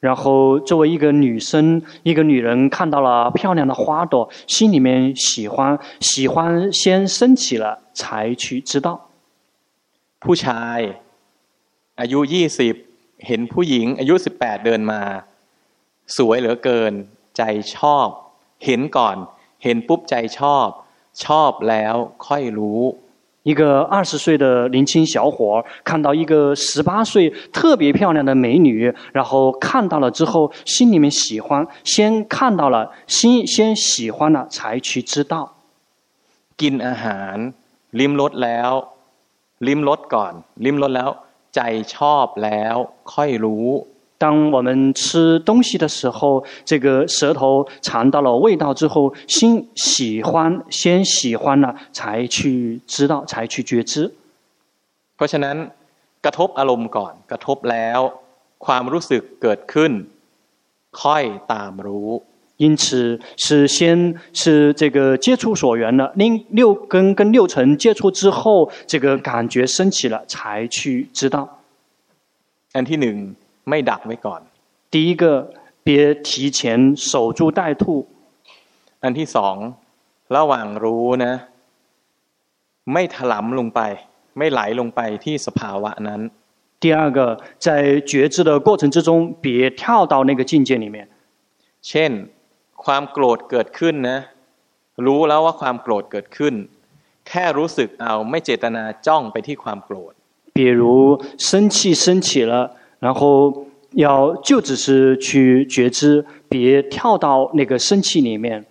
[SPEAKER 2] 然後作為一個女生，一個女人看到了漂亮的花朵，心裡面喜歡先升起了，才去知道。
[SPEAKER 1] ผู้ชายอายุ20เห็นผู้หญิงอายุ18เดินมาสวยเหลือเกินใจชอบเห็นก่อนเห็นปุ๊บใจชอบแล้วค่อยรู้
[SPEAKER 2] 一個20歲的年輕小伙看到一個18歲特別漂亮的美女，然後看到了之後，心裡面喜歡，先看到了，先喜歡了，才去知道。
[SPEAKER 1] กินอาหารลิ้มรสแล้วลิ้มรสก่อนลิ้มรสแล้วใจชอบแล้วค่อยรู้
[SPEAKER 2] 當我們吃東西的時候，這個舌頭嘗到了味道之後，先喜歡了，才去知道，才去覺知。
[SPEAKER 1] เพราะฉะนั้นกระทบอารมณ์ก่อนกระทบแล้วความรู้สึกเกิดขึ้นค่อยตามรู้
[SPEAKER 2] 因此是這個接觸所緣了，六根跟六塵接觸之後，這個感覺升起了，才去知道。
[SPEAKER 1] อันที่หนึ่งไม่ดักไว้ก่อน
[SPEAKER 2] 第一個別提前守株待兔
[SPEAKER 1] อันที่สองระหว่างรู้นะไม่ถลำลงไปไม่ไหลลงไปที่สภาวะนั้น
[SPEAKER 2] 第二個在覺知的過程之中別跳到那個境界裡面
[SPEAKER 1] เช่นความโกรธเกิดขึ้นนะรู้แล้วว่าความโกรธเกิดขึ้นแค่รู้สึกเอาไม่เจตนาจ้องไปที่ความโกรธ
[SPEAKER 2] 比如生氣升起了然後就只是去覺知別跳到那個生氣裡面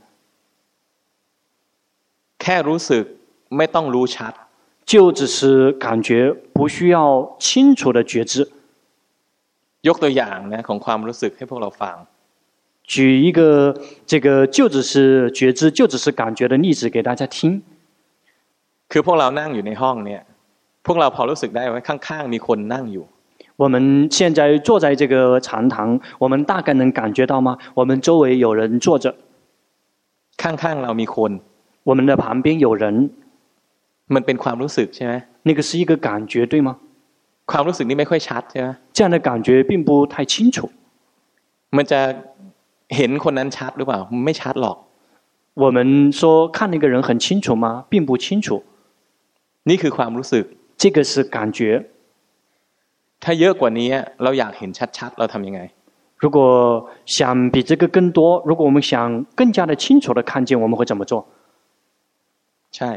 [SPEAKER 1] แค่รู้สึกไม่ต้องรู้ชัด
[SPEAKER 2] 就只是感覺不需要清楚的覺知
[SPEAKER 1] ยกตัวอย่างนะของความรู้สึกให้พวกเราฟัง
[SPEAKER 2] 舉一個這個就只是覺知就只是感覺的例子給大家聽
[SPEAKER 1] คือพวกเรานั่งอยู่ในห้องเนี่ยพวกเราพอรู้สึกได้ว่าข้างๆมีคนนั่งอยู่
[SPEAKER 2] 我們現在坐在這個長堂我們大概能感覺到嗎我們周圍有人坐着
[SPEAKER 1] ข้างๆเรามีคน
[SPEAKER 2] 我們的旁邊有人
[SPEAKER 1] มันเป็นความรู้สึกใช่ไหม
[SPEAKER 2] 那個是一個感覺對嗎
[SPEAKER 1] ความรู้สึกนี้ไม่ค่อยชัดใช่ไหม
[SPEAKER 2] 這樣的感覺並不太清楚
[SPEAKER 1] มันจะเห็นคนนั้นชัดหรือเปล่าไม่ชัดหรอก
[SPEAKER 2] 我們說看那個人很清楚嗎並不清楚
[SPEAKER 1] นี่คือความรู้สึก
[SPEAKER 2] 這個是感覺
[SPEAKER 1] ถ้าเยอะกว่านี้เราอยากเห็นชัดๆเราทำยังไง
[SPEAKER 2] 如果想比這個更多如果我們想更加的清楚的看見我們會怎麼做
[SPEAKER 1] ใช่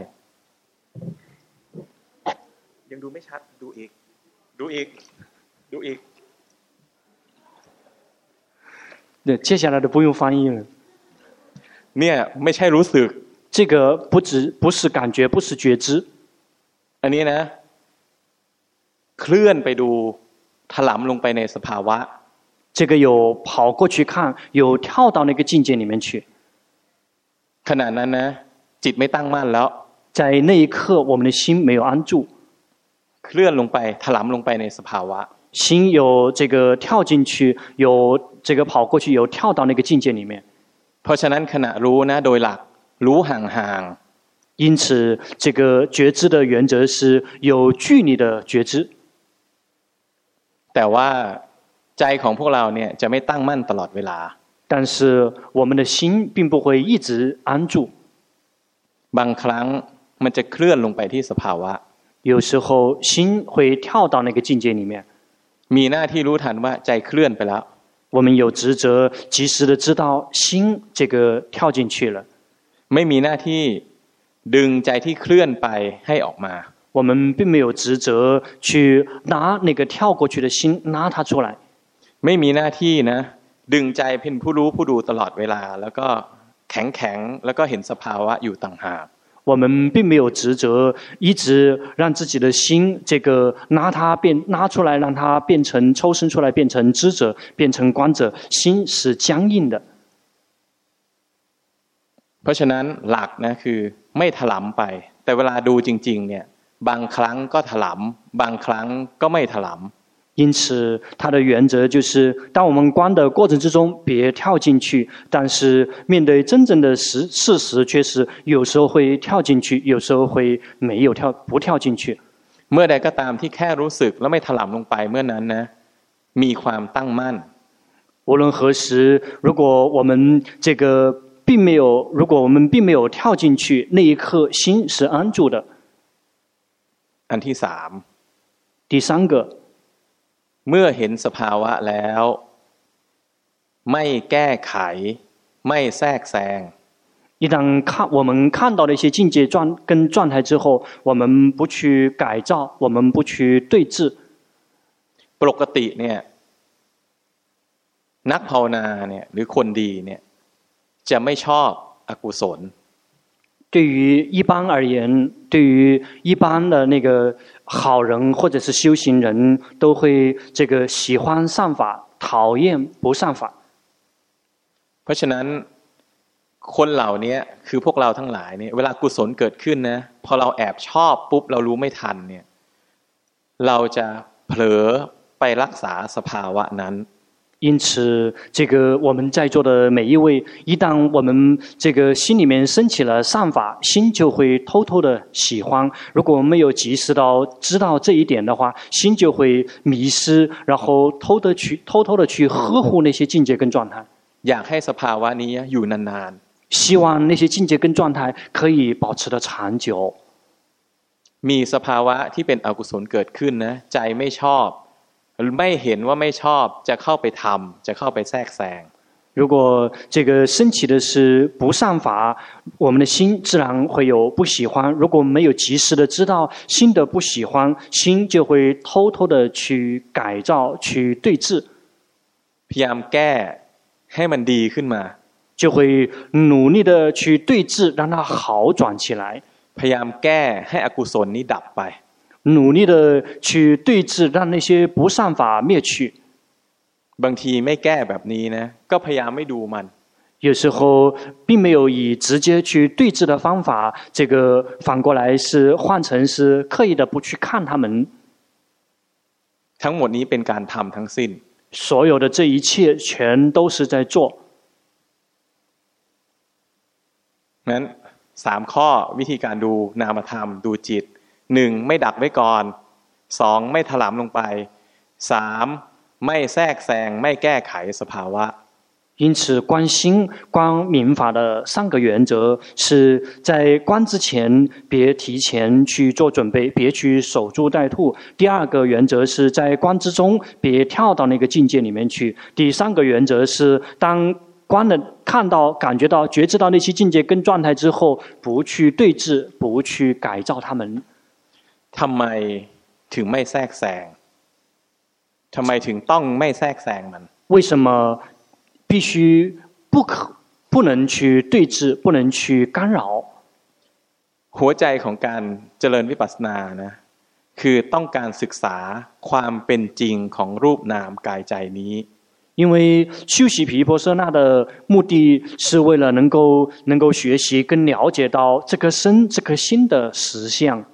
[SPEAKER 1] ยังดูไม่ชัดดูอีก
[SPEAKER 2] 對接下來的不用翻譯了
[SPEAKER 1] เนี่ยไม่ใช่รู้สึก
[SPEAKER 2] 這個不是感覺不是覺知
[SPEAKER 1] อันนี้นะเคลื่อนไปดูถลำลงไปในสภาวะ
[SPEAKER 2] 這個有跑過去看有跳到那個境界裡面去
[SPEAKER 1] ขณะนั้นนะจิตไม่ตั้งมั่นแล้ว
[SPEAKER 2] 在那一刻我們的心沒有安住
[SPEAKER 1] เคลื่อนลงไปถลำลงไปในสภาวะ
[SPEAKER 2] 心有這個跳進去有這個跑過去有跳到那個境界裡面
[SPEAKER 1] เพราะฉะนั้นขณะรู้นะโดยหลักรู้ห่าง
[SPEAKER 2] 因此這個覺知的原則是有距離的覺知
[SPEAKER 1] แต่ว่าใจของพวกเราเนี่ยจะไม่ตั้งมั่นตลอดเวลา
[SPEAKER 2] 但是我們的心並不會一直安住
[SPEAKER 1] บางครั้งมันจะเคลื่อนลงไปที่สภาวะ
[SPEAKER 2] 有時候心會跳到那個境界裡面
[SPEAKER 1] มีหน้าที่รู้ทันว่าใจเคลื่อนไปแล้ว
[SPEAKER 2] 我們有職責及時的知道心這個跳進去了
[SPEAKER 1] ไม่มีหน้าที่ดึงใจที่เคลื่อนไปให้ออกมา
[SPEAKER 2] 我們並沒有職責去拿那個跳過去的心拿它出來
[SPEAKER 1] ไม่มีหน้าที่นะดึงใจเป็นผู้รู้ผู้ดูตลอดเวลาแล้วก็แข็งแล้วก็เห็นสภาวะอยู่ต่างหาก
[SPEAKER 2] 我們並沒有職責一直讓自己的心這個拿出來讓它變成抽身出來變成知者變成觀者心是僵硬的
[SPEAKER 1] เพราะฉะนั้นหลักนะคือไม่ถลำไปแต่เวลาดูจริงๆเนี่ยบางครั้งก็ถลำบางครั้งก็ไม่ถลำ
[SPEAKER 2] 因此它的原則就是當我們觀的過程之中別跳進去但是面對真正的事實卻是有時候會跳進去有時候會不跳進去
[SPEAKER 1] เมื่อใดก็ตามที่แค่รู้สึกแล้วไม่ถลำลงไปเมื่อนั้นนะมีความตั้งมั่น
[SPEAKER 2] 無論何時，如果我們並沒有跳進去，那一刻心是安住的。
[SPEAKER 1] อันที่สาม
[SPEAKER 2] 第三個，
[SPEAKER 1] เมื่อเห็นสภาวะแล้วไม่แก้ไขไม่แทรกแซง
[SPEAKER 2] 一旦我們看到了一些境界跟狀態之後，我們不去改造，我們不去對治。
[SPEAKER 1] ปกติเนี่ยนักภาวนาเนี่ยหรือคนดีเนี่ยจะไม่ชอบอกุศล
[SPEAKER 2] 對於一般而言，對於一般的那個好人或者是修行人，都會喜歡善法，討厭不善法。
[SPEAKER 1] เพราะฉะนั้นคนเหล่านี้คือพวกเราทั้งหลายเนี่ยเวลากุศลเกิดขึ้นนะพอเราแอบชอบปุ๊บเรารู้ไม่ทันเนี่ยเราจะเผลอไปรักษาสภาวะนั้น
[SPEAKER 2] 因此，我們在座的每一位，一旦我們心裡面升起了善法，心就會偷偷的喜歡。如果我們沒有及時到知道這一點的話，心就會迷失，然後偷偷的去呵護那些境界跟狀態。
[SPEAKER 1] อยากให้สภาวะนี้อยู่นานๆ
[SPEAKER 2] 希望那些境界跟狀態可以保持得長久。
[SPEAKER 1] มีสภาวะที่เป็นอกุศลเกิดขึ้นนะใจไม่ชอบไม่เห็นว่าไม่ชอบจะเข้าไปทำจะเข้าไปแทรกแซง
[SPEAKER 2] 如果升起的是不善法，我們的心自然會有不喜歡。如果沒有及時的知道心的不喜歡，心就會偷偷的去改造、去對治。
[SPEAKER 1] พยายามแก้ให้มันดีขึ้นมา
[SPEAKER 2] 就會努力的去對治，讓它好轉起來。
[SPEAKER 1] พยายามแก้ให้อกุศลนี้ดับไป
[SPEAKER 2] 努力的去對治，讓那些不善法滅去。
[SPEAKER 1] บางทีไม่แก้แบบนี้นะก็พยายามไม่ดูมัน
[SPEAKER 2] 有時候並沒有以直接去對治的方法，反過來是換成是刻意的不去看他們。
[SPEAKER 1] ทั้งหมดนี้เป็นการทำทั้งสิ้น
[SPEAKER 2] 所有的這一切全都是在做。
[SPEAKER 1] งั้น3ข้อวิธีการดูนามธรรมดูจิต1ไม่ดักไว้ก่อน2ไม่ถลำลงไป3ไม่แทรกแซงไม่แก้ไขสภาวะ
[SPEAKER 2] 因此觀心觀明法的3個原則是在觀之前別提前去做準備，別去守株待兔。第2個原則是在觀之中別跳到那個境界裡面去。第3個原則是當觀了看到感覺到覺知到那些境界跟狀態之後，不去對治，不去改造他們。
[SPEAKER 1] ทำไมถึงไม่แทรกแซงทำไมถึงต้องไม่แทรกแซงมัน
[SPEAKER 2] 為什麼必須不能去對治，不能去干擾
[SPEAKER 1] หัวใจของการเจริญวิปัสสนานะคือต้องการศึกษาความเป็นจริงของรูปนามกายใจนี้
[SPEAKER 2] 因為修習毗婆舍那的目的是為了能夠學習跟了解到這顆身這顆心的實相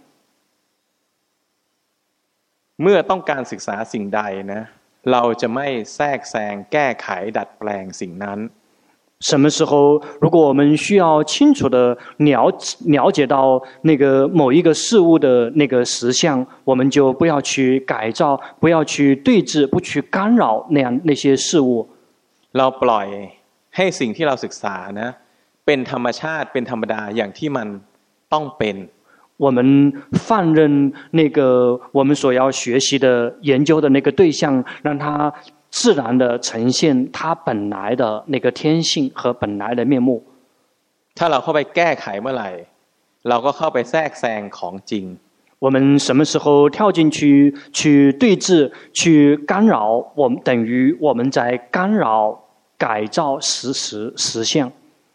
[SPEAKER 1] เมื่อต้องการศึกษาสิ่งใดนะเราจะไม่แทรกแซงแก้ไขดัดแปลงสิ่งนั้น
[SPEAKER 2] 什麼時候如果我們需要清楚的了解到那個某一個事物的那個實相，我們就不要去改造，不要去對治，不去干擾那些事物。
[SPEAKER 1] เราปล่อยให้สิ่งที่เราศึกษานะเป็นธรรมชาติเป็นธรรมดาอย่างที่มันต้องเป็น
[SPEAKER 2] 我們放任那個我們所要學習的研究的那個對象，讓它自然的呈現它本來的那個天性和本來的面目。
[SPEAKER 1] ถ้าเราเข้าไปแก้ไขเมื่อไหร่เราก็เข้าไปแทรกแซงของจริง
[SPEAKER 2] 我們什麼時候跳進去對治去干擾，我們等於我們在干擾改造實相。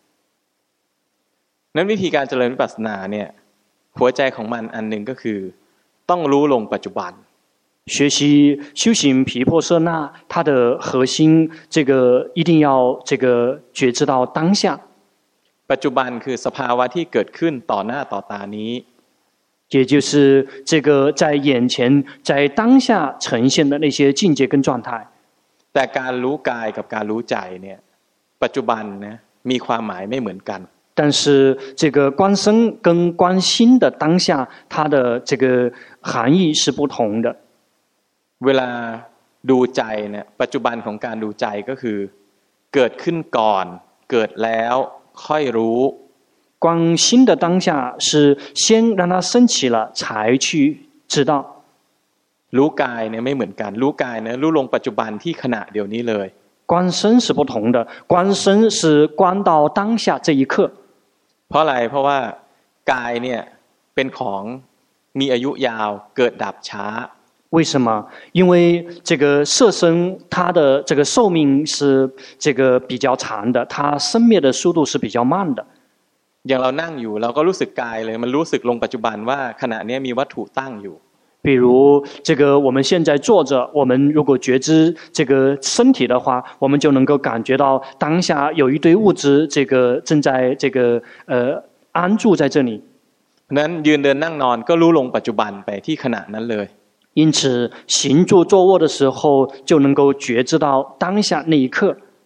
[SPEAKER 1] นั้นวิธีการเจริญวิปัสสนาเนี่ยหัวใจของมันอันหนึ่งก็คือต้องรู้ลงปัจจุบัน
[SPEAKER 2] 學習修行毗婆舍那它的核心一定要覺知到當下
[SPEAKER 1] ปัจจุบันคือสภาวะที่เกิดขึ้นต่อหน้าต่อตานี้
[SPEAKER 2] 也就是在眼前在當下呈現的那些境界跟狀態
[SPEAKER 1] แต่การรู้กายกับการรู้ใจเนี่ยปัจจุบันนะมีความหมายไม่เหมือนกัน
[SPEAKER 2] 但是觀身跟觀心的當下它的含義是不同的
[SPEAKER 1] เวลาดูใจเนี่ยปัจจุบันของการดูใจก็คือเกิดขึ้นก่อนเกิดแล้วค่อยรู้
[SPEAKER 2] 观心的当下是先让它升起了才去知道
[SPEAKER 1] รู้กายเนี่ยไม่เหมือนกันรู้กายเนี่ยรู้ลงปัจจุบันที่ขณะเดียวนี้เลย
[SPEAKER 2] 观身是不同的观身是观到当下这一刻
[SPEAKER 1] เพราะอะไรเพราะว่ากายเนี่ยเป็นของมีอายุยาวเกิดดับช้า
[SPEAKER 2] 为什么？因为这个色身它的这个寿命是这个比较长的，它生灭的速度是比较慢的。
[SPEAKER 1] อย่างเรานั่งอยู่เราก็รู้สึกกายเลยมันรู้สึกลงปัจจุบันว่าขณะนี้มีวัตถุตั้งอยู่
[SPEAKER 2] 比如这个我们现在坐着，我们如果觉知这个身体的话，我们就能够感觉到当下有一堆物质，这个正在这个安住在这里。
[SPEAKER 1] นั้นยืนเดินนั่งนอนก็รู้ลงปัจจุบันไปที่ขณะนั้นเลย
[SPEAKER 2] 因此行住坐卧的时候就能够觉知到当下那一刻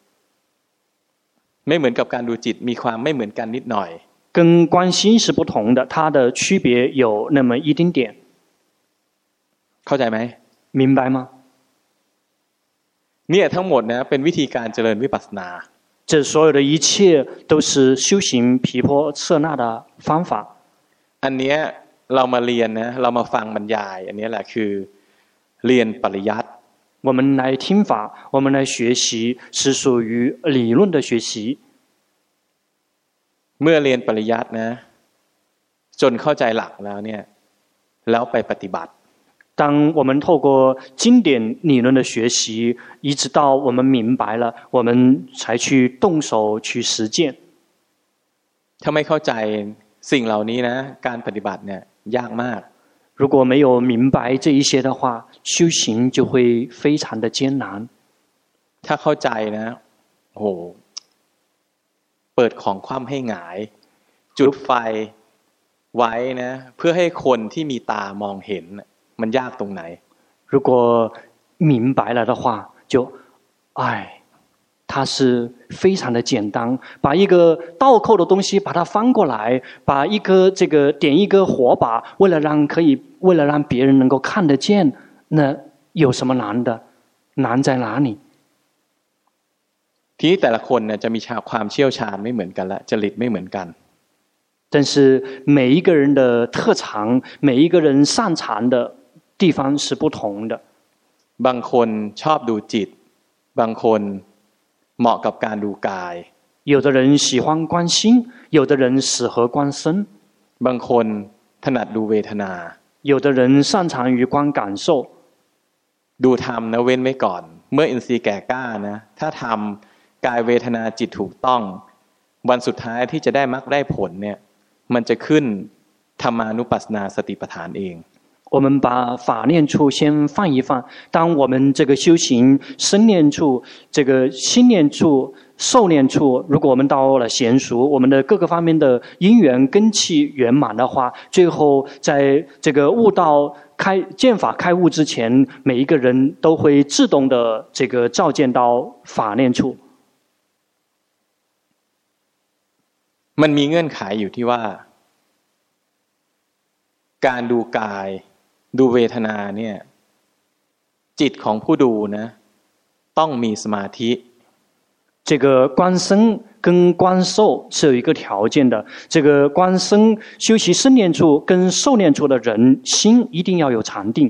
[SPEAKER 1] ไม่เหมือนกับการดูจิตมีความไม่เหมือนกันนิดหน่อย
[SPEAKER 2] 跟观心是不同的它的区別有那麼一丁點
[SPEAKER 1] เข้าใจไหม
[SPEAKER 2] 明白嗎
[SPEAKER 1] เนี่ยทั้งหมดนะเป็นวิธีการเจริญวิปัสสนา
[SPEAKER 2] 這所有的一切都是修行毗婆舍那的方法
[SPEAKER 1] อันเนี้ยเรามาเรียนนะเรามาฟังบรรยายอันนี้แหละคือเรียนปริยัติ
[SPEAKER 2] 我们來聽法我們來學習是屬於理論的學習
[SPEAKER 1] เมื่อเรียนปริยัตินะจนเข้าใจหลักแล้วเนี่ยแล้วไปปฏิบัติ
[SPEAKER 2] 當我們透過經典理論的學習一直到我們明白了我們才去動手去實踐
[SPEAKER 1] ถ้าไม่เข้าใจสิ่งเหล่านี้นะการปฏิบัติเนี่ยยากมาก
[SPEAKER 2] 如果沒有明白這一些的話修行就會非常的艱難
[SPEAKER 1] ถ้าเข้าใจนะโหเปิดของคว่ำให้หงายจุดไฟไว้นะเพื่อให้คนที่มีตามองเห็นมันยากตรงไหน
[SPEAKER 2] 如果明白了的话就它是非常的簡單把一個倒扣的東西把它翻過來把一個這個點一個火把為了讓別人能夠看得見那有什麼難的難在哪裡
[SPEAKER 1] ทีนี้แต่ละคนเนี่ยจะมีความเชี่ยวชาญไม่เหมือนกันละจริตไม่เหมือนกัน
[SPEAKER 2] 但是每一個人的特長每一個人擅長的地方是不同的
[SPEAKER 1] บางคนชอบดูจิตบางคนเหมาะกับการดูกาย
[SPEAKER 2] 有的人喜歡觀心有的人適合觀身
[SPEAKER 1] บางคนถนัดดูเวทนา
[SPEAKER 2] 有的人擅長於觀感受
[SPEAKER 1] ดูธรรมนะเว้นไว้ก่อนเมื่ออินทรีย์แก่กล้านะถ้าทำกายเวทนาจิตถูกต้องวันสุดท้ายที่จะได้มรรคได้ผลเนี่ยมันจะขึ้นธรรมานุปัสสนาสติปัฏฐานเอง
[SPEAKER 2] 我们把法念處先放一放當我們這個修行身念處這個心念處受念處如果我們到了嫻熟我們的各個方面的因緣根器圓滿的話最後在這個悟道見法開悟之前每一個人都會自動的這個照見到法念處
[SPEAKER 1] มันมีเงื่อนไขอยู่ที่ว่าการดูกายดูเวทนาเนี่ยจิตของผู้ดูนะต้องมีสมาธิ
[SPEAKER 2] 這個觀身跟觀受是有一個條件的這個觀身修習身念處跟受念處的人心一定要有禪定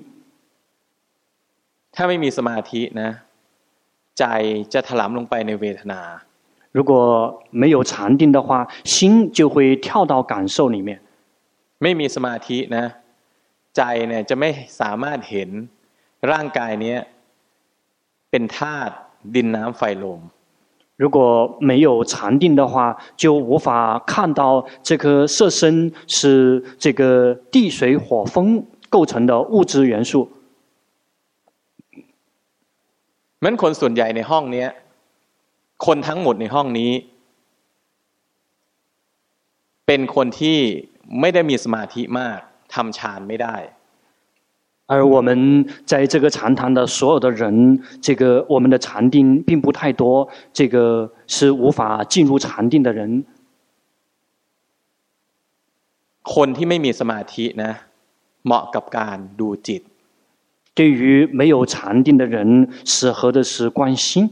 [SPEAKER 1] ถ้าไม่มีสมาธินะใจจะถลำลงไปในเวทนา
[SPEAKER 2] 如果沒有禪定的話心就會跳到感受裡面
[SPEAKER 1] ไม่มีสมาธินะใจเนี่ยจะไม่สามารถเห็นร่างกายนี้เป็นธาตุดินน้ำไฟลม
[SPEAKER 2] 如果沒有禪定的話就無法看到這個色身是這個地水火風構成的物質元素
[SPEAKER 1] งั้นคนส่วนใหญ่ในห้องนี้คนทั้งหมดในห้องนี้เป็นคนที่ไม่ได้มีสมาธิมากทำฌานไม่ได้
[SPEAKER 2] 而我們在這個禪堂的所有的人這個我們的禪定並不太多這個是無法進入禪定的人
[SPEAKER 1] คนที่ไม่มีสมาธินะเหมาะกับการดูจิต
[SPEAKER 2] 通对于没有禪定的人，適合的是觀心。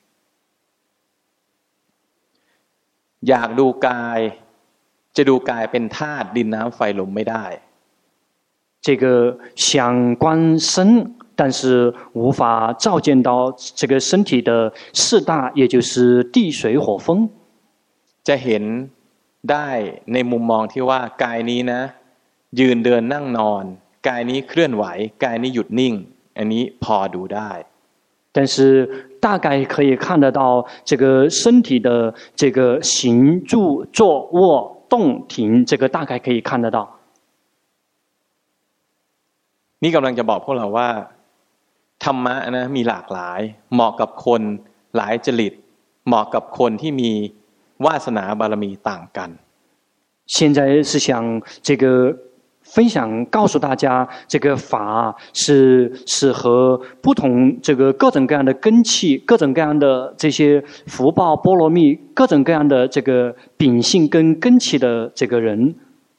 [SPEAKER 1] อยากดูกายจะดูกายเป็นธาตุดินน้ำไฟลมไม่ได้
[SPEAKER 2] 這個想觀身，但是無法照見到這個身體的四大，也就是地水火風。
[SPEAKER 1] จะเห็นได้ในมุมมองที่ว่ากายนี้นะยืนเดินนั่งนอนกายนี้เคลื่อนไหวกายนี้หยุดนิ่งอันนี้พอดูได้
[SPEAKER 2] 但是大概可以看得到這個身體的這個行住坐臥動停，這個大概可以看得到。
[SPEAKER 1] นี่กำลังจะบอกพวกเราว่าธรรมะนะมีหลากหลายเหมาะกับคนหลายจริตเหมาะกับคนที่มีวาสนาบารมีต่างกัน
[SPEAKER 2] 現在是想這個分享告訴大家，這個法是適合不同這個各種各樣的根器，各種各樣的這些福報波羅蜜，各種各樣的這個秉性跟根器的這個人。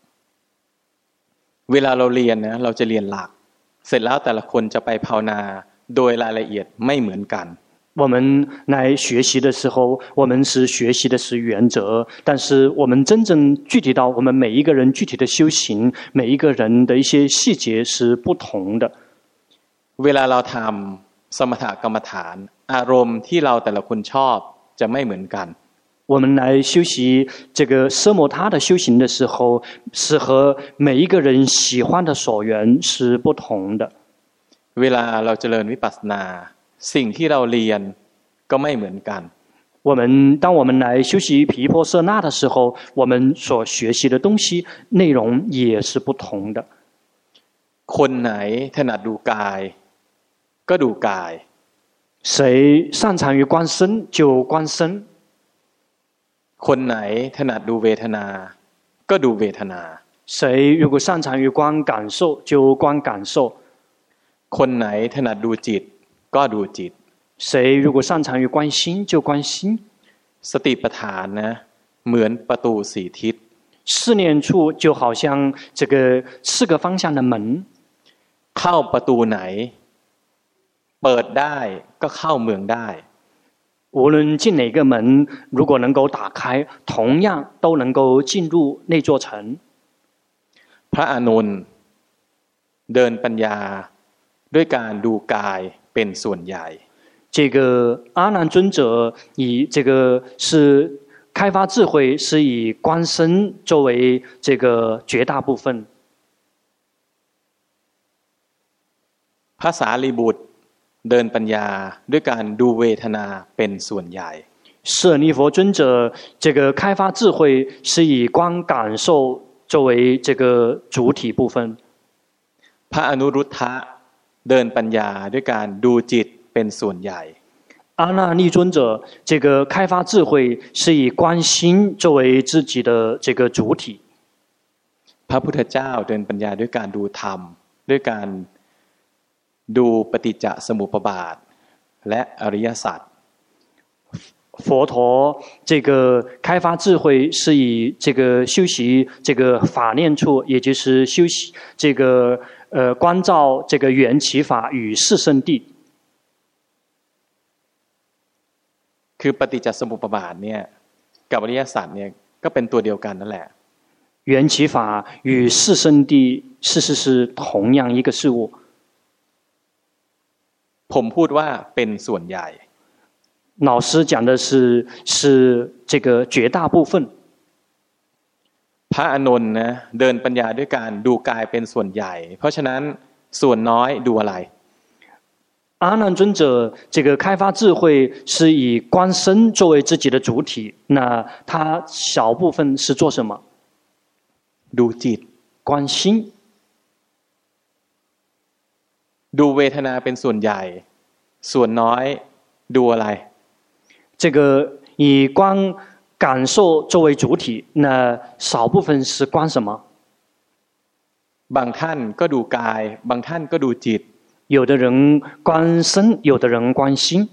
[SPEAKER 1] เวลาเราเรียนนะเราจะเรียนหลักเสร็จแล้วแต่ละคนจะไปภาวนาโดยรายละเอียดไม่เหมือนกัน
[SPEAKER 2] 我們來學習的時候，我們是學習的是原則，但是我們真正具體到我們每一個人具體的修行，每一個人的一些細節是不同的。
[SPEAKER 1] เวลาเราทำสมถกรรมฐานอารมณ์ที่เราแต่ละคนชอบจะไม่เหมือนกัน
[SPEAKER 2] 我們來修習這個奢摩他的修行的時候，是和每一個人喜歡的所緣是不同的。
[SPEAKER 1] เวลาเราเจริญวิปัสสนาสิ่งที่เราเรียนก็ไม่เหมือนกัน
[SPEAKER 2] 當我們來修習毗婆舍那的時候，我們所學習的東西內容也是不同的。
[SPEAKER 1] คนไหนถนัดดูกายก็ดูกาย
[SPEAKER 2] 誰擅長於觀身就觀身。
[SPEAKER 1] คนไหนถนัดดูเวทนาก็ดูเวทนา
[SPEAKER 2] 誰如果擅長於觀感受就觀感受。
[SPEAKER 1] คนไหนถนัดดูจิตก็ดูจิต
[SPEAKER 2] 誰如果擅長於觀心就觀心。
[SPEAKER 1] สติปัฏฐานนะเหมือนประตูสี่ทิศ
[SPEAKER 2] 四念處就好像這個四個方向的門，
[SPEAKER 1] เข้าประตูไหนเปิดได้ก็เข้าเมืองได้
[SPEAKER 2] 無論進哪個門，如果能夠打開，同樣都能夠進入那座城。
[SPEAKER 1] พระอานนท์เดินปัญญาด้วยการดูกายเป็นส่วนใหญ่
[SPEAKER 2] 這個阿難尊者以這個是開發智慧，是以觀身作為這個絕大部分。
[SPEAKER 1] พระสารีบุตรเดินปัญญาด้วยการดูเวทนาเป็นส่วนใหญ่
[SPEAKER 2] 舍利弗尊者這個開發智慧是以觀感受作為這個主體部分。
[SPEAKER 1] พระอนุรุทธะเดินปัญญาด้วยการดูจิตเป็นส่วนใหญ่
[SPEAKER 2] 阿那利尊者這個開發智慧是以觀心作為自己的這個主體。
[SPEAKER 1] พระพุทธเจ้าเดินปัญญาด้วยการดูธรรมด้วยการดูปฏิจจสมุปบาทและอริยสัจ
[SPEAKER 2] 佛陀這個開發智慧是以這個修習這個法念處，也就是修習這個觀照這個緣起法與四聖諦。
[SPEAKER 1] คือปฏิจจสมุปบาทเนี่ยกับอริยสัจเนี่ยก็เป็นตัวเดียวกันนั่นแหละ
[SPEAKER 2] 緣起法與四聖諦事實是同樣一個事物。
[SPEAKER 1] ผมพูดว่าเป็นส่วนใหญ่
[SPEAKER 2] 老師講的是這個絕大部分。
[SPEAKER 1] พระอานนท์นะเดินปัญญาด้วยการดูกายเป็นส่วนใหญ่เพราะฉะนั้นส่วนน้อยดูอะไร
[SPEAKER 2] 阿難尊者這個開發智慧是以觀身作為自己的主體，那他小部分是做什麼？
[SPEAKER 1] ดูจิต
[SPEAKER 2] 觀心。
[SPEAKER 1] ดูเวทนาเป็นส่วนใหญ่ส่วนน้อยดูอะไร
[SPEAKER 2] 這個以觀感受作為主體，那少部分是觀什麼？
[SPEAKER 1] บางท่านก็ดูกายบางท่านก็ดูจิต
[SPEAKER 2] 有的人觀身，有的人觀心。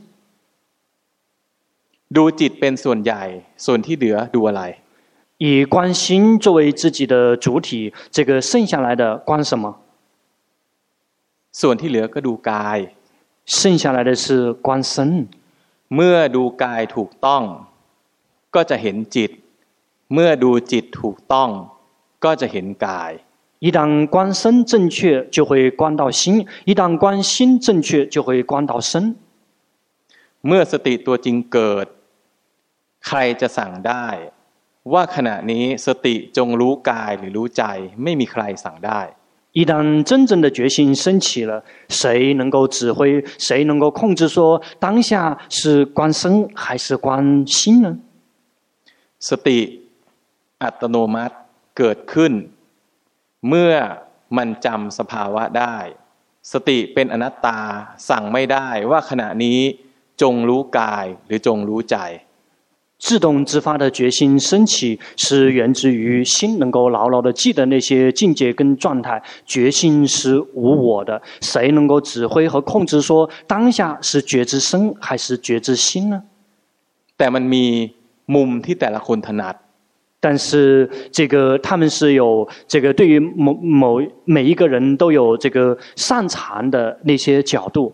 [SPEAKER 1] ดูจิตเป็นส่วนใหญ่ส่วนที่เหลือดูอะไร
[SPEAKER 2] 以觀心作為自己的主體，這個剩下來的觀什麼？
[SPEAKER 1] ส่วนที่เหลือก็ดูกาย
[SPEAKER 2] 剩下来的是观身
[SPEAKER 1] เมื่อดูกายถูกต้องก็จะเห็นจิตเมื่อดูจิตถูกต้องก็จะเห็นกาย
[SPEAKER 2] 一旦观身正确就会观到心一旦观心正确就会观到身
[SPEAKER 1] เมื่อสติตัวจริงเกิดใครจะสั่งได้ว่าขณะนี้สติจงรู้กายหรือรู้ใจไม่มีใครสั่งได้
[SPEAKER 2] 一旦真正的觉性升起了，谁能夠指揮，誰能夠控制說當下是觀身還是觀心呢？
[SPEAKER 1] สติอัตโนมัติเกิดขึ้นเมื่อมันจำสภาวะได้สติเป็นอนัตตาสั่งไม่ได้ว่าขณะนี้จงรู้กายหรือจงรู้ใจ
[SPEAKER 2] 自動自發的覺性升起是源自於心能夠牢牢的記得那些境界跟狀態覺性是無我的誰能夠指揮和控制說當下是覺知身還是覺知心呢
[SPEAKER 1] แต่มันมีมุมที่แต่ละคนถนัด
[SPEAKER 2] 但是這個他們是有這個對於每一個人都有這個擅長的那些角度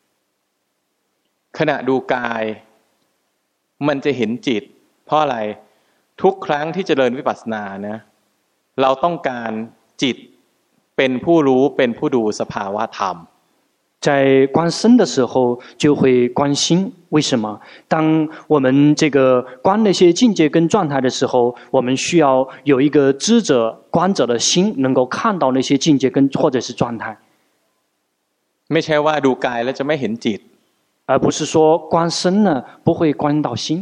[SPEAKER 1] ขณะดูกายมันจะเห็นจิตเพราะอะไรทุกครั้งที่เจริญวิปัสสนานะเราต้องการจิตเป็นผู้รู้เป็นผู้ดูสภาวะธรรม
[SPEAKER 2] 在觀身的時候就會觀心為什麼當我們這個觀那些境界跟狀態的時候我們需要有一個知者觀者的心能夠看到那些境界跟或者是狀態
[SPEAKER 1] ไม่ใช่ว่าดูกายแล้วจะไม่เห็นจิต
[SPEAKER 2] 而不是說觀身呢不會觀到心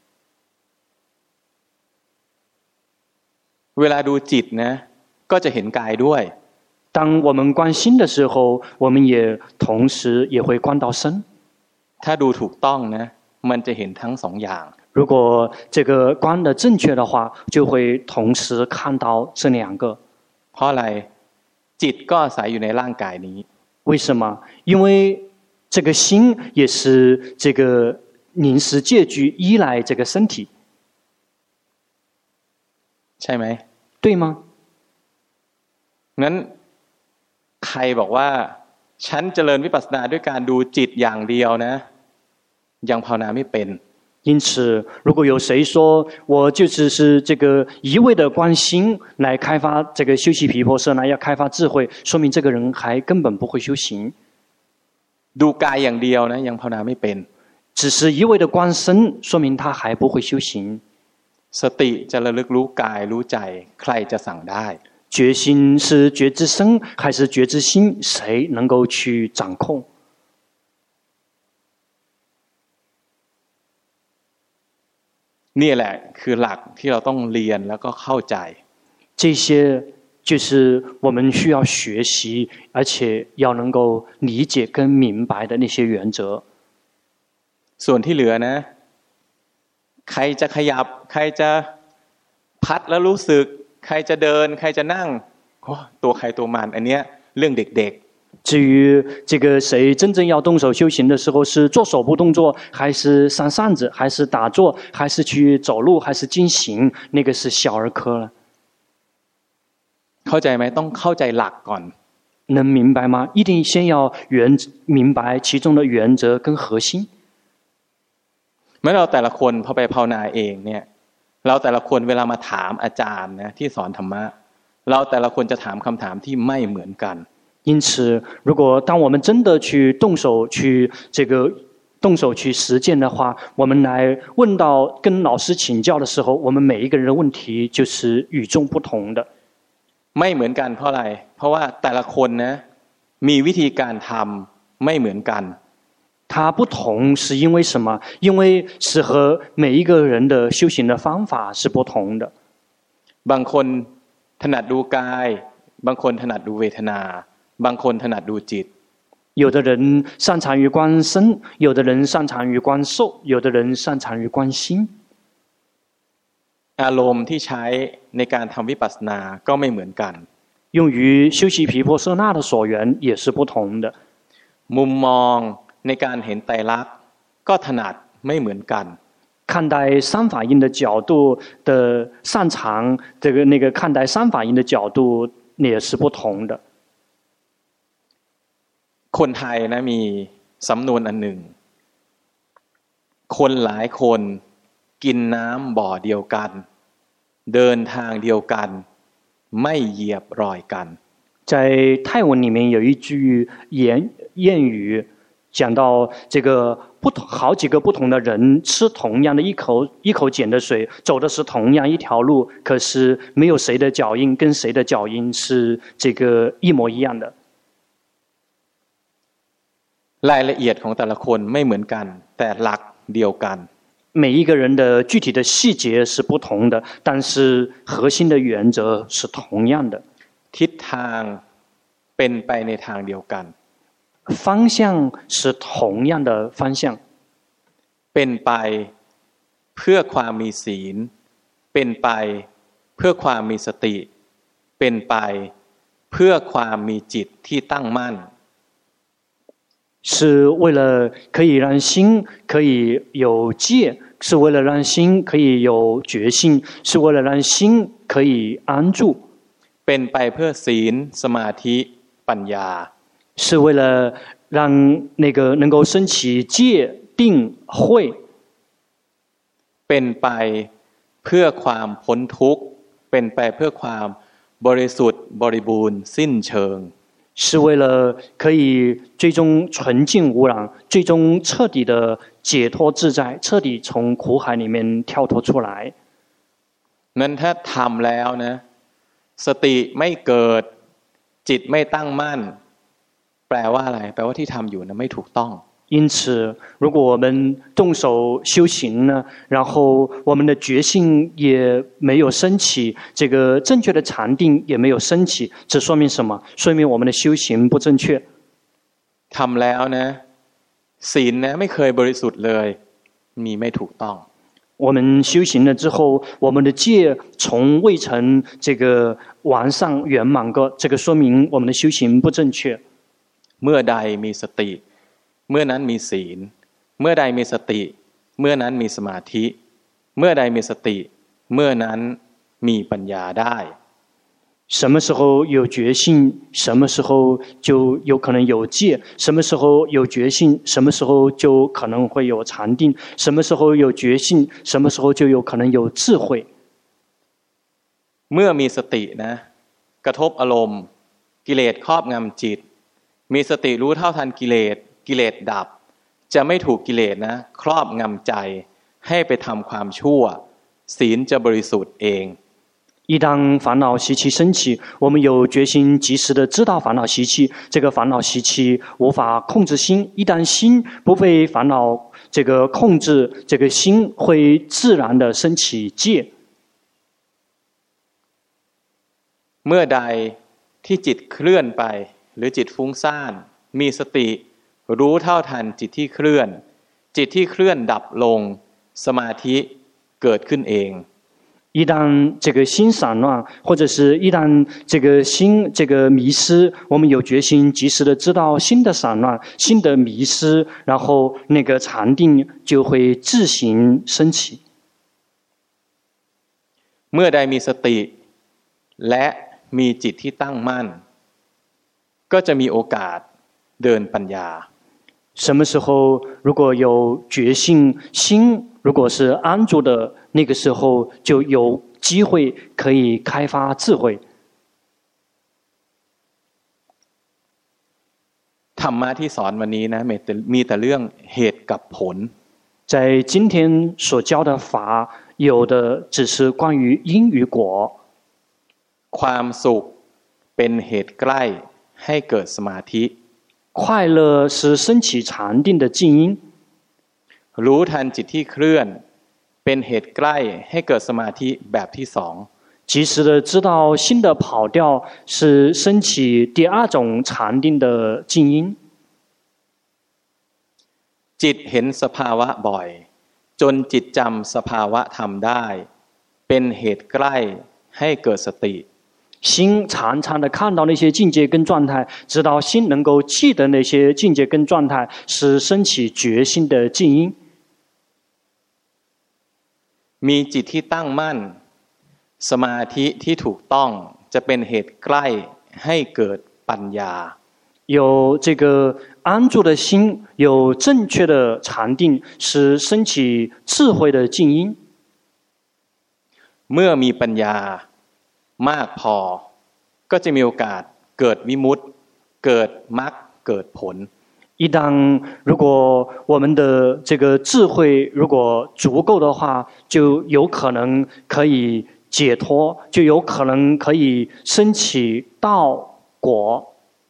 [SPEAKER 1] เวลาดูจิตนะก็จะเห็นกายด้วย
[SPEAKER 2] 當我們觀心的時候我們也同時也會觀到身
[SPEAKER 1] ถ้าดูถูกต้องนะมันจะเห็นทั้งสองอย่าง
[SPEAKER 2] 如果這個觀的正確的話就會同時看到這兩個
[SPEAKER 1] เพราะอะไรจิตก็อาศัยอยู่ในร่างกายนี้
[SPEAKER 2] 為什麼因為這個心也是這個臨時借據依賴這個身體
[SPEAKER 1] ใช่ไหม
[SPEAKER 2] 對嗎
[SPEAKER 1] งั้นใครบอกว่าฉันเจริญวิปัสสนาด้วยการดูจิตอย่างเดียวนะยังภาวนาไม่เป็น
[SPEAKER 2] 因此如果有誰說我就只是這個一味的觀心來開發這個修習毗婆舍那要開發智慧說明這個人還根本不會修行
[SPEAKER 1] ดูกายอย่างเดียวนะยังภาวนาไม่เป็น
[SPEAKER 2] 只是一味的觀身說明他還不會修行
[SPEAKER 1] สติจะระลึกรู้กายรู้ใจใครจะสั่งได้
[SPEAKER 2] 覺心是覺知身還是覺知心誰能夠去掌控
[SPEAKER 1] นี่แหละคือหลักที่เราต้องเรียนแล้วก็เข้าใจ
[SPEAKER 2] 這些就是我們需要學習而且要能夠理解跟明白的那些原則
[SPEAKER 1] ส่วนที่เหลือนะใครจะขยับใครจะพัดแล้วรู้สึกใครจะเดินใครจะนั่งตัวใครตัวมันอันเนี้ยเรื่องเด็ก
[SPEAKER 2] 至於這個誰真正要動手修行的時候是做手部動作還是上扇子還是打坐還是去走路還是進行那個是小兒科了
[SPEAKER 1] เข้าใจไหมต้องเข้าใจหลักก่อน
[SPEAKER 2] 能明白嗎一定先要明白其中的原則跟核心
[SPEAKER 1] เมื่อเราแต่ละคนพอไปภาวนาเองเนี่ยเราแต่ละคนเวลามาถามอาจารย์นะที่สอนธรรมะเราแต่ละคนจะถามคำถามที่ไม่เหมือนกัน
[SPEAKER 2] 因此如果當我們真的去動手去實踐的話我們來問到跟老師請教的時候我們每一個人的問題就是與眾不同的
[SPEAKER 1] ไม่เหมือนกันเพราะอะไรเพราะว่าแต่ละคนนะมีวิธีการทำไม่เหมือนกัน
[SPEAKER 2] 它不同是因為什麼因為是和每一個人的修行的方法是不同的
[SPEAKER 1] บางคนถนัดดูกายบางคนถนัดดูเวทนาบางคนถนัดดูจิต
[SPEAKER 2] 有的人擅長於觀身有的人擅長於觀受有的人擅長於觀心
[SPEAKER 1] อารมณ์ที่ใช้ในการทำวิปัสสนาก็ไม่เหมือนกัน
[SPEAKER 2] 用於修習毗婆舍那的所緣也是不同的
[SPEAKER 1] มุมมองในการเห็นไตรลักษณ์ก็ถนัดไม่เหมือนกัน
[SPEAKER 2] 看待三法印的角度的擅長那個看待三法印的角度也是不同的
[SPEAKER 1] คนไทยนะมีสำนวนอันหนึ่งคนหลายคนกินน้ำบ่อเดียวกันเดินทางเดียวกันไม่เหยียบรอยกัน
[SPEAKER 2] 在泰文里面有一句諺语讲到这个好几个不同的人吃同样的一口井的水，走的是同样一条路，可是没有谁的脚印跟谁的脚印是这个一模一样的。
[SPEAKER 1] รายละเอียดของแต่ละคนไม่เหมือนกันแต่หลักเดียวกัน
[SPEAKER 2] 每一个人的具体的细节是不同的，但是核心的原则是同样的。
[SPEAKER 1] ทิศทางเป็นไปในทางเดียวกัน
[SPEAKER 2] 方向是同样的方向
[SPEAKER 1] เป็นไปเพื่อความมีศีลเป็นไปเพื่อความมีสติเป็นไปเพื่อความมีจิตที่ตั้งมั่น
[SPEAKER 2] 是为了可以让心可以有戒，是为了让心可以有决心，是为了让心可以安住。
[SPEAKER 1] เป็นไปเพื่อศีลสมาธิปัญญา
[SPEAKER 2] 是为了让那个能够升起戒定慧。
[SPEAKER 1] เป็นไปเพื่อความพ้นทุกข์เป็นไปเพื่อความบริสุทธิ์บริบูรณ์สิ้นเชิง
[SPEAKER 2] 是为了可以最终纯净无染，最终彻底的解脱自在，彻底从苦海里面跳脱出来。
[SPEAKER 1] นั้นถ้าทำแล้วนะสติไม่เกิดจิตไม่ตั้งมั่นแปลว่าอะไรแปลว่าที่ทำอยู่นะไม่ถูกต้อง
[SPEAKER 2] 因此如果我们动手修行呢，然后我们的觉性也没有升起，这个正确的禪定也沒有升起，這說明什麼？說明我們的修行不正確。
[SPEAKER 1] ทำแล้วนะศีลนะไม่เคยบริสุทธิ์เลยมีไม่ถูกต้อง
[SPEAKER 2] 我們修行了之後，我們的戒從未曾這個完善圓滿過，這個說明我們的修行不正確。
[SPEAKER 1] เมื่อใดมีสติเมื่อนั้นมีศีลเมื่อใดมีสติเมื่อนั้นมีสมาธิเมื่อใดมีสติเมื่อนั้นมีปัญญาได้
[SPEAKER 2] 什麼時候有覺性，什麼時候就有可能有戒；什麼時候有覺性，什麼時候就可能會有禪定；什麼時候有覺性，什麼時候就有可能有智慧。
[SPEAKER 1] เมื่อมีสตินะกระทบอารมณ์กิเลสครอบงำจิตมีสติรู้เท่าทันกิเลสดับจะไม่ถูกกิเลสนะครอบงำใจให้ไปทำความชั่วศีลจะบริสุทธิ์เอง
[SPEAKER 2] 一當煩惱習氣升起，我們有決心及時的知道煩惱習氣，這個煩惱習氣無法控制心，一旦心不被煩惱這個控制，這個心會自然的升起戒。
[SPEAKER 1] เมื่อใดที่จิตเคลื่อนไปหรือจิตฟุ้งซ่านมีสติรู้เท่าทันจิตที่เคลื่อนจิตที่เคลื่อนดับลงสมาธิเกิดขึ้นเอง
[SPEAKER 2] 一旦這個心散亂，或者是一旦這個心這個迷失，我們有決心及時的知道心的散亂、心的迷失，然後那個禪定就會自行升起。
[SPEAKER 1] เมื่อใดมีสติและมีจิตที่ตั้งมั่นก็จะมีโอกาสเดินปัญญา
[SPEAKER 2] 什麼時候如果有覺性心如果是安住的那個時候就有機會可以開發智慧
[SPEAKER 1] ธรรมะที่สอนวันนี้นะมีแต่เรื่องเหตุกับผล
[SPEAKER 2] 在今天所教的法有的只是關於因與果
[SPEAKER 1] ความสุขเป็นเหตุใกล้ให้เกิดสมาธิ
[SPEAKER 2] 快樂是升起禪定的靜因
[SPEAKER 1] รู้ทันจิตที่เคลื่อนเป็นเหตุใกล้ให้เกิดสมาธิแบบที่สอง
[SPEAKER 2] 及時的知道心的跑調是升起第二種禪定的靜因
[SPEAKER 1] จิตเห็นสภาวะบ่อยจนจิตจำสภาวะธรรมได้เป็นเหตุใกล้ให้เกิดสติ
[SPEAKER 2] 心常常的看到那些境界跟狀態，直到心能夠記得那些境界跟狀態，是升起決心的靜因。
[SPEAKER 1] มีจิตที่ตั้งมั่นสมาธิที่ถูกต้องจะเป็นเหตุใกล้ให้เกิดปัญญา
[SPEAKER 2] 有这个安住的心，有正確的禪定，是升起智慧的靜音。
[SPEAKER 1] เมื่อมีปัญญามากพอก็จะมีโอกาสเกิดวิมุตติเกิดมรรคเกิดผล
[SPEAKER 2] 一旦如果我们的这个智慧如果足夠的話，就有可能可以解脫，就有可能可以升起道果。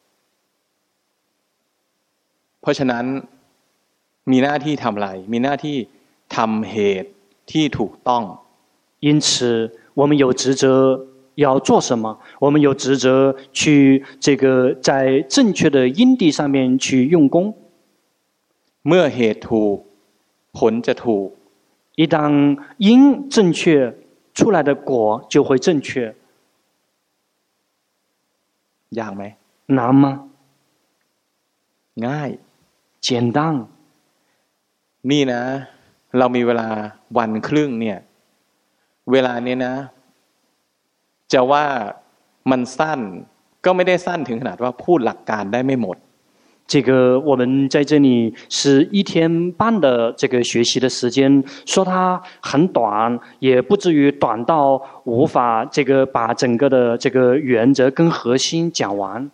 [SPEAKER 1] เพราะฉะนั้นมีหน้าที่ทำอะไรมีหน้าที่ทำเหตุที่ถูกต้อง
[SPEAKER 2] 因此我們有職責要做什麼？我們有職責去這個在正確的因地上面去用功。
[SPEAKER 1] เมื่อเหตุถูกผลจะถูก
[SPEAKER 2] 一旦因正確，出來的果就會正確。
[SPEAKER 1] ยากไหม
[SPEAKER 2] 難嗎？
[SPEAKER 1] ง่าย
[SPEAKER 2] 簡單。
[SPEAKER 1] นี่นะเรามีเวลาวันครึ่งเนี่ยเวลานี้นะจะว่ามันสั้นก็ไม่ได้สั้นถึงขนาดว่าพูดหลักการได้ไม่หมด
[SPEAKER 2] 這個我們在這裡是1天半的這個學習的時間，說它很短，也不至於短到無法這個把整個的這個原則跟核心講完。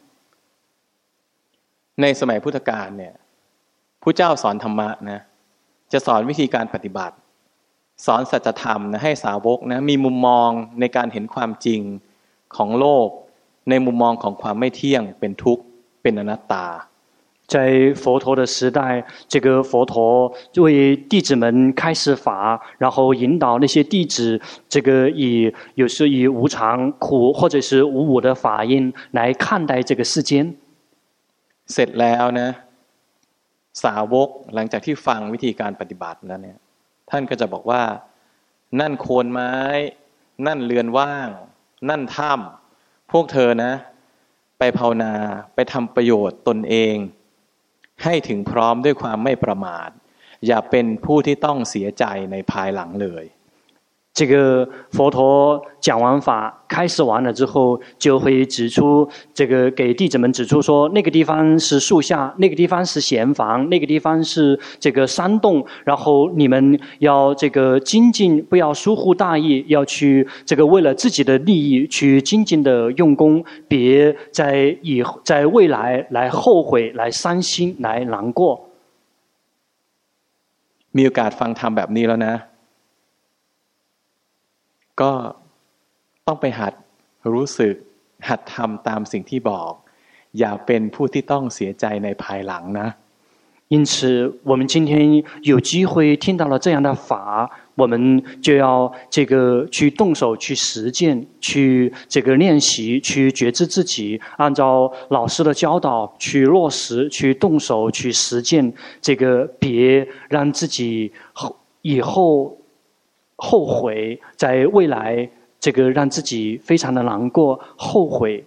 [SPEAKER 1] ในสมัยพุทธกาลเนี่ยพระเจ้าสอนธรรมะนะจะสอนวิธีการปฏิบัติสอนสัจธรรมนะให้สาวกนะมีมุมมองในการเห็นความจริงของโลกในมุมมองของความไม่เที่ยงเป็นทุกข์เป็นอนัตตา
[SPEAKER 2] 在佛陀的時代，這個佛陀為弟子們開示法，然後引導那些弟子，這個有時以無常、苦或者是無我的法印來看待這個世間。
[SPEAKER 1] เสร็จแล้วนะสาวกหลังจากที่ฟังวิธีการปฏิบัติแล้วเนี่ยท่านก็จะบอกว่านั่นโคนไม้นั่นเรือนว่างนั่นถ้ำพวกเธอนะไปภาวนาไปทำประโยชน์ตนเองให้ถึงพร้อมด้วยความไม่ประมาทอย่าเป็นผู้ที่ต้องเสียใจในภายหลังเลย
[SPEAKER 2] 這個佛陀講完法開示完了之後，就會指出這個給弟子們指出說，那個地方是樹下，那個地方是閒房，那個地方是這個山洞，然後你們要這個精進，不要疏忽大意，要去這個為了自己的利益去精進的用功，別在未來來後悔、來傷心、來難過。
[SPEAKER 1] มีโอกาสฟังธรรมแบบนี้แล้วนะก็ต้องไปหัดรู้สึกหัดทำตามสิ่งที่บอกอย่าเป็นผู้ที่ต้องเสียใจในภายหลังนะ
[SPEAKER 2] 因此我們今天有機會聽到了這樣的法，我們就要這個去動手去實踐，去這個練習，去覺知自己，按照老師的教導去落實，去動手去實踐，這個別讓自己以後後悔，在未來這個讓自己非常的難過後悔。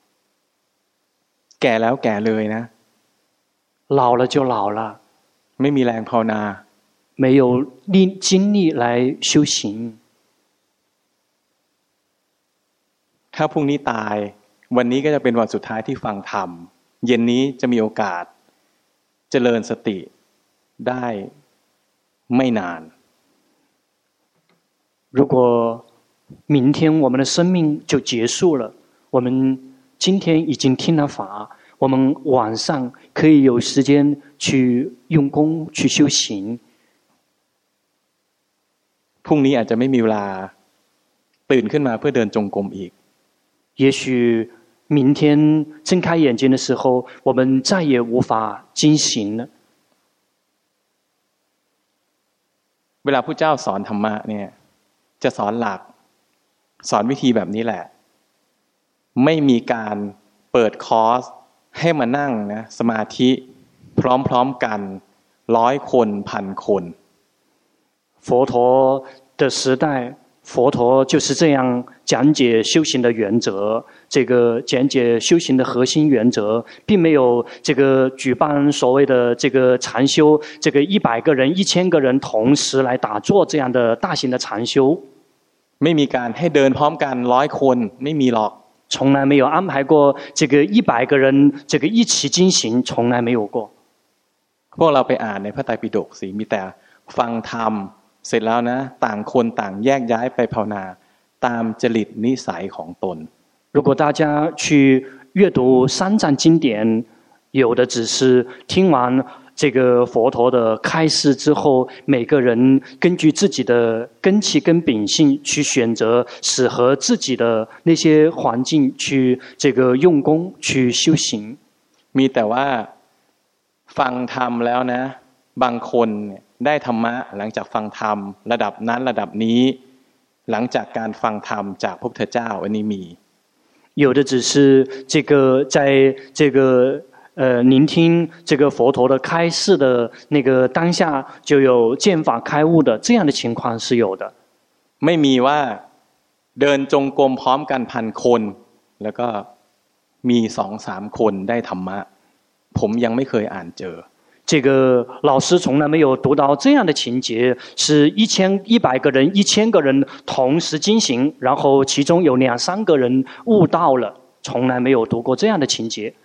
[SPEAKER 1] แก่แล้วแก่เลยนะ
[SPEAKER 2] 老了就老了
[SPEAKER 1] ไม่มีแรงภาวนา
[SPEAKER 2] 沒有精力來修行
[SPEAKER 1] ถ้าพรุ่งนี้ตายวันนี้ก็จะเป็นวันสุดท้ายที่ฟังธรรมเย็นนี้จะมีโอกาสเจริญสติได้ไม่นาน
[SPEAKER 2] 如果明天我們的生命就結束了，我們今天已經聽了法，我們晚上可以有時間去用功去修行。
[SPEAKER 1] พรุ่งนี้อาจจะไม่มีเวลาตื่นขึ้นมาเพื่อเดินจงกรมอีก
[SPEAKER 2] 也許明天睜開眼睛的時候，我們再也無法進行了。
[SPEAKER 1] เวลาพระเจ้าสอนธรรมะเนี่ยจะสอนหลักสอนวิธีแบบนี้แหละไม่มีการเปิดคอร์สให้มานั่งนะสมาธิพร้อมๆกัน100คน1,000คน
[SPEAKER 2] 佛陀的時代，佛陀就是這樣講解修行的原則，這個講解修行的核心原則，並沒有這個舉辦所謂的這個禪修，這個100個人、1000個人同時來打坐這樣的大型的禪修。
[SPEAKER 1] ไม่มีการให้เดินพร้อมกัน100คนไม่มีหรอก
[SPEAKER 2] 從來沒有安排過這個100個人這個一起進行，從來沒有過。
[SPEAKER 1] พวกเราไปอ่านในพระไตรปิฎกสิมีแต่ฟังธรรมเสร็จแล้วนะต่างคนต่างแยกย้ายไปภาวนาตามจริตนิสัยของตน
[SPEAKER 2] 如果大家去閱讀三藏經典，有的只是聽完這個佛陀的開示之後，每個人根據自己的根器跟秉性去選擇適合自己的那些環境去這個用功去修行。
[SPEAKER 1] มีแต่ว่าฟังธรรมแล้วนะบางคนได้ธรรมะหลังจากฟังธรรมระดับนั้นระดับนี้หลังจากการฟังธรรมจากพระพุทธเจ้าอันนี้มี
[SPEAKER 2] 有的只是這個在這個聆聽這個佛陀的開示的那個當下就有見法開悟的這樣的情況是有的。
[SPEAKER 1] ไม่มีว่าเดินจงกรมพร้อมกัน1,000 คนแล้วก็มี 2-3 คนได้ธรรมะผมยังไม่เคยอ่านเจอ
[SPEAKER 2] 這個老師從來沒有讀到這樣的情節，是100個人、1000個人同時進行，然後其中有2-3個人悟到了，從來沒有讀過這樣的情節。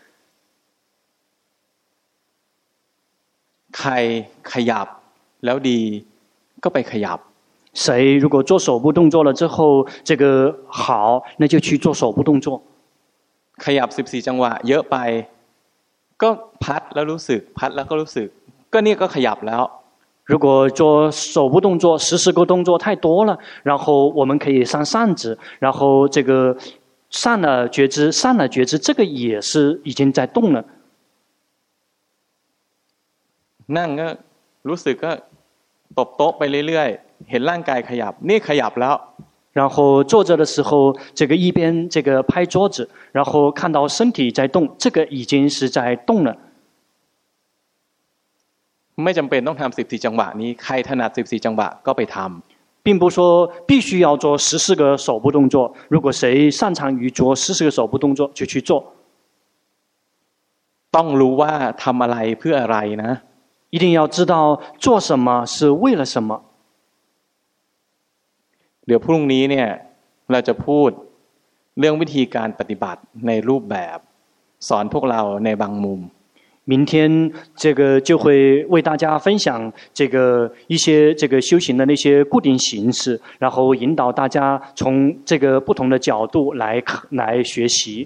[SPEAKER 1] ใครขยับแล้วดีก็ไปขยับ
[SPEAKER 2] 誰如果做手部動作了之後，這個好，那就去做手部動作。
[SPEAKER 1] ขยับ14 จังหวะเยอะไปก็พัดแล้วรู้สึกพัดแล้วก็รู้สึกก็นี่ก็ขยับแล้ว
[SPEAKER 2] 如果做手部動作14個動作太多了，然後我們可以上扇子，然後這個上了覺知，上了覺知，這個也是已經在動了。
[SPEAKER 1] นั่งก็รู้สึกก็ตบโต๊ะไปเรื่อยๆเห็นร่างกายขยับนี่ขยับแล้ว
[SPEAKER 2] 然後坐着的時候，這個一邊這個拍桌子，然後看到身體在動，這個已經是在動了。
[SPEAKER 1] ไม่จำเป็นต้องทำ14 จังหวะนี้ใครถนัด14 จังหวะก็ไปทำ
[SPEAKER 2] 並不說必須要做14個手部動作，如果誰擅長於做14個手部動作就去做。
[SPEAKER 1] ต้องรู้ว่าทำอะไรเพื่ออะไรนะ
[SPEAKER 2] 一定要知道做什麼是為了什麼。
[SPEAKER 1] เดี๋ยวพรุ่งนี้เนี่ยเราจะพูดเรื่องวิธีการปฏิบัติในรูปแบบสอนพวกเราในบางมุม
[SPEAKER 2] 明天這個就會為大家分享這個一些這個修行的那些固定形式，然後引導大家從這個不同的角度來學習。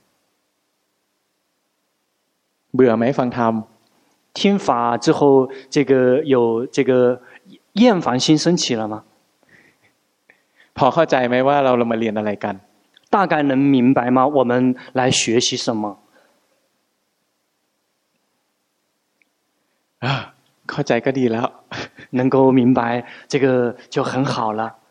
[SPEAKER 1] เบื่อไหมฟังธรรม
[SPEAKER 2] 聽法之後，這個有這個厭煩心升起了嗎？
[SPEAKER 1] พอเข้าใจไหมว่าเรามาเรียนอะไรกัน
[SPEAKER 2] 大概能明白嗎？我們來學習什麼？
[SPEAKER 1] เข้าใจก็ดีแล้ว
[SPEAKER 2] 能夠明白這個就很好了。